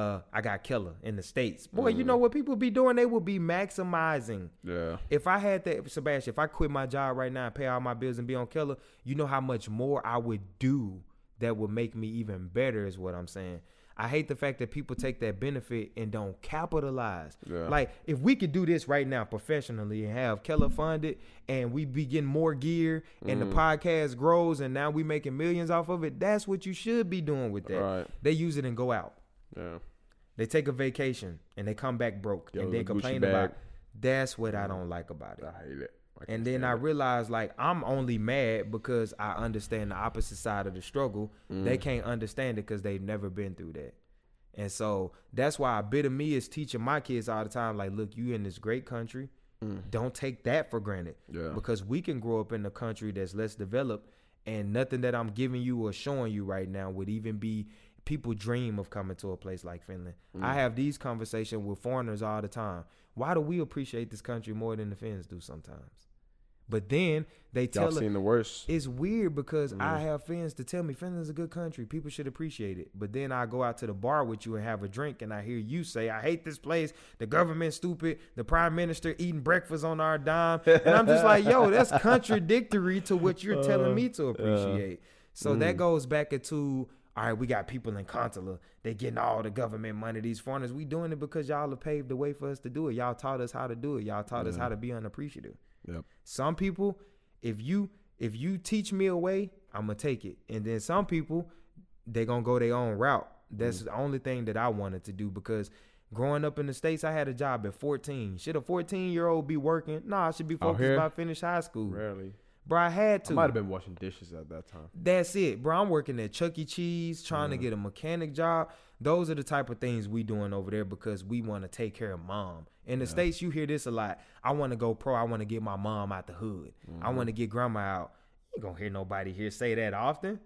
I got Killer in the States. Boy, you know what people be doing? They will be maximizing. Yeah. If I had that, Sebastian, if I quit my job right now and pay all my bills and be on Killer, you know how much more I would do that would make me even better is what I'm saying. I hate the fact that people take that benefit and don't capitalize. Yeah. Like, if we could do this right now professionally and have Keller funded and we be getting more gear and the podcast grows and now we making millions off of it, that's what you should be doing with that. Right. They use it and go out. Yeah. They take a vacation and they come back broke and then complain about it. That's what I don't like about it. I hate it. And then I realized, like, I'm only mad because I understand the opposite side of the struggle. They can't understand it because they've never been through that. And so that's why a bit of me is teaching my kids all the time, like, look, you in this great country. Don't take that for granted. Yeah. Because we can grow up in a country that's less developed, and nothing that I'm giving you or showing you right now would even be, people dream of coming to a place like Finland. I have these conversations with foreigners all the time. Why do we appreciate this country more than the Finns do sometimes? But then they tell us the worst. It's weird because I have Finns to tell me Finland's a good country. People should appreciate it. But then I go out to the bar with you and have a drink and I hear you say, I hate this place. The government's stupid. The prime minister eating breakfast on our dime. And I'm just like, yo, that's contradictory to what you're telling me to appreciate. So that goes back into, all right, we got people in Kontala. They getting all the government money. These foreigners, we doing it because y'all have paved the way for us to do it. Y'all taught us how to do it. Y'all taught us how to be unappreciative. Yep. Some people, if you teach me a way, I'm going to take it. And then some people, they going to go their own route. That's the only thing that I wanted to do, because growing up in the States, I had a job at 14. Should a 14-year-old be working? No, I should be focused about finish high school. Rarely. Bro, I had to. I might have been washing dishes at that time. That's it. Bro, I'm working at Chuck E. Cheese, trying to get a mechanic job. Those are the type of things we doing over there because we want to take care of mom. In the States, you hear this a lot. I want to go pro. I want to get my mom out the hood. I want to get grandma out. You ain't going to hear nobody here say that often.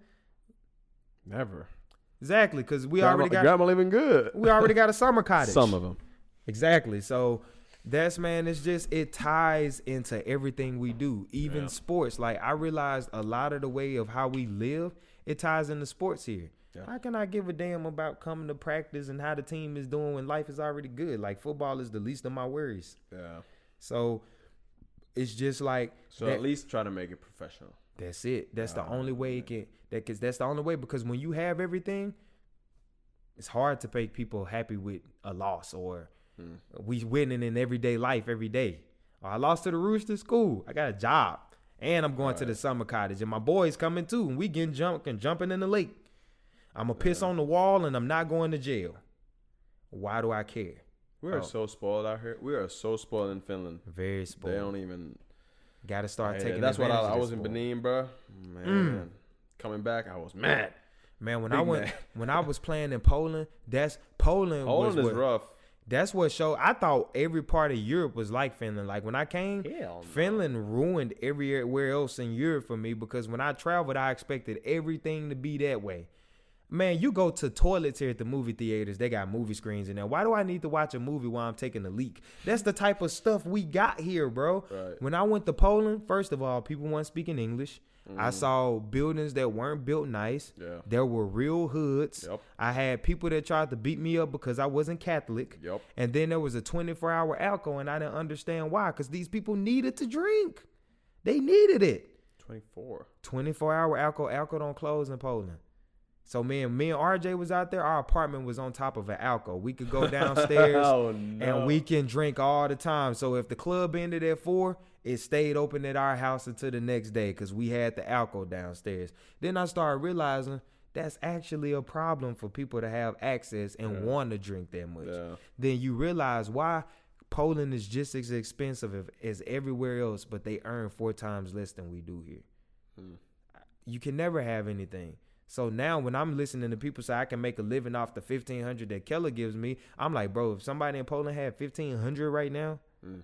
Never. Exactly, because we already got... Grandma living good. We already got a summer cottage. Some of them. Exactly. So... That's, man, it's just, it ties into everything we do, even sports. Like, I realized a lot of the way of how we live, it ties into sports here. Yeah. How can I give a damn about coming to practice and how the team is doing when life is already good? Like, football is the least of my worries. Yeah. So, it's just like. So, at least try to make it professional. That's it. That's the only way it can. That's the only way, because when you have everything, it's hard to make people happy with a loss or. We winning in everyday life every day. I lost to the Roosters. Cool. I got a job. And I'm going to the summer cottage. And my boys coming too. And we getting jumping in the lake. I'm going to piss on the wall and I'm not going to jail. Why do I care? We are so spoiled out here. We are so spoiled in Finland. Very spoiled. They don't even. Got to start taking That's what I was in Benin, bro. Man. Coming back, I was mad. Man, when I was playing in Poland, Poland is rough. That's what showed. I thought every part of Europe was like Finland. Like when I came, Hell no. Finland ruined everywhere else in Europe for me because when I traveled, I expected everything to be that way. Man, you go to toilets here at the movie theaters, they got movie screens in there. Why do I need to watch a movie while I'm taking a leak? That's the type of stuff we got here, bro. Right. When I went to Poland, first of all, people weren't speaking English. I saw buildings that weren't built nice. Yeah. There were real hoods. Yep. I had people that tried to beat me up because I wasn't Catholic. Yep. And then there was a 24-hour alcohol, and I didn't understand why, because these people needed to drink. They needed it. 24. 24-hour alcohol. Alcohol don't close in Poland. So me and RJ was out there. Our apartment was on top of an alcove. We could go downstairs and we can drink all the time. So if the club ended at 4, it stayed open at our house until the next day because we had the alcove downstairs. Then I started realizing that's actually a problem for people to have access and want to drink that much. Yeah. Then you realize why Poland is just as expensive as everywhere else, but they earn 4 times less than we do here. You can never have anything. So now when I'm listening to people say I can make a living off the $1,500 that Keller gives me, I'm like, bro, if somebody in Poland had $1,500 right now,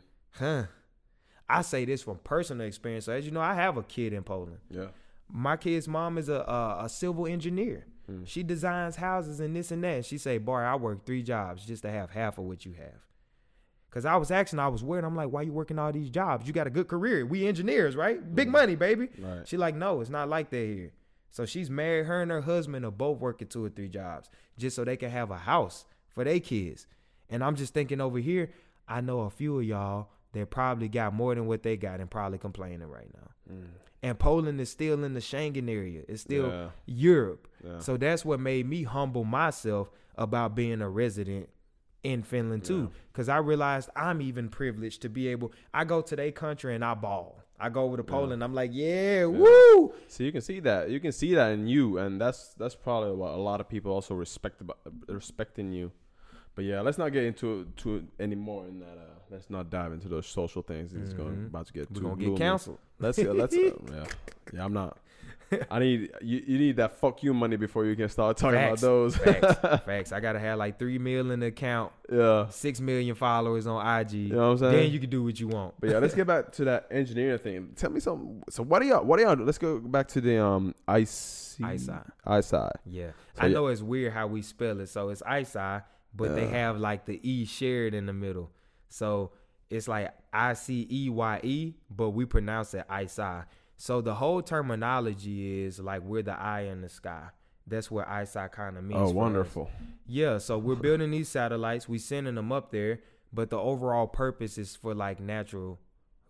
I say this from personal experience. So as you know, I have a kid in Poland. Yeah. My kid's mom is a civil engineer. She designs houses and this and that. And she say, boy, I work 3 jobs just to have half of what you have. Because I was asking, I was worried. I'm like, why you working all these jobs? You got a good career. We engineers, right? Big money, baby. Right. She like, no, it's not like that here. So she's married. Her and her husband are both working 2 or 3 jobs just so they can have a house for their kids. And I'm just thinking over here, I know a few of y'all that probably got more than what they got and probably complaining right now. And Poland is still in the Schengen area. It's still Europe. Yeah. So that's what made me humble myself about being a resident in Finland too. Because I realized I'm even privileged to be able, I go to their country and I ball. I go over to Poland. I'm like, woo. So you can see that. You can see that in you, and that's probably what a lot of people also respecting you. But yeah, let's not get into it anymore. In that, let's not dive into those social things. It's about to get. We're gonna get canceled. Let's yeah. I'm not. I need you need that fuck you money before you can start talking about those. Facts. I gotta have like 3 million in the account. Yeah. 6 million followers on IG. You know what I'm saying? Then you can do what you want. But yeah, let's get back to that engineering thing. Tell me something. So what are y'all? Let's go back to the ISI. Yeah. So I know it's weird how we spell it. So it's ISI, but they have like the E shared in the middle. So it's like ICEYE, but we pronounce it ISI. So the whole terminology is like we're the eye in the sky. That's what ISI kind of means. Oh, wonderful. Us. Yeah, so we're building these satellites. We sending them up there, but the overall purpose is for like natural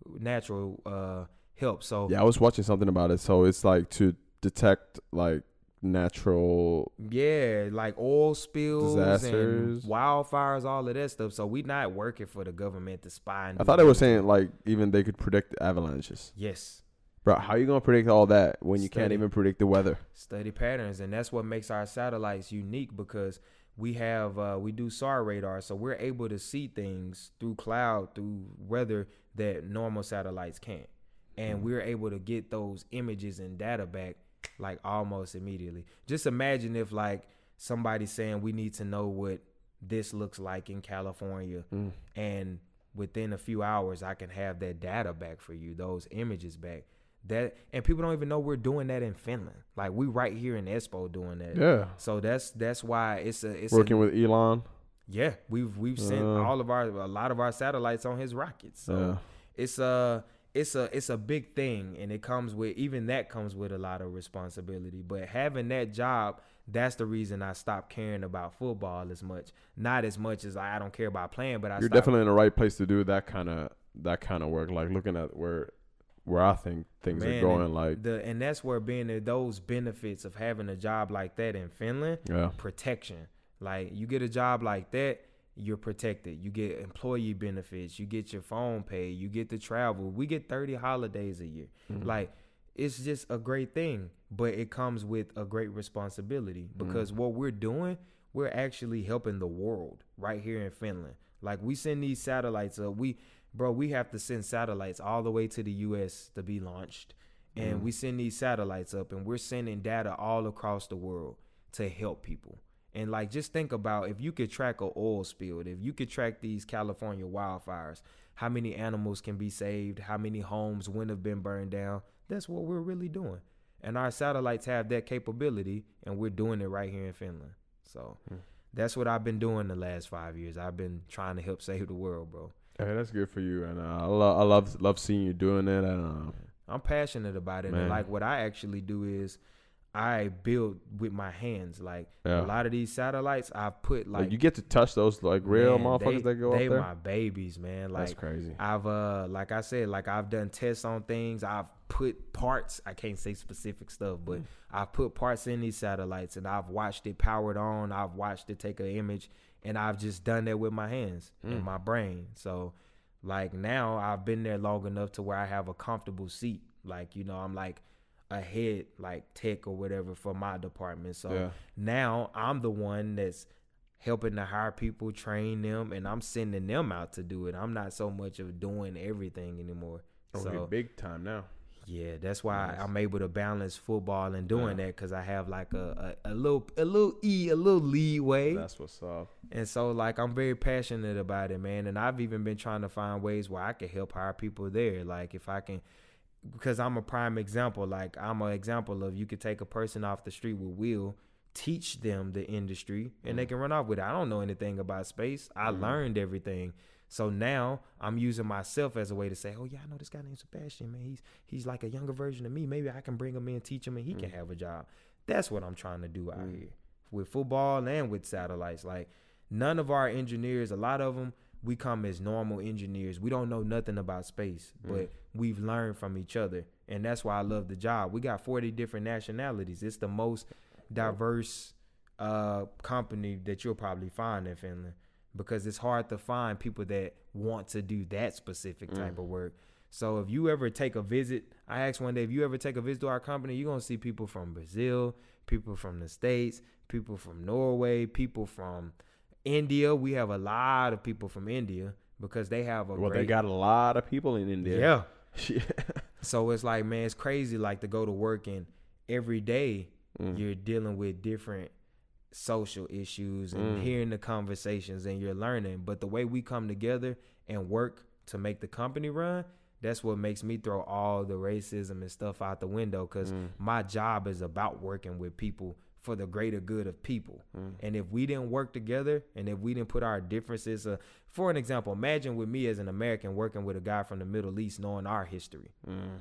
help. So yeah, I was watching something about it. So it's like to detect like natural like oil spills, disasters, and wildfires, all of that stuff. So we not working for the government to spy. I thought they were saying like even they could predict avalanches. Yes. Bro, how you going to predict all that when you can't even predict the weather? Study patterns, and that's what makes our satellites unique because we do SAR radar, so we're able to see things through cloud, through weather that normal satellites can't. And we're able to get those images and data back like almost immediately. Just imagine if like somebody's saying we need to know what this looks like in California, and within a few hours I can have that data back for you, those images back. That and people don't even know we're doing that in Finland. Like we right here in Espoo doing that. Yeah. So that's why it's working with Elon. Yeah, we've sent a lot of our satellites on his rockets. So it's a big thing, and it comes with a lot of responsibility. But having that job, that's the reason I stopped caring about football as much. Not as much as I don't care about playing, but you're definitely in the right place to do that kind of work. Like looking at where I think things are going, and that's where being those benefits of having a job like that in Finland, protection. Like you get a job like that, you're protected. You get employee benefits. You get your phone paid. You get to travel. We get 30 holidays a year. Like it's just a great thing, but it comes with a great responsibility because what we're doing, we're actually helping the world right here in Finland. Like we send these satellites up. We have to send satellites all the way to the U.S. to be launched. And we send these satellites up, and we're sending data all across the world to help people. And like, just think about if you could track an oil spill, if you could track these California wildfires, how many animals can be saved, how many homes wouldn't have been burned down. That's what we're really doing. And our satellites have that capability, and we're doing it right here in Finland. So that's what I've been doing the last 5 years. I've been trying to help save the world, bro. Hey, that's good for you, and I love seeing you doing it. And I'm passionate about it. Man. And like, what I actually do is I build with my hands. Like Yeah. a lot of these satellites, I put like you get to touch those like real motherfuckers that go up they there. my babies, man. Like, That's crazy. I've like I said, like I've done tests on things. I've put parts. I can't say specific stuff, but I've put parts in these satellites, and I've watched it powered on. I've watched it take an image, and I've just done that with my hands and my brain. So like now I've been there long enough to where I have a comfortable seat. Like, you know, I'm like a head like tech or whatever for my department. So now I'm the one that's helping to hire people, train them, and I'm sending them out to do it. I'm not so much of doing everything anymore. So big time now. yeah, that's why Nice. I'm able to balance football and doing that, because I have like a little leeway. That's what's up. And so like I'm very passionate about it, man. And I've even been trying to find ways where I can help hire people there. Like if I can, because I'm a prime example. Like I'm an example of, you could take a person off the street with Will, teach them the industry, and they can run off with it. I don't know anything about space. I learned everything. So now I'm using myself as a way to say, oh yeah, I know this guy named Sebastian, man. He's like a younger version of me. Maybe I can bring him in, teach him, and he can have a job. That's what I'm trying to do out here with football and with satellites. Like none of our engineers, a lot of them, we come as normal engineers. We don't know nothing about space, but we've learned from each other. And that's why I love the job. We got 40 different nationalities. It's the most diverse company that you'll probably find in Finland, because it's hard to find people that want to do that specific type of work. So if you ever take a visit, I asked one day, if you ever take a visit to our company, you're going to see people from Brazil, people from the States, people from Norway, people from India. We have a lot of people from India because they have They got a lot of people in India. Yeah. So it's like, man, it's crazy like to go to work, and every day you're dealing with different social issues and hearing the conversations, and you're learning. But the way we come together and work to make the company run, that's what makes me throw all the racism and stuff out the window, because my job is about working with people for the greater good of people. And if we didn't work together, and if we didn't put our differences, for an example, imagine with me as an American working with a guy from the Middle East, knowing our history.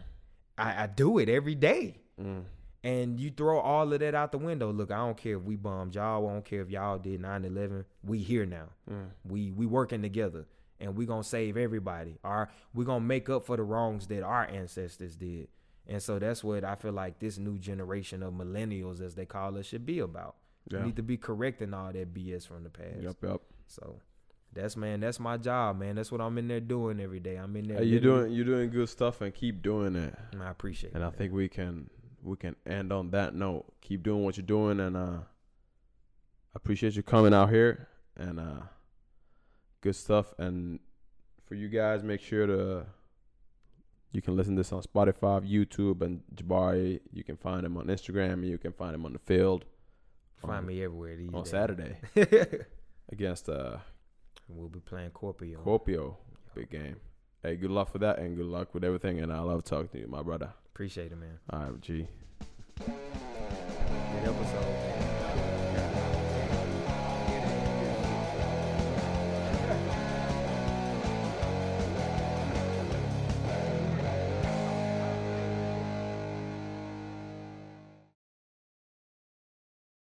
I do it every day. And you throw all of that out the window. Look, I don't care if we bombed y'all. I don't care if y'all did 9/11. We here now. We working together, and we gonna save everybody. We gonna make up for the wrongs that our ancestors did. And so that's what I feel like this new generation of millennials, as they call us, should be about. We need to be correcting all that BS from the past. Yep. So that's my job, man. That's what I'm in there doing every day. I'm in there. Hey, you're doing good stuff, and keep doing it. I appreciate it. And I think we can end on that note. Keep doing what you're doing, and I appreciate you coming out here, and good stuff. And for you guys, make sure you can listen to this on Spotify, YouTube, and Jabari. You can find him on Instagram, and you can find him on the field. Find me everywhere these on days. Saturday against we'll be playing Kuopio. Big game. Hey, good luck for that, and good luck with everything. And I love talking to you, my brother. Appreciate it, man. All right, G.